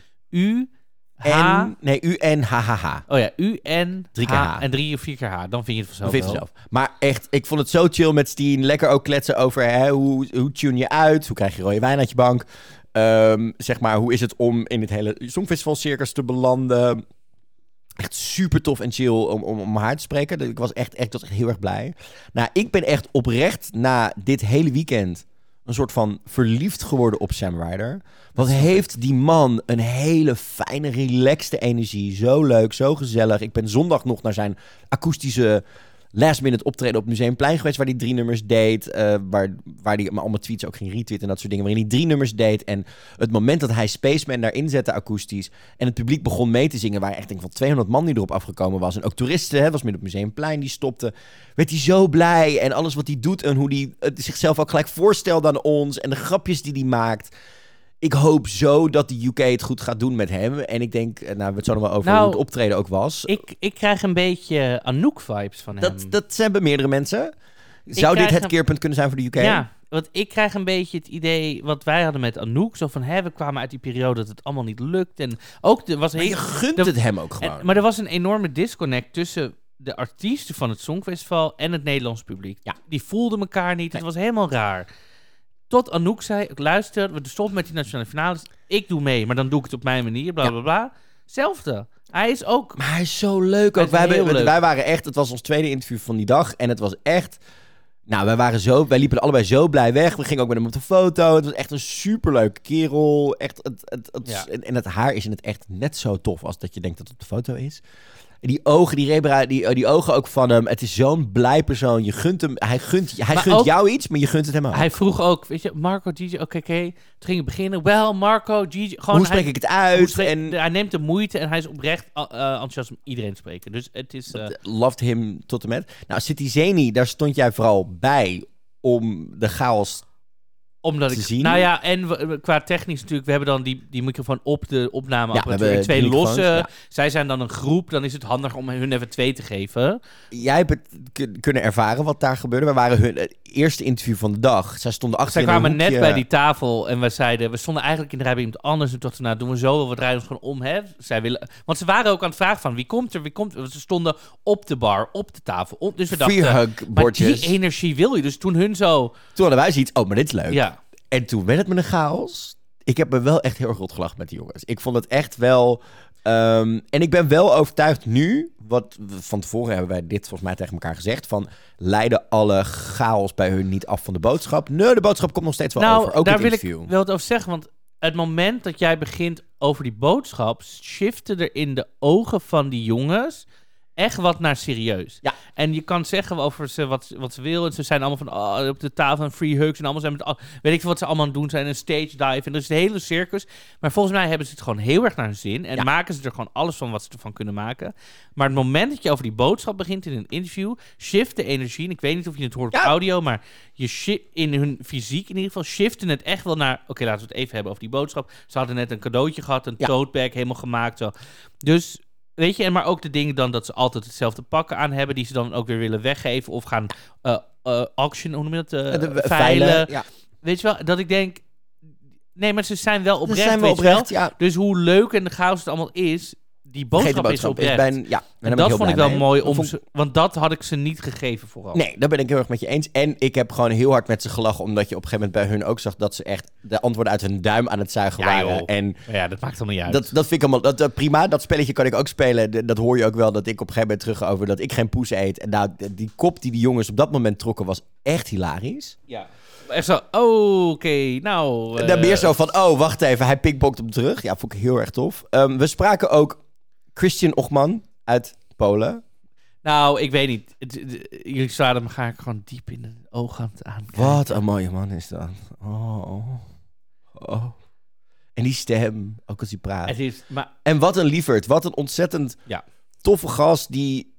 U-N-H-H-H. Oh ja, U-N 3 keer H. En 3 of 4 keer H. Dan vind je het vanzelf. Maar echt, ik vond het zo chill met Steen. Lekker ook kletsen over hoe tune je uit? Hoe krijg je rode wijn uit je bank? Zeg maar, hoe is het om in het hele Songfestival-circus te belanden? Echt super tof en chill om haar te spreken. Ik was echt heel erg blij. Nou, ik ben echt oprecht na dit hele weekend een soort van verliefd geworden op Sam Ryder. Wat heeft die man een hele fijne, relaxte energie. Zo leuk, zo gezellig. Ik ben zondag nog naar zijn akoestische last-minute optreden op Museumplein geweest, waar hij 3 nummers deed. Waar hij allemaal tweets ook ging retweeten en dat soort dingen. Waarin hij 3 nummers deed. En het moment dat hij Spaceman daarin zette akoestisch en het publiek begon mee te zingen, waar echt denk ik van 200 man die erop afgekomen was. En ook toeristen, was midden op Museumplein, die stopten. Werd hij zo blij. En alles wat hij doet en hoe hij zichzelf ook gelijk voorstelt aan ons. En de grapjes die hij maakt. Ik hoop zo dat de UK het goed gaat doen met hem. En ik denk, we hebben het zo nog wel over hoe het optreden ook was. Ik krijg een beetje Anouk-vibes van hem. Dat zijn bij meerdere mensen. Zou dit het keerpunt kunnen zijn voor de UK? Ja, want ik krijg een beetje het idee wat wij hadden met Anouk. Zo van, we kwamen uit die periode dat het allemaal niet lukt. En ook, maar je gunt het hem ook gewoon. Maar er was een enorme disconnect tussen de artiesten van het Songfestival en het Nederlands publiek. Ja. Die voelden elkaar niet. Het was helemaal raar. Tot Anouk zei, luister, we stoppen met die nationale finales. Ik doe mee, maar dan doe ik het op mijn manier, bla bla bla. Hetzelfde. Hij is ook... Maar hij is zo leuk ook. Wij waren echt, het was ons tweede interview van die dag. En het was echt Nou, wij liepen er allebei zo blij weg. We gingen ook met hem op de foto. Het was echt een superleuke kerel. Echt, en het haar is in het echt net zo tof als dat je denkt dat het op de foto is. En die ogen, die ogen ook van hem. Het is zo'n blij persoon. Je gunt hem, hij gunt jou iets, maar je gunt het hem ook. Hij vroeg ook, weet je, Marco, Gigi, oké. Toen ging het beginnen. Wel, Marco, Gigi. Gewoon, hoe spreek ik het uit? Hij neemt de moeite en hij is oprecht enthousiast om iedereen te spreken. Dus het is... Loved him tot en met. Nou, City Zeni, daar stond jij vooral bij om de chaos te zien. Nou ja, en qua technisch natuurlijk, we hebben dan die microfoon op de opnameapparatuur. Ja, en 2 losse. Ja. Zij zijn dan een groep, dan is het handig om hun even 2 te geven. Jij hebt het kunnen ervaren wat daar gebeurde. We waren hun eerste interview van de dag. Zij stonden achter Zij in een kwamen hoekje. net bij die tafel en we stonden eigenlijk in de rij bij iemand anders. En toen dachten we, doen we zo, we draaien ons gewoon om. Hè? Want ze waren ook aan het vragen van, wie komt er? Ze stonden op de bar, op de tafel. Dus we dachten, maar die energie wil je. Dus toen hun zo... Toen hadden wij zoiets, maar dit is leuk. Ja. En toen werd het met een chaos. Ik heb me wel echt heel erg rot gelachen met die jongens. Ik vond het echt wel... en ik ben wel overtuigd nu... Van tevoren hebben wij dit volgens mij tegen elkaar gezegd... van leiden alle chaos bij hun niet af van de boodschap? Nee, de boodschap komt nog steeds wel over. Ook daar het wil interview. ik wel wat over zeggen. Want het moment dat jij begint over die boodschap... shiften er in de ogen van die jongens... echt wat naar serieus. Ja. En je kan zeggen over ze wat ze willen. Ze zijn allemaal van op de tafel en free hugs. En allemaal zijn met weet ik veel wat ze allemaal aan het doen zijn. Een stage dive. En dat is de hele circus. Maar volgens mij hebben ze het gewoon heel erg naar hun zin. En maken ze er gewoon alles van wat ze ervan kunnen maken. Maar het moment dat je over die boodschap begint in een interview... shift de energie. En ik weet niet of je het hoort op audio. Maar in hun fysiek in ieder geval shiften het echt wel naar... Oké, laten we het even hebben over die boodschap. Ze hadden net een cadeautje gehad. Een tote bag helemaal gemaakt. Zo. Dus... Weet je, maar ook de dingen dan dat ze altijd hetzelfde pakken aan hebben... die ze dan ook weer willen weggeven of gaan auction, hoe noem je dat? Veilen. Ja. Weet je wel, dat ik denk... Nee, maar ze zijn wel oprecht, zijn wel weet je wel. oprecht, ja. Dus hoe leuk en de chaos het allemaal is... Die boodschap is oprecht. En dat vond ik wel mooi, want dat had ik ze niet gegeven vooral. Nee, dat ben ik heel erg met je eens. En ik heb gewoon heel hard met ze gelachen... omdat je op een gegeven moment bij hun ook zag... dat ze echt de antwoorden uit hun duim aan het zuigen waren. En dat maakt allemaal niet uit. Dat vind ik allemaal prima. Dat spelletje kan ik ook spelen. Dat hoor je ook wel, dat ik op een gegeven moment terug over... dat ik geen poes eet. En nou, die kop die yours op dat moment trokken... was echt hilarisch. Ja. Echt zo, oké, nou... Dan meer zo van, wacht even, hij pikbokt hem terug. Ja, vond ik heel erg tof. We spraken ook Christian Ochman uit Polen. Nou, ik weet niet. Jullie zouden me graag gewoon diep in de ogen aan kijken. Wat een mooie man is dat. Oh. En die stem, ook als hij praat. En wat een lieverd. Wat een ontzettend toffe gast die...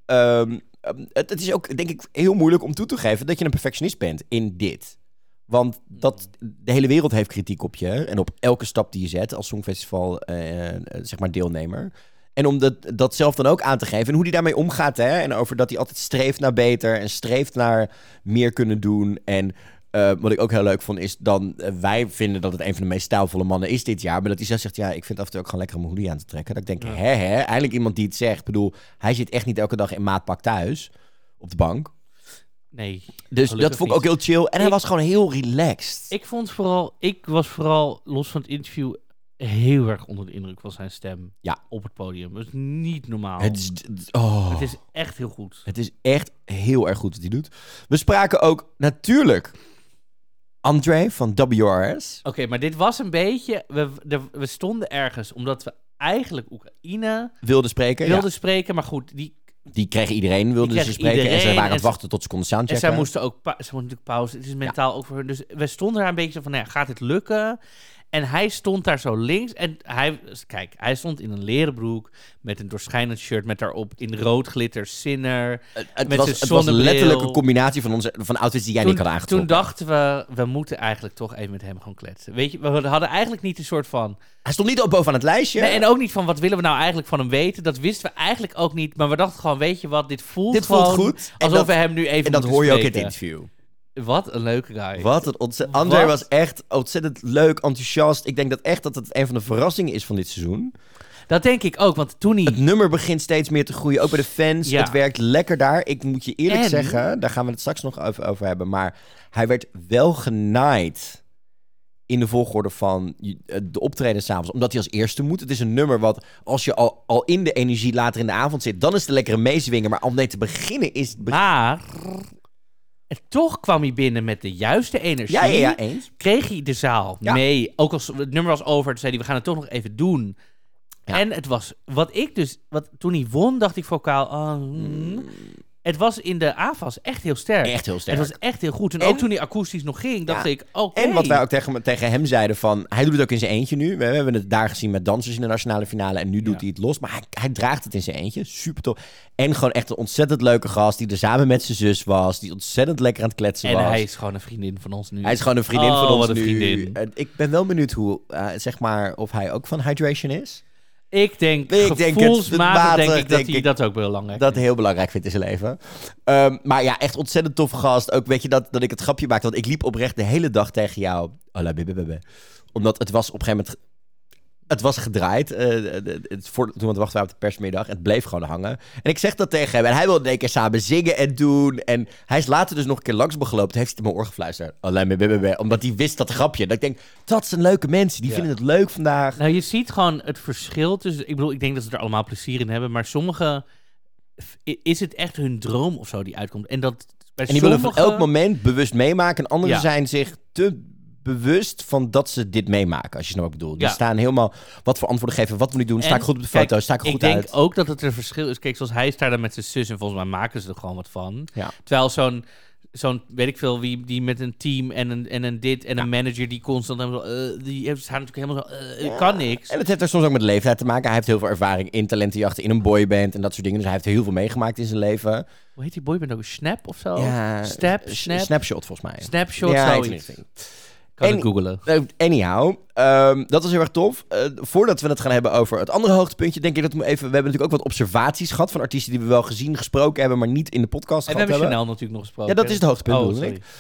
het is ook, denk ik, heel moeilijk om toe te geven... dat je een perfectionist bent in dit. Want de hele wereld heeft kritiek op je. En op elke stap die je zet als Songfestival zeg maar deelnemer. En om dat zelf dan ook aan te geven. En hoe die daarmee omgaat. Hè? En over dat hij altijd streeft naar beter. En streeft naar meer kunnen doen. En wat ik ook heel leuk vond is dan... wij vinden dat het een van de meest stijlvolle mannen is dit jaar. Maar dat hij zelf zegt, ik vind af en toe ook gewoon lekker om mijn hoodie aan te trekken. Dat ik denk, eindelijk iemand die het zegt. Ik bedoel, hij zit echt niet elke dag in maatpak thuis. Op de bank. Nee. Dus dat vond ik ook heel chill. En hij was gewoon heel relaxed. Ik was vooral, los van het interview... heel erg onder de indruk van zijn stem op het podium. Dat is niet normaal. Het is echt heel goed. Het is echt heel erg goed wat hij doet. We spraken ook natuurlijk André van WRS. Oké, maar dit was een beetje... We stonden ergens omdat we eigenlijk Oekraïne... wilden spreken, maar goed, die kregen iedereen, wilden ze spreken. En ze waren aan het wachten tot ze konden soundchecken. En zij moesten natuurlijk pauze. Het is mentaal ook voor hun. Dus we stonden daar een beetje van, gaat dit lukken? En hij stond daar zo links. En hij stond in een leren broek met een doorschijnend shirt met daarop in rood glitter Sinner. Het was letterlijk een combinatie van outfits die jij niet had aangetrokken. Toen dachten we moeten eigenlijk toch even met hem gewoon kletsen. Weet je, we hadden eigenlijk niet een soort van... Hij stond niet op bovenaan het lijstje. Nee, en ook niet van wat willen we nou eigenlijk van hem weten. Dat wisten we eigenlijk ook niet. Maar we dachten gewoon, weet je wat, dit voelt goed. Alsof we hem nu even en dat hoor je ook in het interview. Wat een leuke guy. André was echt ontzettend leuk, enthousiast. Ik denk dat het een van de verrassingen is van dit seizoen. Dat denk ik ook, want toen hij... Het nummer begint steeds meer te groeien, ook bij de fans. Ja. Het werkt lekker daar. Ik moet je eerlijk zeggen, daar gaan we het straks nog over hebben. Maar hij werd wel genaaid in de volgorde van de optreden s'avonds. Omdat hij als eerste moet. Het is een nummer wat, als je al in de energie later in de avond zit... dan is het een lekkere meezwingen. Maar om mee te beginnen is... Maar... En toch kwam hij binnen met de juiste energie. Ja, eens. Kreeg hij de zaal mee. Ook als het nummer was over, toen zei hij, we gaan het toch nog even doen. Ja. En het was, toen hij won, dacht ik vocaal, het was in de AFAS echt heel sterk. Echt heel sterk. Het was echt heel goed. En ook toen hij akoestisch nog ging, dacht ik, oké. En wat wij ook tegen hem zeiden van, hij doet het ook in zijn eentje nu. We hebben het daar gezien met dansers in de nationale finale en nu doet hij het los. Maar hij draagt het in zijn eentje. Super tof. En gewoon echt een ontzettend leuke gast die er samen met zijn zus was. Die ontzettend lekker aan het kletsen was. En hij is gewoon een vriendin van ons nu. Hij is gewoon een vriendin van ons wat een nu. Vriendin. Ik ben wel benieuwd hoe, zeg maar, of hij ook van hydration is. Ik denk gevoelsmatig dat hij dat ook belangrijk dat heel belangrijk vindt in zijn leven. Maar ja, echt ontzettend tof gast. Ook weet je dat ik het grapje maakte. Want ik liep oprecht de hele dag tegen jou. Omdat het was op een gegeven moment... Het was gedraaid. Toen wachten we op de persmiddag. En het bleef gewoon hangen. En ik zeg dat tegen hem. En hij wilde een keer samen zingen en doen. En hij is later dus nog een keer langs me gelopen. Toen heeft hij het in mijn oor gefluisterd. Omdat hij wist dat grapje. Dat ik denk, dat zijn leuke mensen. Die vinden het leuk vandaag. Nou, je ziet gewoon het verschil tussen... Ik denk dat ze er allemaal plezier in hebben. Maar sommigen... Is het echt hun droom of zo die uitkomt? En die willen van elk moment bewust meemaken. En anderen zijn zich te... bewust van dat ze dit meemaken, als je nou wat ik bedoel. Die staan helemaal wat voor antwoorden geven, wat we nu doen. Sta ik goed op de foto, sta ik goed uit. Ik denk ook dat het een verschil is. Kijk, zoals hij is daar dan met zijn zus en volgens mij maken ze er gewoon wat van. Ja. Terwijl zo'n weet ik veel wie, die met een team en een dit en een manager die constant die staan natuurlijk helemaal zo, kan niks. En het heeft er soms ook met leeftijd te maken. Hij heeft heel veel ervaring in talentenjachten, in een boyband en dat soort dingen. Dus hij heeft heel veel meegemaakt in zijn leven. Hoe heet die boyband ook? Snap of zo? Ja, Snapshot volgens mij. Snapshot, zoiets. Kan ik googlen. Anyhow, dat was heel erg tof. Voordat we het gaan hebben over het andere hoogtepuntje, denk ik dat we hebben natuurlijk ook wat observaties gehad van artiesten die we wel gezien, gesproken hebben, maar niet in de podcast en gehad hebben. En we hebben Chanel natuurlijk nog gesproken. Ja, dat is het hoogtepunt, bedoel ik.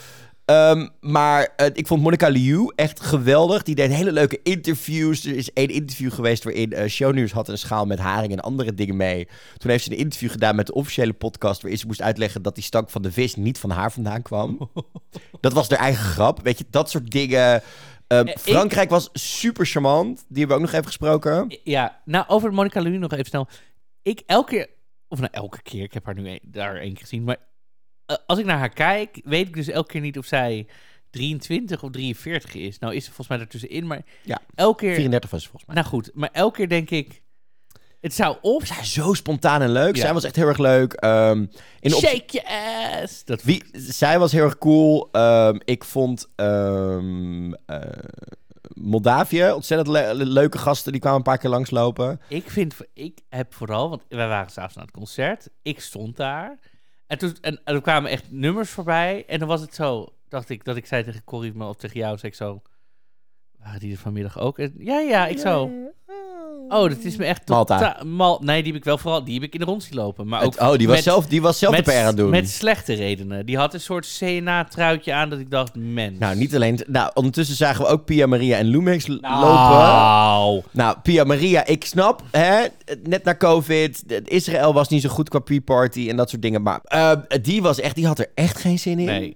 Maar ik vond Monica Liu echt geweldig. Die deed hele leuke interviews. Er is één interview geweest waarin Shownieuws had een schaal met haring en andere dingen mee. Toen heeft ze een interview gedaan met de officiële podcast waarin ze moest uitleggen dat die stank van de vis niet van haar vandaan kwam. Dat was haar eigen grap. Weet je, dat soort dingen. Frankrijk was super charmant. Die hebben we ook nog even gesproken. Ja, nou over Monica Liu nog even snel. Elke keer, ik heb haar nu daar één keer gezien, maar als ik naar haar kijk, weet ik dus elke keer niet of zij 23 of 43 is. Nou is ze volgens mij ertussenin, maar elke keer... 34 was ze volgens mij. Nou goed, maar elke keer denk ik... Het zou of... Zij is zo spontaan en leuk. Zij was echt heel erg leuk. Shake your ass! Zij was heel erg cool. Ik vond Moldavië ontzettend leuke gasten. Die kwamen een paar keer langslopen. Ik heb vooral... Want wij waren s'avonds aan het concert. Ik stond daar... En er kwamen echt nummers voorbij. En dan was het zo, dacht ik, dat ik zei tegen Corrie of tegen jou, zei ik zo, waren die er vanmiddag ook? En, ja, ik zo. Oh, dat is me echt Malta. Nee, die heb ik wel vooral, die heb ik in de rond zien lopen. Maar ook die was zelf de PR aan het doen. Met slechte redenen. Die had een soort CNA-truitje aan dat ik dacht, mens. Nou, niet alleen... Nou, ondertussen zagen we ook Pia Maria en Lumix lopen. Nou, Pia Maria, ik snap, hè, net na COVID, Israël was niet zo goed qua pre-party en dat soort dingen. Maar die had er echt geen zin in. Nee.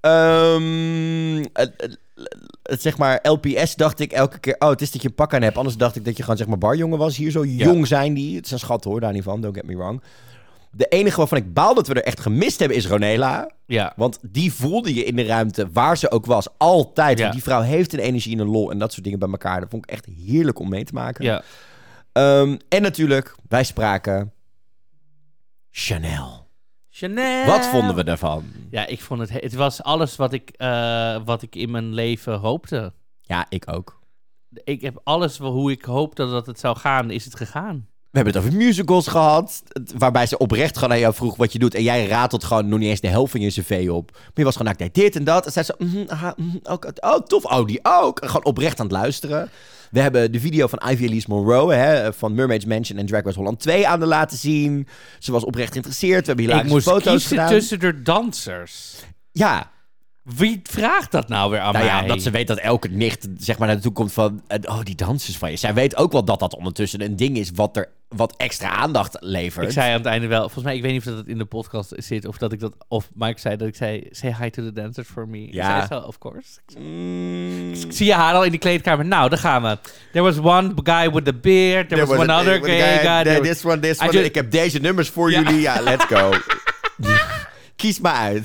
Zeg maar, LPS dacht ik elke keer... Oh, het is dat je een pak aan hebt. Anders dacht ik dat je gewoon, zeg maar, barjongen was. Hier zo jong zijn die. Het zijn schatten, hoor, daar niet van. Don't get me wrong. De enige waarvan ik baal dat we er echt gemist hebben is Ronela. Ja. Want die voelde je in de ruimte, waar ze ook was, altijd. Want die vrouw heeft een energie en een lol en dat soort dingen bij elkaar. Dat vond ik echt heerlijk om mee te maken. Ja. En natuurlijk, wij spraken Chanel. Chanel. Wat vonden we daarvan? Ja, ik vond het was alles wat ik in mijn leven hoopte. Ja, ik ook. Ik heb alles hoe ik hoopte dat het zou gaan, is het gegaan. We hebben het over musicals gehad, waarbij ze oprecht gewoon aan jou vroeg wat je doet. En jij ratelt gewoon nog niet eens de helft van je cv op. Maar je was gewoon, ik deed dit en dat. En zei ze, tof, die ook. En gewoon oprecht aan het luisteren. We hebben de video van Ivy Elise Monroe, van Mermaid's Mansion en Drag Race Holland 2 aan de laten zien. Ze was oprecht geïnteresseerd. We hebben hilarische foto's gedaan. Ik moest kiezen tussen de dansers. Ja. Wie vraagt dat nou weer aan mij? Ja, dat ze weet dat elke nicht zeg maar naar de toe komt van... die dansers van je. Zij weet ook wel dat dat ondertussen een ding is wat extra aandacht levert. Ik zei aan het einde wel... Volgens mij, ik weet niet of dat in de podcast zit of dat ik dat... Of Mike zei dat ik zei... Say hi to the dancers for me. Ja. Ik zei zo, of course. Ik zie je haar al in de kleedkamer. Nou, daar gaan we. There was one guy with a beard. There was one other guy. This one. Ik heb deze nummers voor jullie. Ja, let's go. Kies maar uit.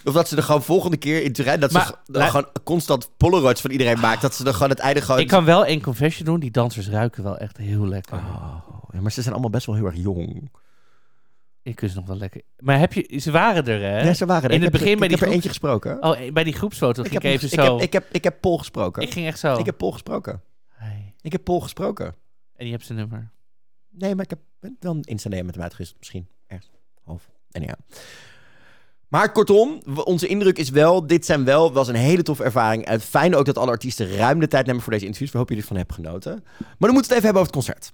Of dat ze er gewoon volgende keer in Turijn... dat ze gewoon constant Polaroids van iedereen maakt. Dat ze er gewoon het einde gewoon... Ik kan wel één confession doen. Die dansers ruiken wel echt heel lekker. Ja, maar ze zijn allemaal best wel heel erg jong. Ik kus nog wel lekker. Maar ze waren er, hè? Ja, ze waren er. In het begin bij ik heb er eentje gesproken. Oh, bij die groepsfoto ging ik even zo... Ik heb Paul gesproken. Ik ging echt zo. Ik heb Paul gesproken. Hey. Ik heb Paul gesproken. En je hebt zijn nummer? Nee, maar ik heb wel een Insta-DM met hem uitgewisseld. Misschien ergens half. En ja. Maar kortom, onze indruk is wel... Dit was een hele toffe ervaring. Het fijne ook dat alle artiesten ruim de tijd nemen voor deze interviews. We hopen jullie ervan hebben genoten. Maar dan moeten we het even hebben over het concert.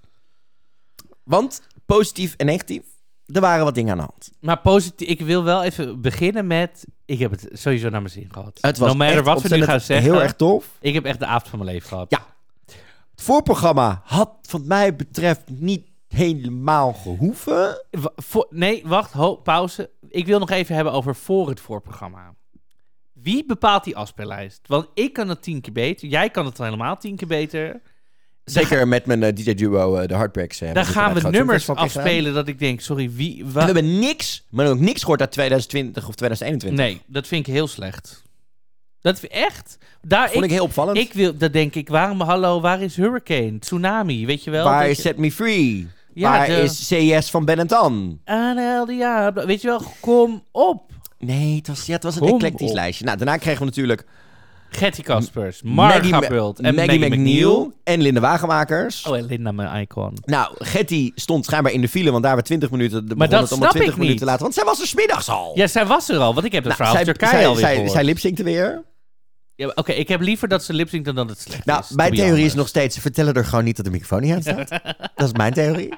Want positief en negatief... Er waren wat dingen aan de hand. Maar positief, ik wil wel even beginnen met... Ik heb het sowieso naar mijn zin gehad. Het was no matter wat we nu gaan zeggen. Heel erg tof. Ik heb echt de avond van mijn leven gehad. Ja. Het voorprogramma had, wat mij betreft, niet helemaal gehoeven. Nee, wacht, pauze. Ik wil nog even hebben over voor het voorprogramma. Wie bepaalt die afspeellijst? Want ik kan het 10 keer beter. Jij kan het helemaal 10 keer beter. Zeker met mijn DJ-duo, de Heartbreaks. Daar gaan we nummers afspelen dat ik denk, sorry, wie... We hebben maar ook niks gehoord uit 2020 of 2021. Nee, dat vind ik heel slecht. Dat echt... Vond ik heel opvallend. Dat denk ik, waar is Hurricane? Tsunami, weet je wel? Waar is Set Me Free? Ja, waar is CES van Ben Tan? Weet je wel, kom op. Nee, het was een eclectisch lijstje. Nou, daarna kregen we natuurlijk... Getty Caspers, Marga Bult en Maggie McNeil. En Linda Wagenmakers. Oh, en Linda, mijn icon. Nou, Getty stond schijnbaar in de file, want daar we 20 minuten... Maar dat snap 20 ik minuten niet. later, want zij was er 's middags al. Ja, zij was er al, want ik heb het verhaal van Turkije alweer gehoord. Zij lipzinkte weer. Ja, Oké, ik heb liever dat ze lipzinkt dan dat het slecht is. Mijn theorie is nog steeds, ze vertellen er gewoon niet dat de microfoon niet aan staat. Dat is mijn theorie.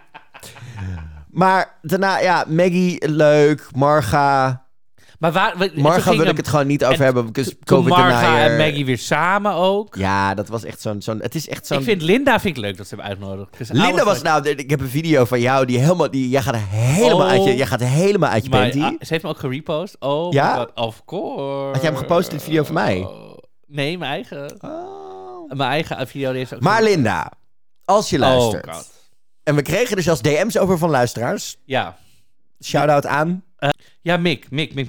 Maar daarna, Maggie, leuk, Marga... Maar Marga wil ik het gewoon niet over hebben. Toen Marga en Maggie weer samen ook. Ja, dat was echt zo'n... Het is echt zo'n... Ik vind Linda leuk dat ze hebben uitgenodigd. Linda was ik heb een video van jou jij gaat helemaal uit je panty. Ze heeft me ook gerepost. Oh ja? My God, of course. Had jij hem gepost in het video van mij? Nee, mijn eigen. Mijn eigen video. Is ook maar Linda, als je luistert. Oh God. En we kregen dus zelfs DM's over van luisteraars. Ja. Shout-out aan... Ja, Mick.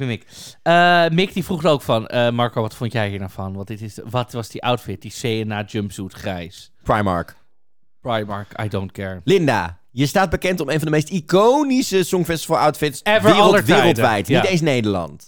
Mick die vroeg er ook van... Marco, wat vond jij hier nou van? Wat was die outfit? Die CNA jumpsuit grijs. Primark, I don't care. Linda, je staat bekend om een van de meest iconische Songfestival outfits wereldwijd. Ja. Niet eens Nederland.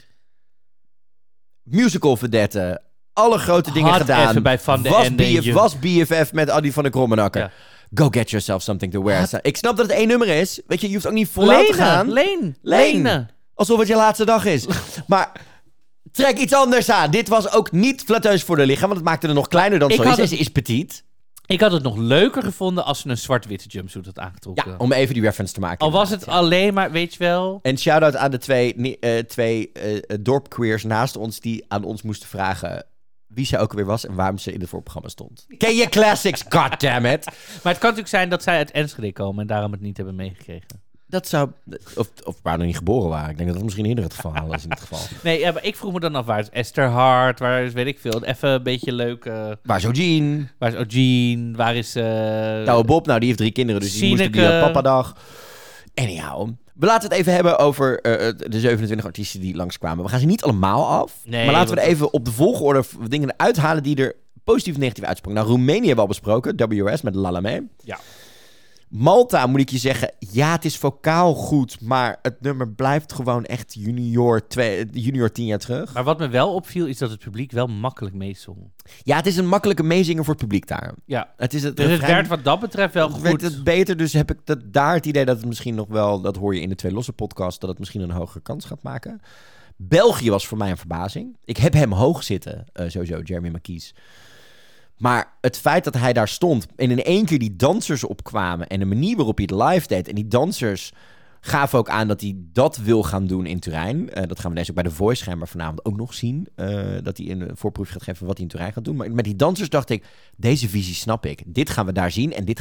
Musical verdette. Alle grote dingen gedaan. Even bij Van de Ende. Was BFF met Adi van der Krommenakker. Ja. Go get yourself something to wear. Ik snap dat het 1 nummer is. Weet je hoeft ook niet voluit te gaan. Lenen. Alsof het je laatste dag is. Maar trek iets anders aan. Dit was ook niet flatteus voor de lichaam, want het maakte er nog kleiner dan zo is. Ze is petit. Ik had het nog leuker gevonden als ze een zwart-witte jumpsuit had aangetrokken. Ja, om even die reference te maken. Al was het alleen maar, weet je wel... En shout-out aan de twee dorpqueers naast ons die aan ons moesten vragen... wie ze ook weer was en waarom ze in het voorprogramma stond. Ken je classics, goddammit. Maar het kan natuurlijk zijn dat zij uit Enschede komen en daarom het niet hebben meegekregen. Dat zou... Of waar nog niet geboren waren. Ik denk dat dat misschien eerder het geval is in dit geval. Nee, maar ik vroeg me dan af, waar is Esther Hart? Waar is, weet ik veel, even een beetje leuk... Waar is Eugene? Waar is... Nou, Bob, die heeft 3 kinderen, dus die moest op die papadag. Anyhow... We laten het even hebben over de 27 artiesten die langskwamen. We gaan ze niet allemaal af. Nee, maar laten we er even op de volgorde dingen uithalen die er positief en negatief uitsprongen. Nou, Roemenië hebben we al besproken. WRS met Lalame. Ja. Malta, moet ik je zeggen, ja, het is vocaal goed, maar het nummer blijft gewoon echt junior 10 jaar terug. Maar wat me wel opviel, is dat het publiek wel makkelijk meezong. Ja, het is een makkelijke meezinger voor het publiek daar. Ja, het werd wat dat betreft wel goed. Werd het beter, dus heb ik daar het idee dat het misschien nog wel, dat hoor je in de 2 losse podcast, dat het misschien een hogere kans gaat maken. België was voor mij een verbazing. Ik heb hem hoog zitten, sowieso, Jeremy McKees. Maar het feit dat hij daar stond en in één keer die dansers opkwamen en de manier waarop hij het live deed en die dansers gaven ook aan dat hij dat wil gaan doen in Turijn. Dat gaan we deze ook bij The Voice schijnbaar vanavond ook nog zien. Dat hij een voorproefje gaat geven wat hij in Turijn gaat doen. Maar met die dansers dacht ik, deze visie snap ik. Dit gaan we daar zien en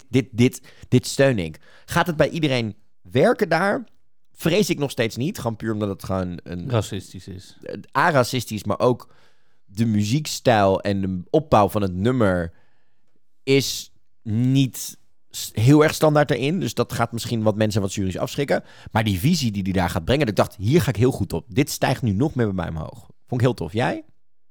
dit steun ik. Gaat het bij iedereen werken daar? Vrees ik nog steeds niet. Gewoon puur omdat het gewoon racistisch is. Aracistisch, maar ook de muziekstijl en de opbouw van het nummer is niet heel erg standaard erin. Dus dat gaat misschien wat mensen wat jury's afschrikken. Maar die visie die hij daar gaat brengen, dat ik dacht, hier ga ik heel goed op. Dit stijgt nu nog meer bij mij omhoog. Vond ik heel tof. Jij?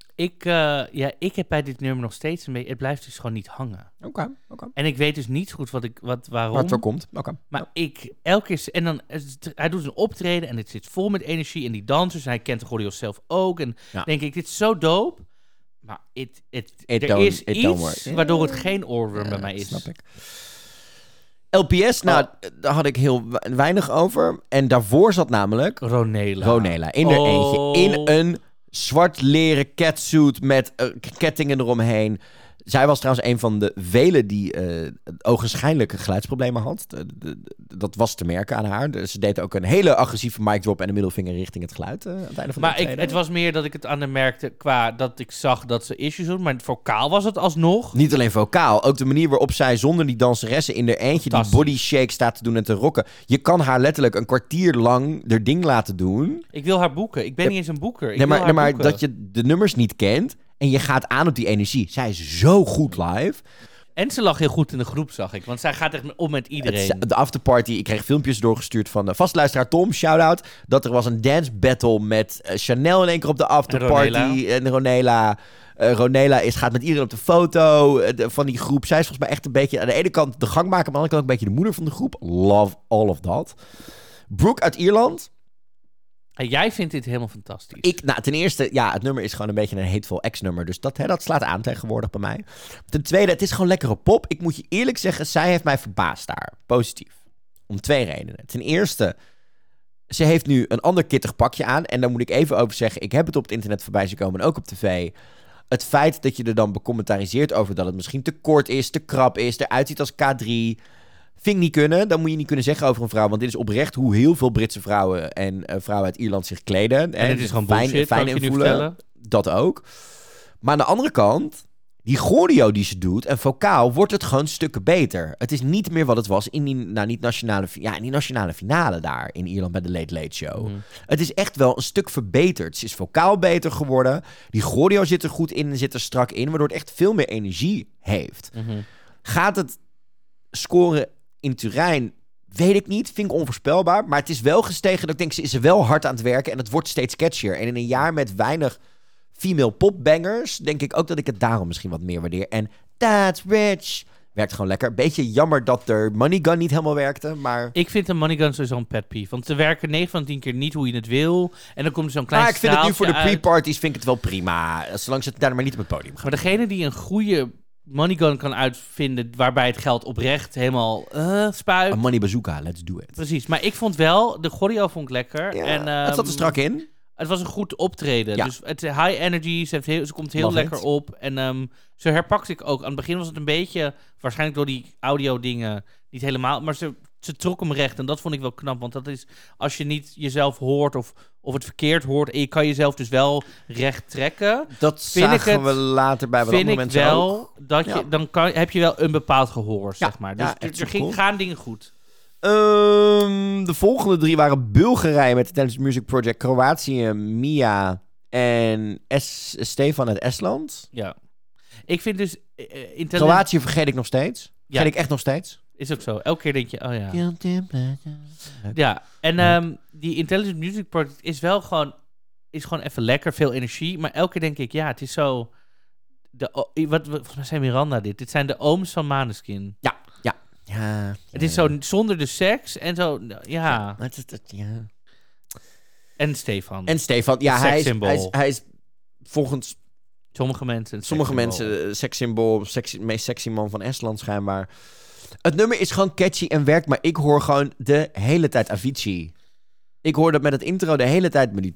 Ik heb bij dit nummer nog steeds een beetje... Het blijft dus gewoon niet hangen. Oké. En ik weet dus niet goed waarom. Waar het voor komt. Oké. Maar elke keer... En dan, hij doet een optreden en het zit vol met energie. En die dansers, hij kent de choreo's zelf ook. En denk ik, dit is zo dope. Maar er is iets waardoor het geen oorworm bij mij is. Snap ik. LPS, daar had ik heel weinig over. En daarvoor zat namelijk... Ronela. In er eentje. In een zwart leren catsuit met kettingen eromheen. Zij was trouwens een van de velen die ogenschijnlijk geluidsproblemen had. Dat was te merken aan haar. Ze deed ook een hele agressieve mic drop en een middelvinger richting het geluid. Aan het einde van de optreden. Het was meer dat ik het aan haar merkte qua dat ik zag dat ze issues had. Maar vocaal was het alsnog. Niet alleen vocaal. Ook de manier waarop zij zonder die danseressen in haar eentje die body shake staat te doen en te rocken. Je kan haar letterlijk een kwartier lang haar ding laten doen. Ik wil haar boeken. Ik ben niet eens een boeker. Maar dat je de nummers niet kent. En je gaat aan op die energie. Zij is zo goed live. En ze lag heel goed in de groep, zag ik. Want zij gaat echt om met iedereen. De afterparty, ik kreeg filmpjes doorgestuurd van vastluisteraar Tom, shout-out. Dat er was een dance battle met Chanel in één keer op de afterparty. En Ronela. Ronela gaat met iedereen op de foto van die groep. Zij is volgens mij echt een beetje aan de ene kant de gangmaker, maar aan de andere kant ook een beetje de moeder van de groep. Love all of that. Brooke uit Ierland. En jij vindt dit helemaal fantastisch. Ten eerste, het nummer is gewoon een beetje een Hateful Ex-nummer. Dus dat slaat aan tegenwoordig bij mij. Ten tweede, het is gewoon lekkere pop. Ik moet je eerlijk zeggen, zij heeft mij verbaasd daar. Positief. Om 2 redenen. Ten eerste, ze heeft nu een ander kittig pakje aan. En daar moet ik even over zeggen, ik heb het op het internet voorbij zien komen en ook op tv. Het feit dat je er dan becommentariseert over dat het misschien te kort is, te krap is, eruit ziet als K3... Vind ik niet kunnen. Dat moet je niet kunnen zeggen over een vrouw. Want dit is oprecht hoe heel veel Britse vrouwen en vrouwen uit Ierland zich kleden. En het is gewoon bullshit, kan ik je nu vertellen. Dat ook. Maar aan de andere kant, die choreo die ze doet en vocaal, wordt het gewoon stukken beter. Het is niet meer wat het was in die nationale finale daar in Ierland bij de Late Late Show. Het is echt wel een stuk verbeterd. Ze is vocaal beter geworden. Die choreo zit er goed in en zit er strak in, waardoor het echt veel meer energie heeft. Gaat het scoren in Turijn, weet ik niet. Vind ik onvoorspelbaar. Maar het is wel gestegen dat ik denk, ze is er wel hard aan het werken en het wordt steeds catchier. En in een jaar met weinig female popbangers, denk ik ook dat ik het daarom misschien wat meer waardeer. En That's Rich werkt gewoon lekker. Beetje jammer dat er Money Gun niet helemaal werkte, maar... Ik vind een Money Gun sowieso een pet peeve. Want ze werken 9 van 10 keer niet hoe je het wil. En dan komt er zo'n klein ik vind het nu voor de uit. pre-parties vind ik het wel prima. Zolang ze het daar maar niet op het podium gaan. Maar degene die een goede Money Gun kan uitvinden waarbij het geld oprecht helemaal spuit. Een Money Bazooka, let's do it. Precies, maar ik vond wel, de choreo vond ik lekker. Ja, en, het zat er strak in. Het was een goed optreden. Ja. Dus het high energy, ze komt heel Love lekker it. op. En zo herpakte ik ook. Aan het begin was het een beetje, waarschijnlijk door die audio dingen, niet helemaal. Maar ze trok hem recht en dat vond ik wel knap. Want dat is, als je niet jezelf hoort of het verkeerd hoort en je kan jezelf dus wel recht trekken. Dat zagen we later bij wat andere mensen ook. Dat je, dan heb je wel een bepaald gehoor, zeg maar. Dus gaan dingen goed. De volgende 3 waren Bulgarije met de Dance Music Project, Kroatië, Mia en Stefan uit Estland. Ja. Ik vind dus... Kroatië vergeet ik nog steeds. Vergeet ik echt nog steeds. Is ook zo. Elke keer denk je, oh ja. Ja, en die Intelligent Music Project is wel gewoon even lekker, veel energie. Maar elke keer denk ik, ja, het is zo... Volgens mij zijn Miranda dit. Dit zijn de ooms van Maneskin. Ja. Het is zo zonder de seks en zo, ja. En Stefan. Ja, hij is volgens sommige mensen sekssymbool, meest sexy man van Estland schijnbaar. Het nummer is gewoon catchy en werkt, maar ik hoor gewoon de hele tijd Avicii. Ik hoor dat met het intro de hele tijd met die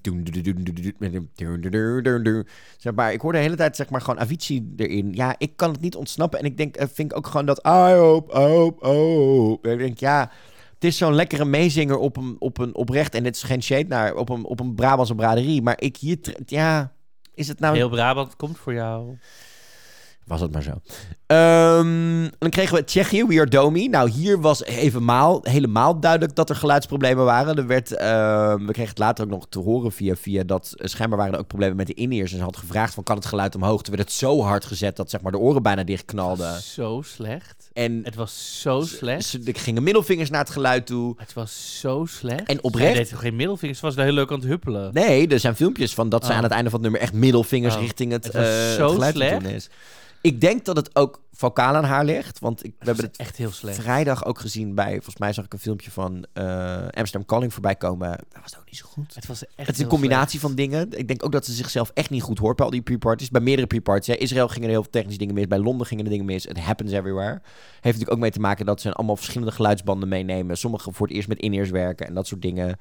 zeg maar, ik hoor de hele tijd zeg maar gewoon Avicii erin. Ja, ik kan het niet ontsnappen en ik denk, vind ik ook gewoon dat I hope. Ik denk, ja, het is zo'n lekkere meezinger op een oprecht, en dit is geen shade naar op een Brabantse braderie, maar ik hier, is het nou... Heel Brabant komt voor jou. Was het maar zo. Dan kregen we Tsjechië, We Are Domi. Nou, hier was helemaal duidelijk dat er geluidsproblemen waren. We kregen het later ook nog te horen via dat schijnbaar waren er ook problemen met de in-ears. En ze had gevraagd van, kan het geluid omhoog? Toen werd het zo hard gezet dat zeg maar de oren bijna dichtknalden. Zo slecht. En het was zo slecht. Er gingen middelvingers naar het geluid toe. Het was zo slecht. En oprecht... Zij deed geen middelvingers, ze was wel heel leuk aan het huppelen. Nee, er zijn filmpjes van dat ze aan het einde van het nummer echt middelvingers richting het geluid doen is. Ik denk dat het ook vocaal aan haar ligt. Want we hebben het echt heel slecht. Vrijdag ook gezien bij... Volgens mij zag ik een filmpje van Amsterdam Calling voorbij komen. Dat was ook niet zo goed. Het is een combinatie van dingen. Ik denk ook dat ze zichzelf echt niet goed hoort bij al die pre-parties. Bij meerdere pre-parties. Israël gingen er heel veel technische dingen mis. Bij Londen gingen er dingen mis. It happens everywhere. Heeft natuurlijk ook mee te maken dat ze allemaal verschillende geluidsbanden meenemen. Sommige voor het eerst met in-ears werken en dat soort dingen.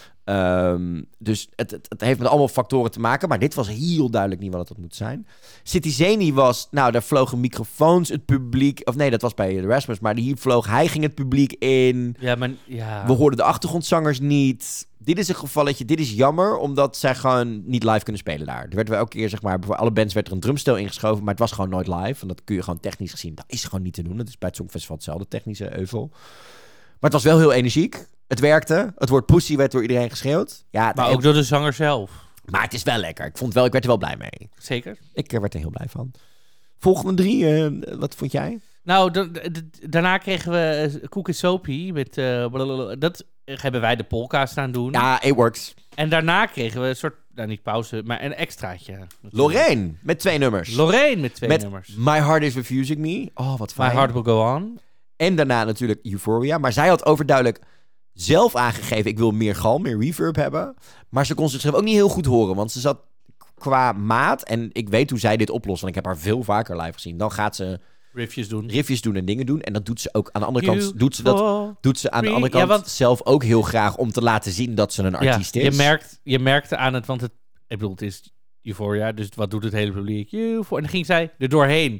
Dus het heeft met allemaal factoren te maken. Maar dit was heel duidelijk niet wat het moet zijn. Citizeni was... Nou, daar vlogen microfoons het publiek... Of nee, dat was bij Erasmus. Maar hier hij ging het publiek in. Ja, maar... Ja. We hoorden de achtergrondzangers niet. Dit is een gevalletje... Dit is jammer, omdat zij gewoon niet live kunnen spelen daar. Er werd wel elke keer, zeg maar... Voor alle bands werd er een drumstel ingeschoven. Maar het was gewoon nooit live. En dat kun je gewoon technisch gezien... Dat is gewoon niet te doen. Het is bij het Songfestival hetzelfde technische euvel. Maar het was wel heel energiek. Het werkte. Het woord pussy werd door iedereen geschreeuwd. Ja, maar ook door de zanger zelf. Maar het is wel lekker. Ik werd er wel blij mee. Zeker. Ik werd er heel blij van. Volgende 3, wat vond jij? Nou, daarna kregen we Koek en Soapy met... dat hebben wij de polka staan doen. Ja, it works. En daarna kregen we een soort... Nou, niet pauze, maar een extraatje. Lorraine met 2 nummers. nummers. My Heart Is Refusing Me. Oh, wat fijn. My Heart Will Go On. En daarna natuurlijk Euphoria. Maar zij had overduidelijk zelf aangegeven... ik wil meer galm, meer reverb hebben. Maar ze kon zichzelf ook niet heel goed horen. Want ze zat qua maat... en ik weet hoe zij dit oplost... want ik heb haar veel vaker live gezien. Dan gaat ze... Riffjes doen en dingen doen. En dat doet ze ook aan de andere kant... Doet ze aan de andere kant zelf ook heel graag... om te laten zien dat ze een artiest is. Je merkte aan het... Want het is Euphoria. Dus wat doet het hele publiek? En dan ging zij er doorheen.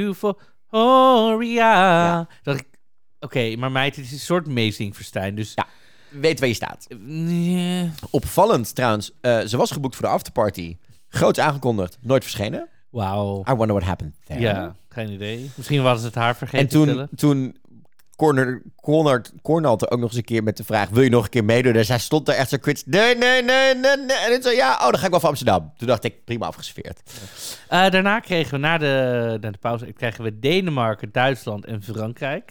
Euphoria. Dat Oké, maar meid, het is een soort meezingverstijn. Dus ja, weet waar je staat. Opvallend trouwens. Ze was geboekt voor de afterparty. Groots aangekondigd. Nooit verschenen. Wauw. I wonder what happened there. Ja, geen idee. Misschien was het haar vergeten. En toen Cornald er ook nog eens een keer met de vraag... wil je nog een keer meedoen? Dus hij stond daar echt zo kwits. Nee. En toen zei dan ga ik wel voor Amsterdam. Toen dacht ik, prima afgeserveerd. Daarna kregen we na de pauze... kregen we Denemarken, Duitsland en Frankrijk.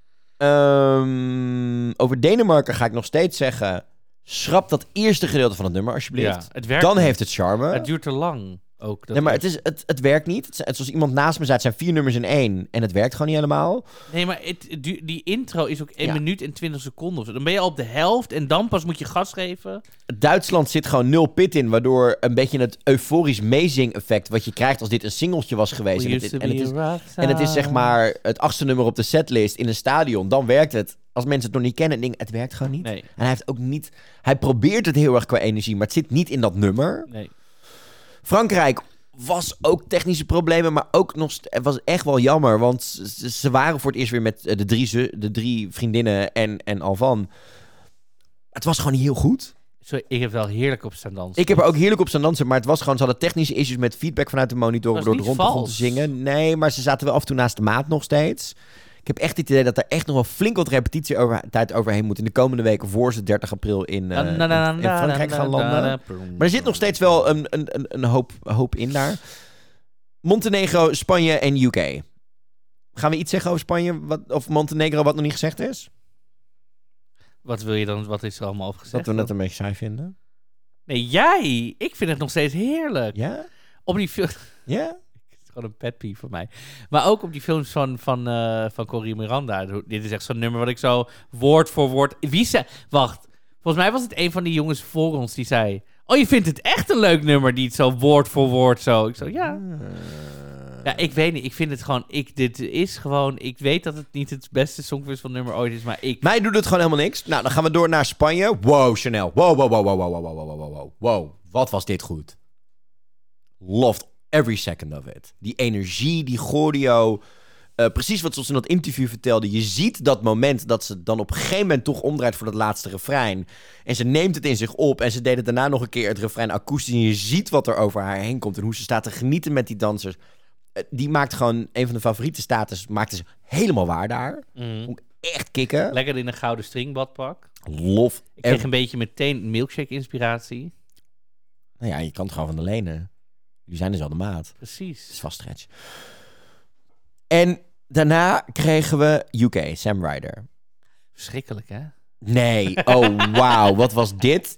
Over Denemarken ga ik nog steeds zeggen... schrap dat eerste gedeelte van het nummer, alsjeblieft. Ja, het werkt dan niet. heeft het charme. Het duurt te lang. Ook, nee, maar het werkt niet. Het zoals iemand naast me zei, het zijn 4 nummers in 1. En het werkt gewoon niet helemaal. Nee, maar die intro is ook 1 minuut en 20 seconden. Of zo. Dan ben je al op de helft en dan pas moet je gas geven. Duitsland zit gewoon 0 pit in. Waardoor een beetje het euforisch meezing-effect... wat je krijgt als dit een singeltje was geweest. En het is zeg maar het 8e nummer op de setlist in een stadion. Dan werkt het. Als mensen het nog niet kennen, het werkt gewoon niet. Nee. En hij heeft ook niet... Hij probeert het heel erg qua energie, maar het zit niet in dat nummer. Nee. Frankrijk was ook technische problemen, maar ook nog... Het was echt wel jammer, want ze waren voor het eerst weer met de 3 vriendinnen en Alvan. Het was gewoon niet heel goed. Sorry, ik heb wel heerlijk op staan dansen. Ik heb er ook heerlijk op staan dansen, maar het was gewoon... Ze hadden technische issues met feedback vanuit de monitoren door de rond begon te zingen. Nee, maar ze zaten wel af en toe naast de maat nog steeds. Ik heb echt het idee dat er echt nog wel flink wat repetitietijd overheen moet in de komende weken voor ze 30 april in Frankrijk gaan landen. Maar er zit nog steeds wel een hoop in daar. Montenegro, Spanje en UK. Gaan we iets zeggen over Spanje of Montenegro wat nog niet gezegd is? Wat wil je dan? Wat is er allemaal over gezegd? Dat we het een beetje saai vinden. Nee, jij! Ik vind het nog steeds heerlijk. Ja? Op die film... Ja? Gewoon een pet peeve voor mij. Maar ook op die films van Corrie Miranda. Dit is echt zo'n nummer wat ik zo woord voor woord... Wacht. Volgens mij was het een van die jongens voor ons die zei... Oh, je vindt het echt een leuk nummer die het zo woord voor woord zo... Ik zo, ja. Ja, ik weet niet. Ik vind het gewoon... Dit is gewoon... Ik weet dat het niet het beste Songfestival nummer ooit is, maar ik... Mij doet het gewoon helemaal niks. Nou, dan gaan we door naar Spanje. Wow, Chanel. Wow. Wat was dit goed. Loved every second of it. Die energie, die choreo. Precies wat ze ons in dat interview vertelde. Je ziet dat moment dat ze dan op een gegeven moment toch omdraait voor dat laatste refrein. En ze neemt het in zich op. En ze deed het daarna nog een keer het refrein akoestisch. En je ziet wat er over haar heen komt. En hoe ze staat te genieten met die dansers. die maakt gewoon een van de favoriete status. Maakte ze helemaal waar daar. Vond ik echt kicken. Lekker in een gouden stringbadpak. Lof. Ik kreeg een beetje meteen milkshake-inspiratie. Nou ja, je kan het gewoon van de lenen. Die zijn dus al de maat. Precies. Het is vast stretch. En daarna kregen we UK, Sam Ryder. Verschrikkelijk, hè? Nee, oh wauw, wat was dit?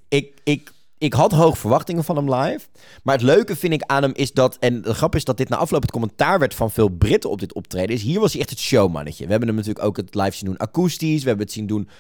Ik had hoge verwachtingen van hem live. Maar het leuke vind ik aan hem is dat... En de grap is dat dit na afloop het commentaar werd van veel Britten op dit optreden. Hier was hij echt het showmannetje. We hebben hem natuurlijk ook het live zien doen akoestisch. We hebben het zien doen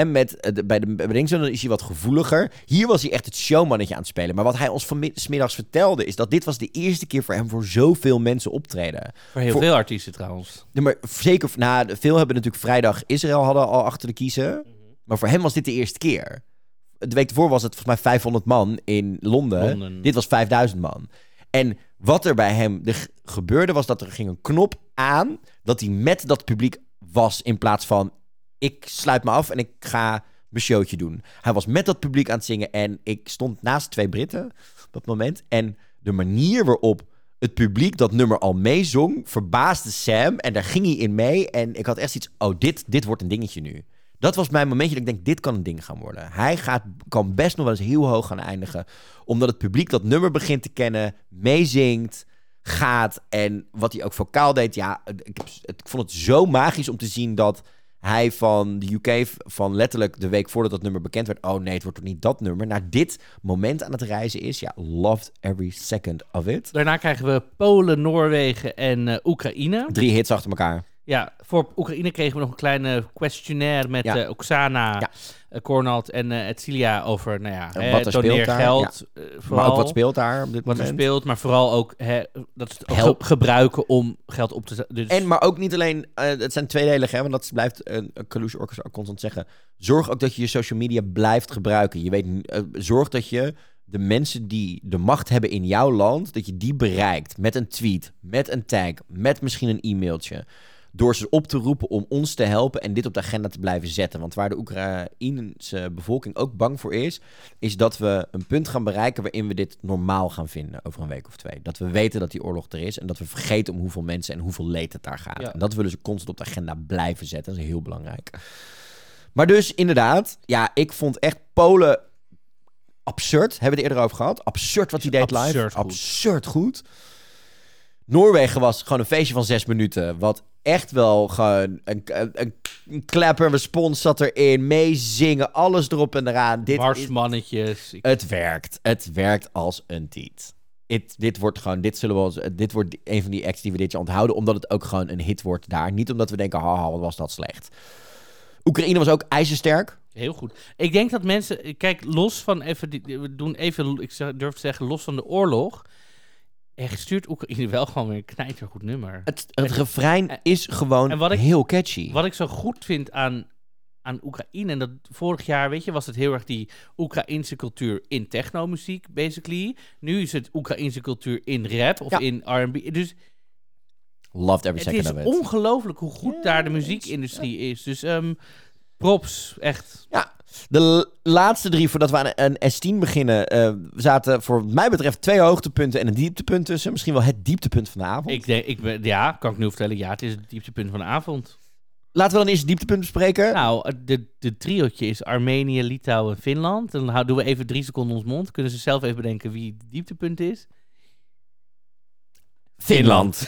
bij de Ringzone. Dan is hij wat gevoeliger. Hier was hij echt het showmannetje aan het spelen. Maar wat hij ons 's middags vertelde is dat dit was de eerste keer voor hem voor zoveel mensen optreden. Voor heel veel artiesten trouwens. Nee, maar zeker, veel hebben natuurlijk vrijdag Israël hadden al achter de kiezen. Maar voor hem was dit de eerste keer. De week ervoor was het volgens mij 500 man in Londen. Dit was 5000 man. En wat er bij hem gebeurde was dat er ging een knop aan dat hij met dat publiek was in plaats van ik sluit me af en ik ga mijn showtje doen. Hij was met dat publiek aan het zingen en ik stond naast 2 Britten op dat moment. En de manier waarop het publiek dat nummer al meezong verbaasde Sam en daar ging hij in mee. En ik had echt iets, dit wordt een dingetje nu. Dat was mijn momentje dat ik denk, dit kan een ding gaan worden. Hij kan best nog wel eens heel hoog gaan eindigen. Omdat het publiek dat nummer begint te kennen, meezingt, gaat. En wat hij ook vocaal deed. Ja, ik vond het zo magisch om te zien dat hij van de UK, van letterlijk de week voordat dat nummer bekend werd. Oh nee, het wordt toch niet dat nummer. Naar dit moment aan het reizen is. Ja, loved every second of it. Daarna krijgen we Polen, Noorwegen en Oekraïne. 3 hits achter elkaar. Ja, voor Oekraïne kregen we nog een kleine questionnaire met Oksana, Kornald en Etzilia over, doneer geld. Maar ook wat speelt daar op dit moment. Wat er speelt, maar vooral ook dat ze het ook gebruiken om geld op te zetten. Dus... Maar ook niet alleen, het zijn tweedelig, hè, want dat blijft Kalush Orchestra constant zeggen. Zorg ook dat je je social media blijft gebruiken. Je weet, zorg dat je de mensen die de macht hebben in jouw land, dat je die bereikt met een tweet, met een tag, met misschien een e-mailtje. Door ze op te roepen om ons te helpen en dit op de agenda te blijven zetten. Want waar de Oekraïnse bevolking ook bang voor is dat we een punt gaan bereiken waarin we dit normaal gaan vinden over een week of 2. Dat we weten dat die oorlog er is en dat we vergeten om hoeveel mensen en hoeveel leed het daar gaat. Ja. En dat willen ze constant op de agenda blijven zetten. Dat is heel belangrijk. Maar dus inderdaad, ja, ik vond echt Polen absurd. Hebben we het eerder over gehad? Absurd wat hij deed live. Absurd goed. Noorwegen was gewoon een feestje van 6 minuten. Wat echt wel gewoon een clapper, respons zat erin. Meezingen, alles erop en eraan. Marsmannetjes. Het werkt als een tiet. Dit wordt een van die acts die we dit jaar onthouden. Omdat het ook gewoon een hit wordt daar. Niet omdat we denken, haha, wat was dat slecht. Oekraïne was ook ijzersterk. Heel goed. Ik denk dat mensen... Kijk, los van ik durf te zeggen, los van de oorlog... stuurt Oekraïne wel gewoon weer een knijtergoed nummer. Het refrein is gewoon heel catchy. Wat ik zo goed vind aan Oekraïne... en dat vorig jaar, weet je, was het heel erg die Oekraïnse cultuur in technomuziek, basically. Nu is het Oekraïnse cultuur in rap of in R&B. Dus loved every second of it. Het is ongelooflijk hoe goed daar de muziekindustrie is. Dus props, echt. Ja. De laatste 3, voordat we aan S10 beginnen, zaten voor mij betreft 2 hoogtepunten en een dieptepunt tussen. Misschien wel het dieptepunt van de avond. Kan ik nu vertellen. Ja, het is het dieptepunt van de avond. Laten we dan eerst het dieptepunt bespreken. Nou, de triootje is Armenië, Litouwen en Finland. Dan doen we even 3 seconden ons mond. Kunnen ze zelf even bedenken wie het dieptepunt is? Finland.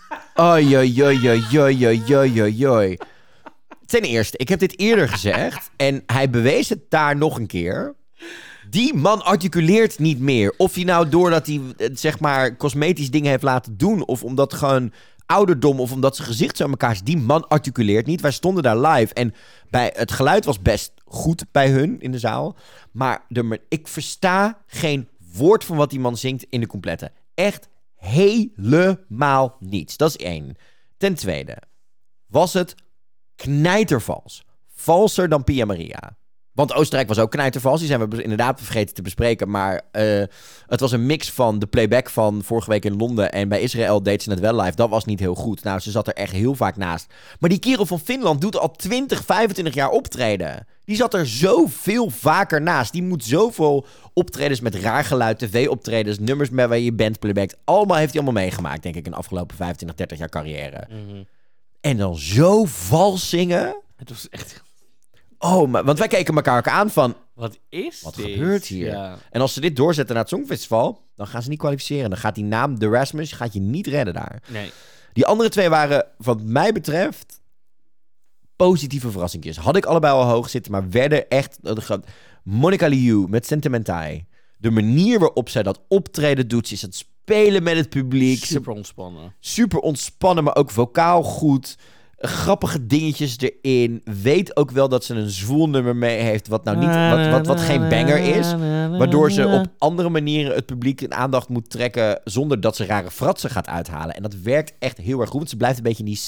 Oi. Ten eerste, ik heb dit eerder gezegd en hij bewees het daar nog een keer. Die man articuleert niet meer. Of hij nou doordat hij, zeg maar, cosmetisch dingen heeft laten doen, of omdat gewoon ouderdom, of omdat zijn gezicht zo aan elkaar is. Die man articuleert niet. Wij stonden daar live en het geluid was best goed bij hun in de zaal. Maar ik versta geen woord van wat die man zingt in de complete. Echt helemaal niets. Dat is 1. Ten tweede, was het knijtervals. Valser dan Pia Maria. Want Oostenrijk was ook knijtervals. Die zijn we inderdaad vergeten te bespreken. Maar het was een mix van de playback van vorige week in Londen. En bij Israël deed ze het wel live. Dat was niet heel goed. Nou, ze zat er echt heel vaak naast. Maar die kerel van Finland doet al 20, 25 jaar optreden. Die zat er zoveel vaker naast. Die moet zoveel optredens met raar geluid, tv-optredens, nummers met waar je band playbackt. Allemaal heeft hij allemaal meegemaakt, denk ik, in de afgelopen 25, 30 jaar carrière. En dan zo vals zingen. Het was echt... Oh, maar, want wij keken elkaar ook aan van... Wat is Wat dit? gebeurt hier? Ja. En als ze dit doorzetten naar het Songfestival, dan gaan ze niet kwalificeren. Dan gaat die naam The Rasmus gaat je niet redden daar. Nee. Die andere twee waren, wat mij betreft, positieve verrassingjes. Had ik allebei al hoog zitten, maar werden echt... Monica Liu met Sentimentai. De manier waarop zij dat optreden doet. Ze is het spelen met het publiek. Super ontspannen. Super ontspannen, maar ook vocaal goed. Grappige dingetjes erin. Weet ook wel dat ze een zwoel nummer mee heeft. Wat nou niet, wat geen banger is. Waardoor ze op andere manieren het publiek in aandacht moet trekken. Zonder dat ze rare fratsen gaat uithalen. En dat werkt echt heel erg goed. Want ze blijft een beetje in die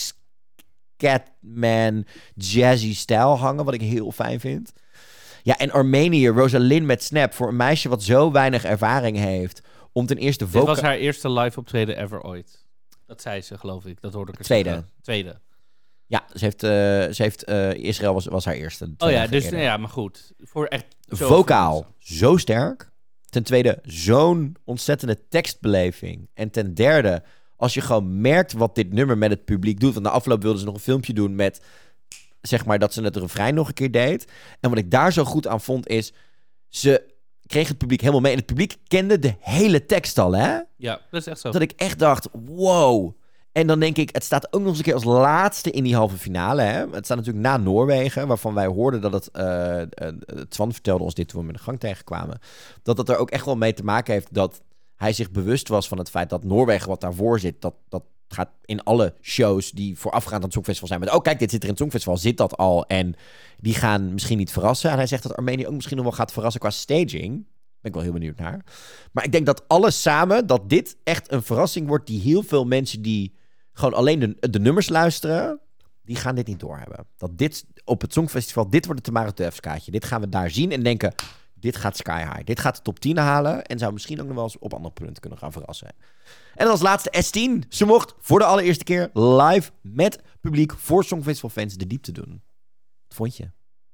Scatman jazzy stijl hangen. Wat ik heel fijn vind. Ja, en Armenië, Rosalind met Snap. Voor een meisje wat zo weinig ervaring heeft. Om ten eerste Dit was haar eerste live optreden ever ooit. Dat zei ze, geloof ik. Dat hoorde ik er Tweede. Ja, ze heeft Israël was haar eerste. Oh ja, dus ja, maar goed. Voor echt vocaal zo sterk. Ten tweede, zo'n ontzettende tekstbeleving. En ten derde, als je gewoon merkt wat dit nummer met het publiek doet. Want na afloop wilden ze nog een filmpje doen met, zeg maar, dat ze het refrein nog een keer deed. En wat ik daar zo goed aan vond is, ze kreeg het publiek helemaal mee. En het publiek kende de hele tekst al, hè? Ja, dat is echt zo. Dat ik echt dacht, wow. En dan denk ik, het staat ook nog eens een keer als laatste in die halve finale. Hè? Het staat natuurlijk na Noorwegen, waarvan wij hoorden dat het... Twan vertelde ons dit toen we hem in de gang tegenkwamen. Dat het er ook echt wel mee te maken heeft dat hij zich bewust was van het feit dat Noorwegen wat daarvoor zit, dat gaat in alle shows die voorafgaand aan het Songfestival zijn. Met, oh kijk, dit zit er in het Songfestival, zit dat al. En die gaan misschien niet verrassen. En hij zegt dat Armenië ook misschien nog wel gaat verrassen qua staging. Ben ik wel heel benieuwd naar. Maar ik denk dat alles samen, dat dit echt een verrassing wordt die heel veel mensen die gewoon alleen de nummers luisteren, die gaan dit niet doorhebben. Dat dit op het Songfestival, dit wordt het Tamara Tufts-kaartje. Dit gaan we daar zien en denken, dit gaat sky high. Dit gaat de top 10 halen en zou misschien ook nog wel eens op andere punten kunnen gaan verrassen. En als laatste S10. Ze mocht voor de allereerste keer live met publiek voor Songfestival fans de diepte doen. Wat vond je?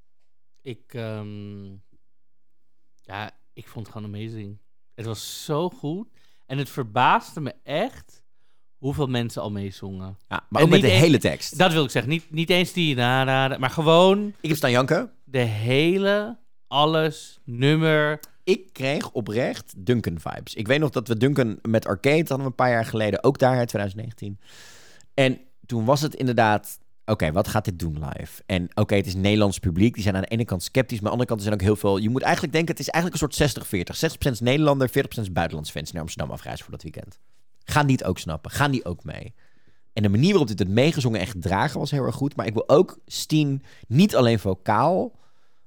Ik vond het gewoon amazing. Het was zo goed. En het verbaasde me echt hoeveel mensen al meezongen. Ja, maar ook met de hele tekst. Dat wil ik zeggen. Niet eens die maar gewoon... Ik heb staan janken. De hele, alles, nummer. Ik kreeg oprecht Duncan-vibes. Ik weet nog dat we Duncan met Arcade hadden we een paar jaar geleden. Ook daar, 2019. En toen was het inderdaad... Oké, wat gaat dit doen live? En oké, het is Nederlands publiek. Die zijn aan de ene kant sceptisch, maar aan de andere kant er zijn ook heel veel... Je moet eigenlijk denken, het is eigenlijk een soort 60-40. 60% Nederlander, 40% buitenlands fans naar Amsterdam afreizen voor dat weekend. Gaan die het ook snappen? Gaan die ook mee? En de manier waarop dit het meegezongen en gedragen was heel erg goed. Maar ik wil ook Steen niet alleen vocaal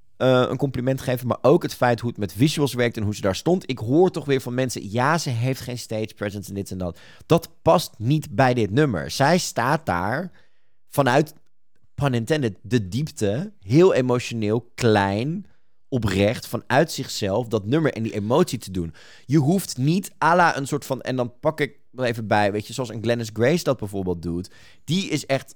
een compliment geven, maar ook het feit hoe het met visuals werkt en hoe ze daar stond. Ik hoor toch weer van mensen, ja, ze heeft geen stage presence en dit en dat. Dat past niet bij dit nummer. Zij staat daar vanuit, pun intended, de diepte, heel emotioneel, klein, oprecht, vanuit zichzelf, dat nummer en die emotie te doen. Je hoeft niet à la een soort van, en dan pak ik er even bij, weet je, zoals een Glennis Grace dat bijvoorbeeld doet. Die is echt,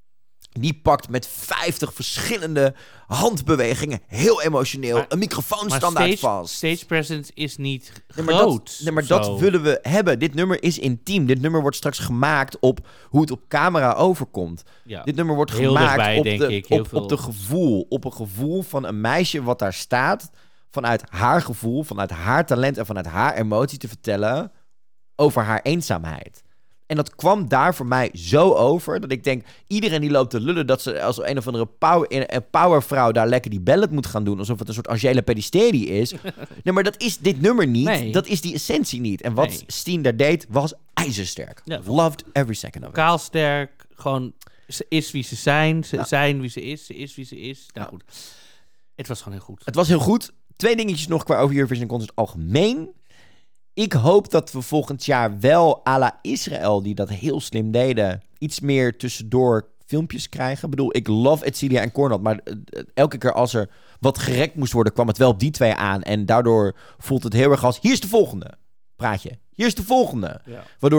die pakt met 50 verschillende handbewegingen, heel emotioneel, een microfoon standaard vast. Stage presence is niet groot. Maar dat willen we hebben. Dit nummer is intiem. Dit nummer wordt straks gemaakt op hoe het op camera overkomt. Ja. Dit nummer wordt heel gemaakt dichtbij, op een gevoel van een meisje wat daar staat, vanuit haar gevoel, vanuit haar talent en vanuit haar emotie te vertellen over haar eenzaamheid. En dat kwam daar voor mij zo over, dat ik denk, iedereen die loopt te lullen dat ze als een of andere powervrouw daar lekker die ballad moet gaan doen, alsof het een soort Angela Pedisteri is. Nee, maar dat is dit nummer niet. Nee. Dat is die essentie niet. En wat Steen daar deed, was ijzersterk. Ja. Loved every second of it. Kaalsterk, gewoon, ze is wie ze zijn, ze zijn wie ze is wie ze is. Nou goed, het was gewoon heel goed. Het was heel goed. 2 dingetjes nog qua over Eurovision Concert algemeen. Ik hoop dat we volgend jaar wel à la Israël, die dat heel slim deden, iets meer tussendoor filmpjes krijgen. Ik bedoel, ik love Etcilia en Cornel, maar elke keer als er wat gerekt moest worden, kwam het wel op die 2 aan. En daardoor voelt het heel erg als, hier is de volgende praatje. Hier is de volgende. Ja. Waardoor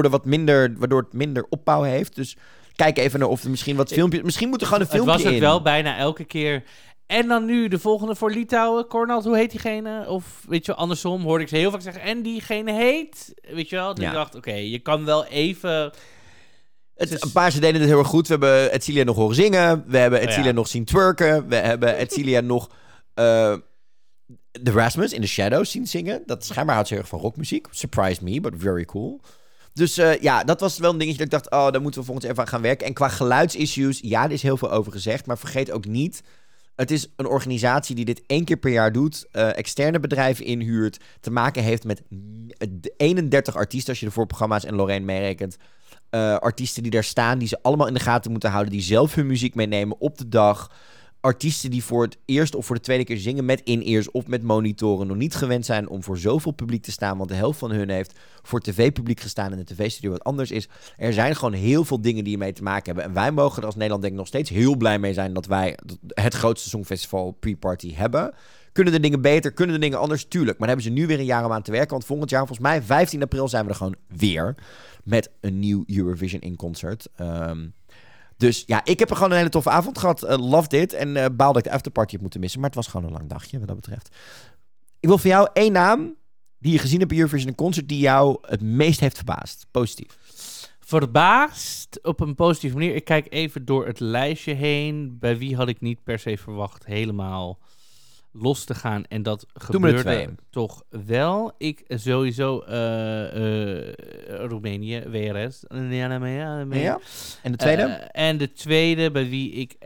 het minder opbouw heeft. Dus kijk even naar of er misschien wat filmpjes... Misschien moet er gewoon een filmpje in. Het was ook wel bijna elke keer En dan nu de volgende voor Litouwen. Cornald, hoe heet diegene? Of weet je wel, andersom hoorde ik ze heel vaak zeggen. En diegene heet... Weet je wel? Dus ik dacht, oké, je kan wel even... Een paar ze deden het heel erg goed. We hebben Edcilia nog horen zingen. We hebben Edcilia nog zien twerken. We hebben Edcilia nog The Rasmus in the Shadows zien zingen. Dat schijnbaar houdt ze heel erg van rockmuziek. Surprised me, but very cool. Dus dat was wel een dingetje dat ik dacht... daar moeten we volgens even aan gaan werken. En qua geluidsissues, er is heel veel over gezegd. Maar vergeet ook niet... Het is een organisatie die dit 1 keer per jaar doet. Externe bedrijven inhuurt. Te maken heeft met 31 artiesten... als je de voorprogramma's en Lorraine meerekent. Artiesten die daar staan, die ze allemaal in de gaten moeten houden... die zelf hun muziek meenemen op de dag... Artiesten die voor het eerst of voor de tweede keer zingen met in-ears of met monitoren... nog niet gewend zijn om voor zoveel publiek te staan... want de helft van hun heeft voor tv-publiek gestaan... en de tv-studio wat anders is. Er zijn gewoon heel veel dingen die ermee te maken hebben. En wij mogen er als Nederland denk ik nog steeds heel blij mee zijn... dat wij het grootste Songfestival pre-party hebben... Kunnen de dingen beter? Kunnen de dingen anders? Tuurlijk. Maar daar hebben ze nu weer een jaar om aan te werken. Want volgend jaar, volgens mij 15 april, zijn we er gewoon weer. Met een nieuw Eurovision in concert. Dus ja, ik heb er gewoon een hele toffe avond gehad. Loved it. En baal dat ik de afterparty heb moeten missen. Maar het was gewoon een lang dagje, wat dat betreft. Ik wil van jou 1 naam die je gezien hebt bij Eurovision in concert... die jou het meest heeft verbaasd. Positief. Verbaasd op een positieve manier. Ik kijk even door het lijstje heen. Bij wie had ik niet per se verwacht helemaal... los te gaan. En dat gebeurde toch wel. Ik sowieso Roemenië, WRS. Ja. En de tweede? En de tweede, bij wie ik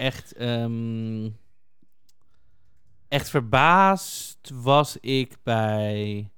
echt verbaasd was ik bij...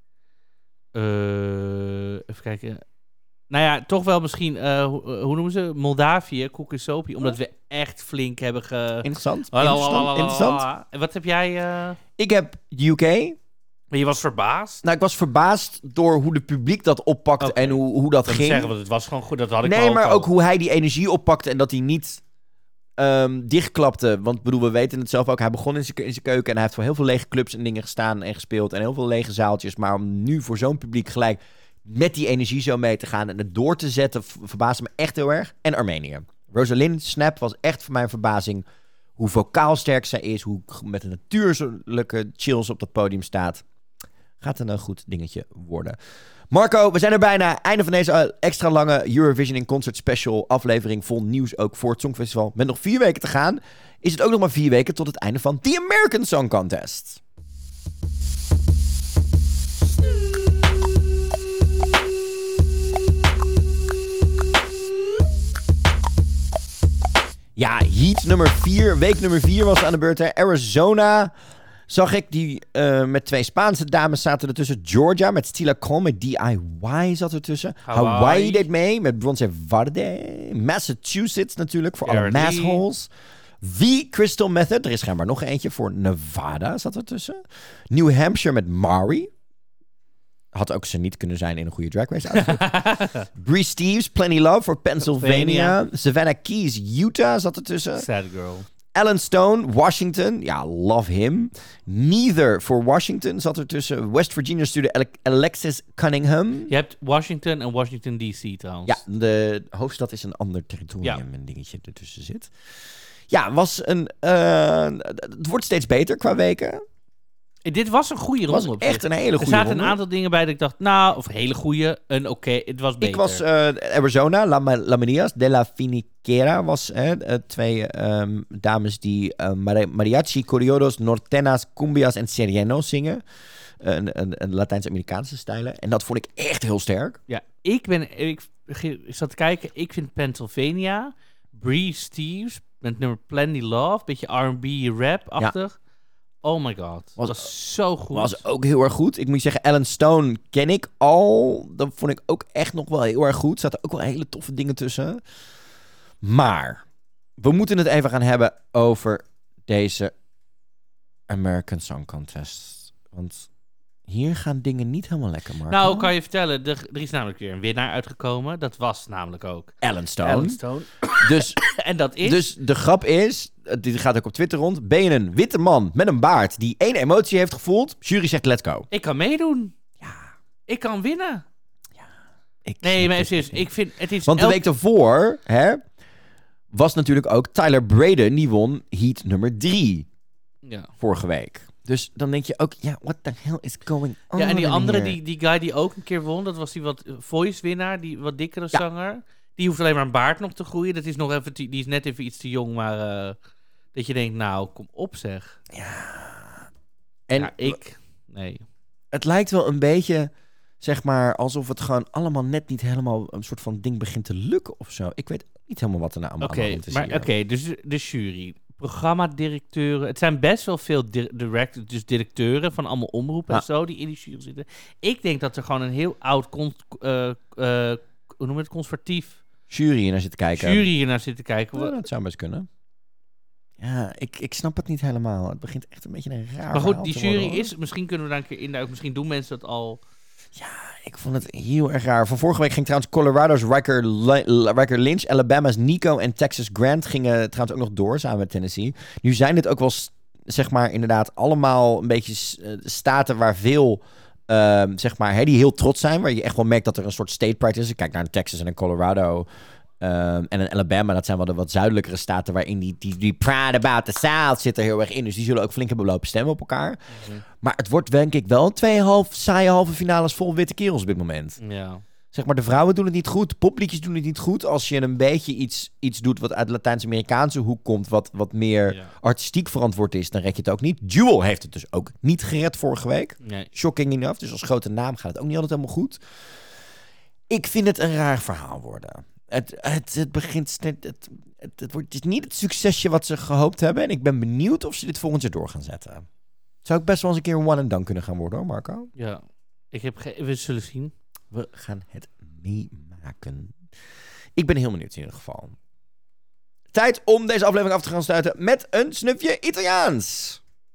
even kijken... Nou ja, toch wel misschien, hoe noemen ze? Moldavië, Kukisopi. Omdat we echt flink hebben Interessant. En wat heb jij... Ik heb UK. Maar je was verbaasd? Nou, ik was verbaasd door hoe de publiek dat oppakte en hoe dat ging. Zeggen, want het was gewoon goed, dat had ik Nee, maar ook hoe hij die energie oppakte en dat hij niet dichtklapte. Want bedoel, we weten het zelf ook. Hij begon in zijn keuken en hij heeft voor heel veel lege clubs en dingen gestaan en gespeeld. En heel veel lege zaaltjes. Maar om nu voor zo'n publiek gelijk... met die energie zo mee te gaan en het door te zetten... verbaasde me echt heel erg. En Armenië. Rosalind Snap was echt voor mij een verbazing... hoe vocaal sterk zij is... hoe met een natuurlijke chills op dat podium staat. Gaat een goed dingetje worden. Marco, we zijn er bijna. Einde van deze extra lange Eurovision in Concert special aflevering... vol nieuws ook voor het Songfestival. Met nog 4 weken te gaan... is het ook nog maar 4 weken tot het einde van The American Song Contest. Ja, heat nummer 4. Week nummer 4 was aan de beurt. Hè. Arizona zag ik. Die met 2 Spaanse dames zaten ertussen. Georgia met Stila Kron met DIY zat ertussen. Hawaii deed mee met Bronze Varde. Massachusetts natuurlijk voor alle massholes. The Crystal Method. Er is schijnbaar nog eentje voor Nevada zat ertussen. New Hampshire met Mari. Had ook ze niet kunnen zijn in een goede Drag Race outfit. Bree Steves, Plenty Love voor Pennsylvania. Savannah Keys, Utah zat ertussen. Sad girl. Alan Stone, Washington. Ja, love him. Neither voor Washington zat ertussen. West Virginia stuurde Alexis Cunningham. Je hebt Washington en Washington D.C. trouwens. Ja, de hoofdstad is een ander territorium. Een dingetje ertussen zit. Ja, was een... het wordt steeds beter qua weken. Dit was een goede ronde. Was echt een hele goede ronde. Er zaten een aantal dingen bij dat ik dacht, nou, of hele goede, het was beter. Ik was Arizona, La Marias de la Finiquera was 2 dames die mariachi, corridos, nortenas, cumbias en sereno zingen. Een Latijns-Amerikaanse stijlen. En dat vond ik echt heel sterk. Ja, ik zat te kijken, ik vind Pennsylvania, Bree Steves met nummer Plenty Love, beetje R&B rap-achtig. Ja. Oh my god. Was zo goed. Was ook heel erg goed. Ik moet zeggen, Alan Stone ken ik al. Dat vond ik ook echt nog wel heel erg goed. Er zaten ook wel hele toffe dingen tussen. Maar we moeten het even gaan hebben over deze American Song Contest. Want hier gaan dingen niet helemaal lekker, Marco. Nou, kan je vertellen, er is namelijk weer een winnaar uitgekomen. Dat was namelijk ook Alan Stone. Dus, en dat is... Dus de grap is, dit gaat ook op Twitter rond. Ben je een witte man met een baard die 1 emotie heeft gevoeld? Jury zegt let's go. Ik kan meedoen. Ja. Ik kan winnen. Ja. Nee, maar serieus, ik vind het is... Want de week daarvoor, was natuurlijk ook Tyler Braden, die won heat nummer 3. vorige week. Dus dan denk je ook, what the hell is going on? Ja, en die andere, hier? die guy die ook een keer won, dat was die wat voice-winnaar, die wat dikkere zanger. Die hoeft alleen maar een baard nog te groeien. Dat is nog even, die is net even iets te jong, maar dat je denkt, nou, kom op zeg. En nee. Het lijkt wel een beetje, zeg maar, alsof het gewoon allemaal net niet helemaal een soort van ding begint te lukken of zo. Ik weet niet helemaal wat er nou allemaal aan de hand is hier. Oké, dus de jury, programmadirecteuren. Het zijn best wel veel directeuren van allemaal omroepen en zo die in die jury zitten. Ik denk dat er gewoon een heel oud, conservatief jury hier naar zitten kijken. Ja, dat zou best kunnen. Ja, ik snap het niet helemaal. Het begint echt een beetje een raar Maar goed, die verhaal te jury worden, is... Misschien kunnen we daar een keer induiken. Misschien doen mensen dat al... Ik vond het heel erg raar. Van vorige week ging trouwens Colorado's Riker Lynch, Alabama's Nico en Texas Grant gingen trouwens ook nog door samen met Tennessee. Nu zijn dit ook wel, zeg maar, inderdaad allemaal een beetje staten waar veel, zeg maar, die heel trots zijn. Waar je echt wel merkt dat er een soort state pride is. Ik kijk naar Texas en Colorado. En in Alabama, dat zijn wel de wat zuidelijkere staten waarin die Pride About the South zit er heel erg in. Dus die zullen ook flink hebben lopen stemmen op elkaar. Maar het wordt denk ik wel 2,5 saaie halve finales vol witte kerels op dit moment. Ja. Zeg maar, de vrouwen doen het niet goed, de popliedjes doen het niet goed. Als je een beetje iets doet wat uit de Latijns-Amerikaanse hoek komt, wat meer artistiek verantwoord is, dan red je het ook niet. Jewel heeft het dus ook niet gered vorige week. Nee. Shocking enough. Dus als grote naam gaat het ook niet altijd helemaal goed. Ik vind het een raar verhaal worden. Het begint... Het is niet het succesje wat ze gehoopt hebben. En ik ben benieuwd of ze dit volgend jaar door gaan zetten. Zou ik best wel eens een keer een one and done kunnen gaan worden, hoor, Marco? Ja. We zullen zien. We gaan het meemaken. Ik ben heel benieuwd in ieder geval. Tijd om deze aflevering af te gaan sluiten met een snufje Italiaans.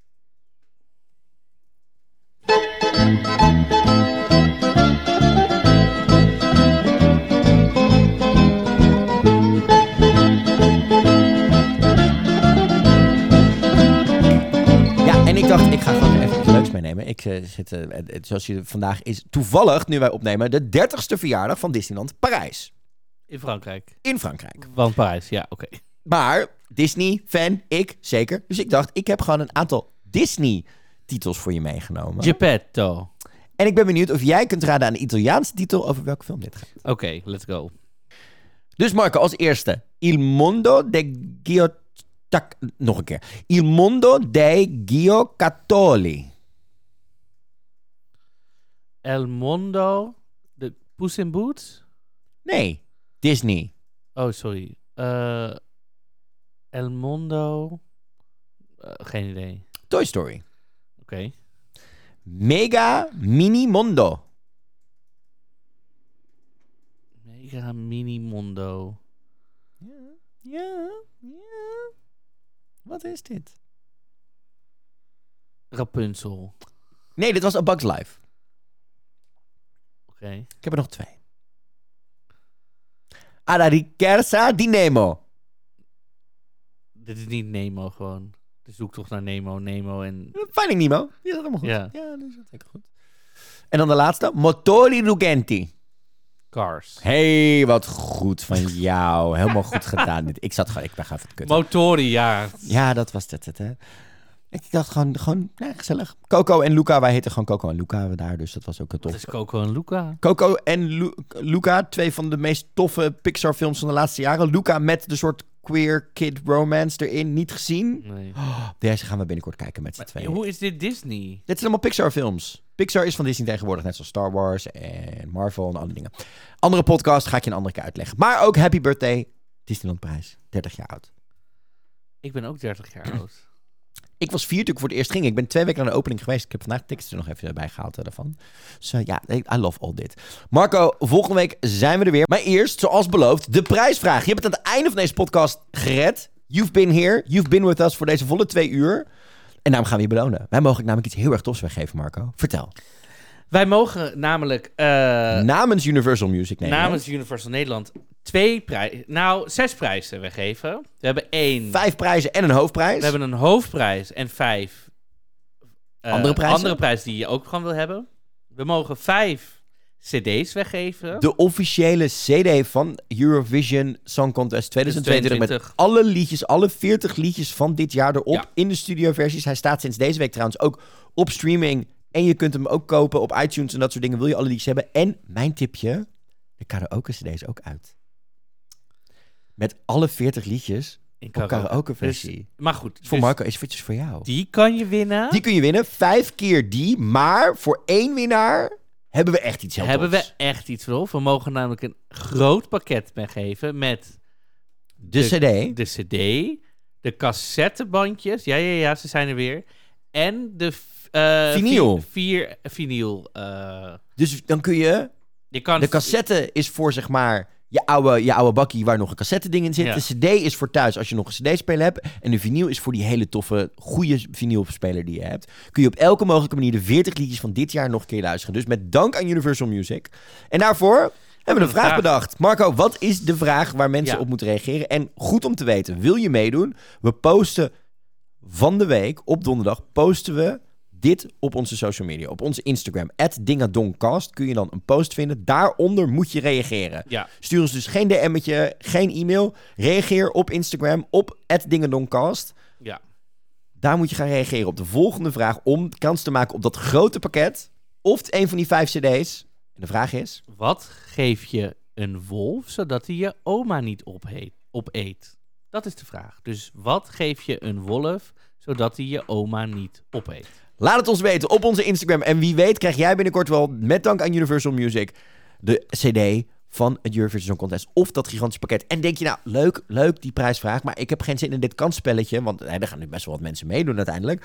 En ik dacht, ik ga gewoon even iets leuks meenemen. Ik zit, zoals je vandaag is toevallig, nu wij opnemen, de 30ste verjaardag van Disneyland Parijs. In Frankrijk. In Frankrijk. Van Parijs, ja, oké. Maar Disney-fan, ik zeker. Dus ik dacht, ik heb gewoon een aantal Disney-titels voor je meegenomen. Geppetto. En ik ben benieuwd of jij kunt raden aan de Italiaanse titel over welke film dit gaat. Oké, let's go. Dus Marco, als eerste. Il mondo de nog een keer. Il mondo dei giocattoli. El mondo de Puss in Boots? Nee, Disney. Oh, sorry. El mondo... geen idee. Toy Story. Oké. Mega Mini Mondo. Mega Mini Mondo. Ja. Wat is dit? Rapunzel. Nee, dit was A Bug's Life. Oké. Ik heb er nog 2. Alla ricerca di Nemo. Dit is niet Nemo gewoon. De zoektocht naar Nemo en... Finding Nemo. Die is helemaal goed. Ja. Ja, dat is zeker goed. En dan de laatste. Motori Ruggenti. Cars. Hey, wat goed van jou. Helemaal goed gedaan. Ik ben gewoon even kut. Motori, ja. Ja, dat was het, hè. Ik dacht gewoon gezellig. Coco en Luca, wij heten gewoon Coco en Luca daar, dus dat was ook een tof. Wat is Coco en Luca? Coco en Luca, 2 van de meest toffe Pixar films van de laatste jaren. Luca met de soort queer kid romance erin, niet gezien. Nee. Deze gaan we binnenkort kijken met z'n tweeën. Hoe is dit Disney? Dit zijn allemaal Pixar films. Pixar is van Disney tegenwoordig, net zoals Star Wars en Marvel en andere dingen. Andere podcast ga ik je een andere keer uitleggen. Maar ook Happy Birthday, Disneyland Parijs, 30 jaar oud. Ik ben ook 30 jaar oud. Ik was 4 toen ik voor het eerst ging. Ik ben 2 weken naar de opening geweest. Ik heb vandaag tickets er nog even bij gehaald daarvan. Dus ja, I love all dit. Marco, volgende week zijn we er weer. Maar eerst, zoals beloofd, de prijsvraag. Je hebt het aan het einde van deze podcast gered. You've been here. You've been with us voor deze volle 2 uur. En daarom gaan we je belonen. Wij mogen namelijk iets heel erg tofs weggeven, Marco. Vertel. Wij mogen namelijk... namens Universal Music Nederland. Namens Universal Nederland 6 prijzen weggeven. We hebben 5 prijzen en een hoofdprijs. We hebben een hoofdprijs en 5 andere prijzen die je ook gewoon wil hebben. We mogen 5 cd's weggeven. De officiële cd van Eurovision Song Contest 2022 met alle liedjes, alle 40 liedjes van dit jaar erop in de studioversies. Hij staat sinds deze week trouwens ook op streaming en je kunt hem ook kopen op iTunes en dat soort dingen. Wil je alle liedjes hebben? En mijn tipje, de karaoke cd is ook uit. Met alle 40 liedjes in karaoke versie. Dus, maar goed. Voor Marco is eventjes voor jou. Die kan je winnen. Die kun je winnen. 5 keer die. Maar voor 1 winnaar hebben we echt iets heel tofs. Rolf. We mogen namelijk een groot pakket weggeven met de cd. De cd. De cassettebandjes. Ja, ze zijn er weer. En de vinyl. 4 vinyl. Dus dan kun je de cassette is voor zeg maar je oude bakkie waar nog een cassette ding in zit. Ja. De cd is voor thuis als je nog een cd-speler hebt. En de vinyl is voor die hele toffe, goede vinylspeler die je hebt. Kun je op elke mogelijke manier de 40 liedjes van dit jaar nog een keer luisteren. Dus met dank aan Universal Music. En daarvoor hebben we een vraag bedacht. Marco, wat is de vraag waar mensen op moeten reageren? En goed om te weten, wil je meedoen? We posten van de week, op donderdag, posten we dit op onze social media. Op onze Instagram, @dingadongcast, kun je dan een post vinden. Daaronder moet je reageren. Ja. Stuur ons dus geen DM'tje, geen e-mail. Reageer op Instagram, op @dingadongcast. Ja. Daar moet je gaan reageren op de volgende vraag om kans te maken op dat grote pakket. Of een van die 5 cd's. En de vraag is... Wat geef je een wolf zodat hij je oma niet opeet? Dat is de vraag. Dus wat geef je een wolf zodat hij je oma niet opeet? Laat het ons weten op onze Instagram. En wie weet krijg jij binnenkort wel, met dank aan Universal Music, de cd van het Eurovision Song Contest. Of dat gigantische pakket. En denk je nou, leuk die prijsvraag. Maar ik heb geen zin in dit kansspelletje. Want er gaan nu best wel wat mensen meedoen uiteindelijk.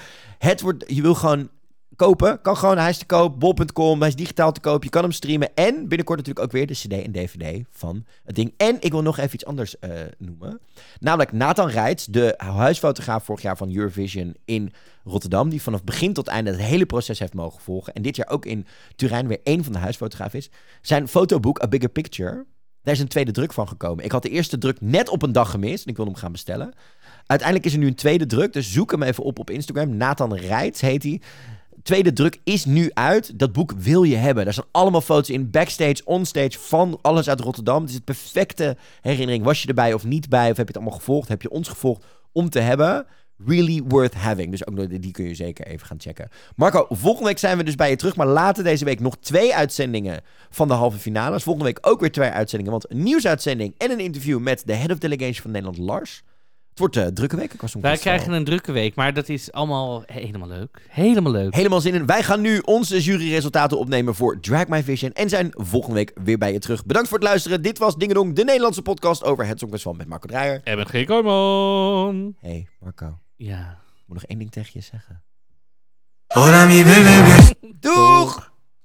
Je wil gewoon kopen. Kan gewoon, hij is te koop. Bol.com, hij is digitaal te koop. Je kan hem streamen. En binnenkort natuurlijk ook weer de cd en dvd van het ding. En ik wil nog even iets anders noemen. Namelijk Nathan Reitz, de huisfotograaf vorig jaar van Eurovision in Rotterdam. Die vanaf begin tot einde het hele proces heeft mogen volgen. En dit jaar ook in Turijn weer één van de huisfotografen is. Zijn fotoboek A Bigger Picture, daar is een tweede druk van gekomen. Ik had de eerste druk net op een dag gemist. En ik wilde hem gaan bestellen. Uiteindelijk is er nu een tweede druk. Dus zoek hem even op Instagram. Nathan Reitz heet hij. Tweede druk is nu uit. Dat boek wil je hebben. Daar staan allemaal foto's in. Backstage, onstage, van alles uit Rotterdam. Het is het perfecte herinnering. Was je erbij of niet bij? Of heb je het allemaal gevolgd? Heb je ons gevolgd om te hebben? Really worth having. Dus ook die kun je zeker even gaan checken. Marco, volgende week zijn we dus bij je terug. Maar later deze week nog 2 uitzendingen van de halve finales. Volgende week ook weer 2 uitzendingen. Want een nieuwsuitzending en een interview met de Head of Delegation van Nederland, Lars. Het wordt een drukke week. Wij krijgen een drukke week, maar dat is allemaal helemaal leuk. Helemaal leuk. Helemaal zin in. Wij gaan nu onze juryresultaten opnemen voor Drag My Vision en zijn volgende week weer bij je terug. Bedankt voor het luisteren. Dit was Dingedong, de Nederlandse podcast over het Songfestival met Marco Dreyer. En met G. Kooijman. Hey, Marco. Ja. Ik moet nog 1 ding tegen je zeggen. Hola mi bebé.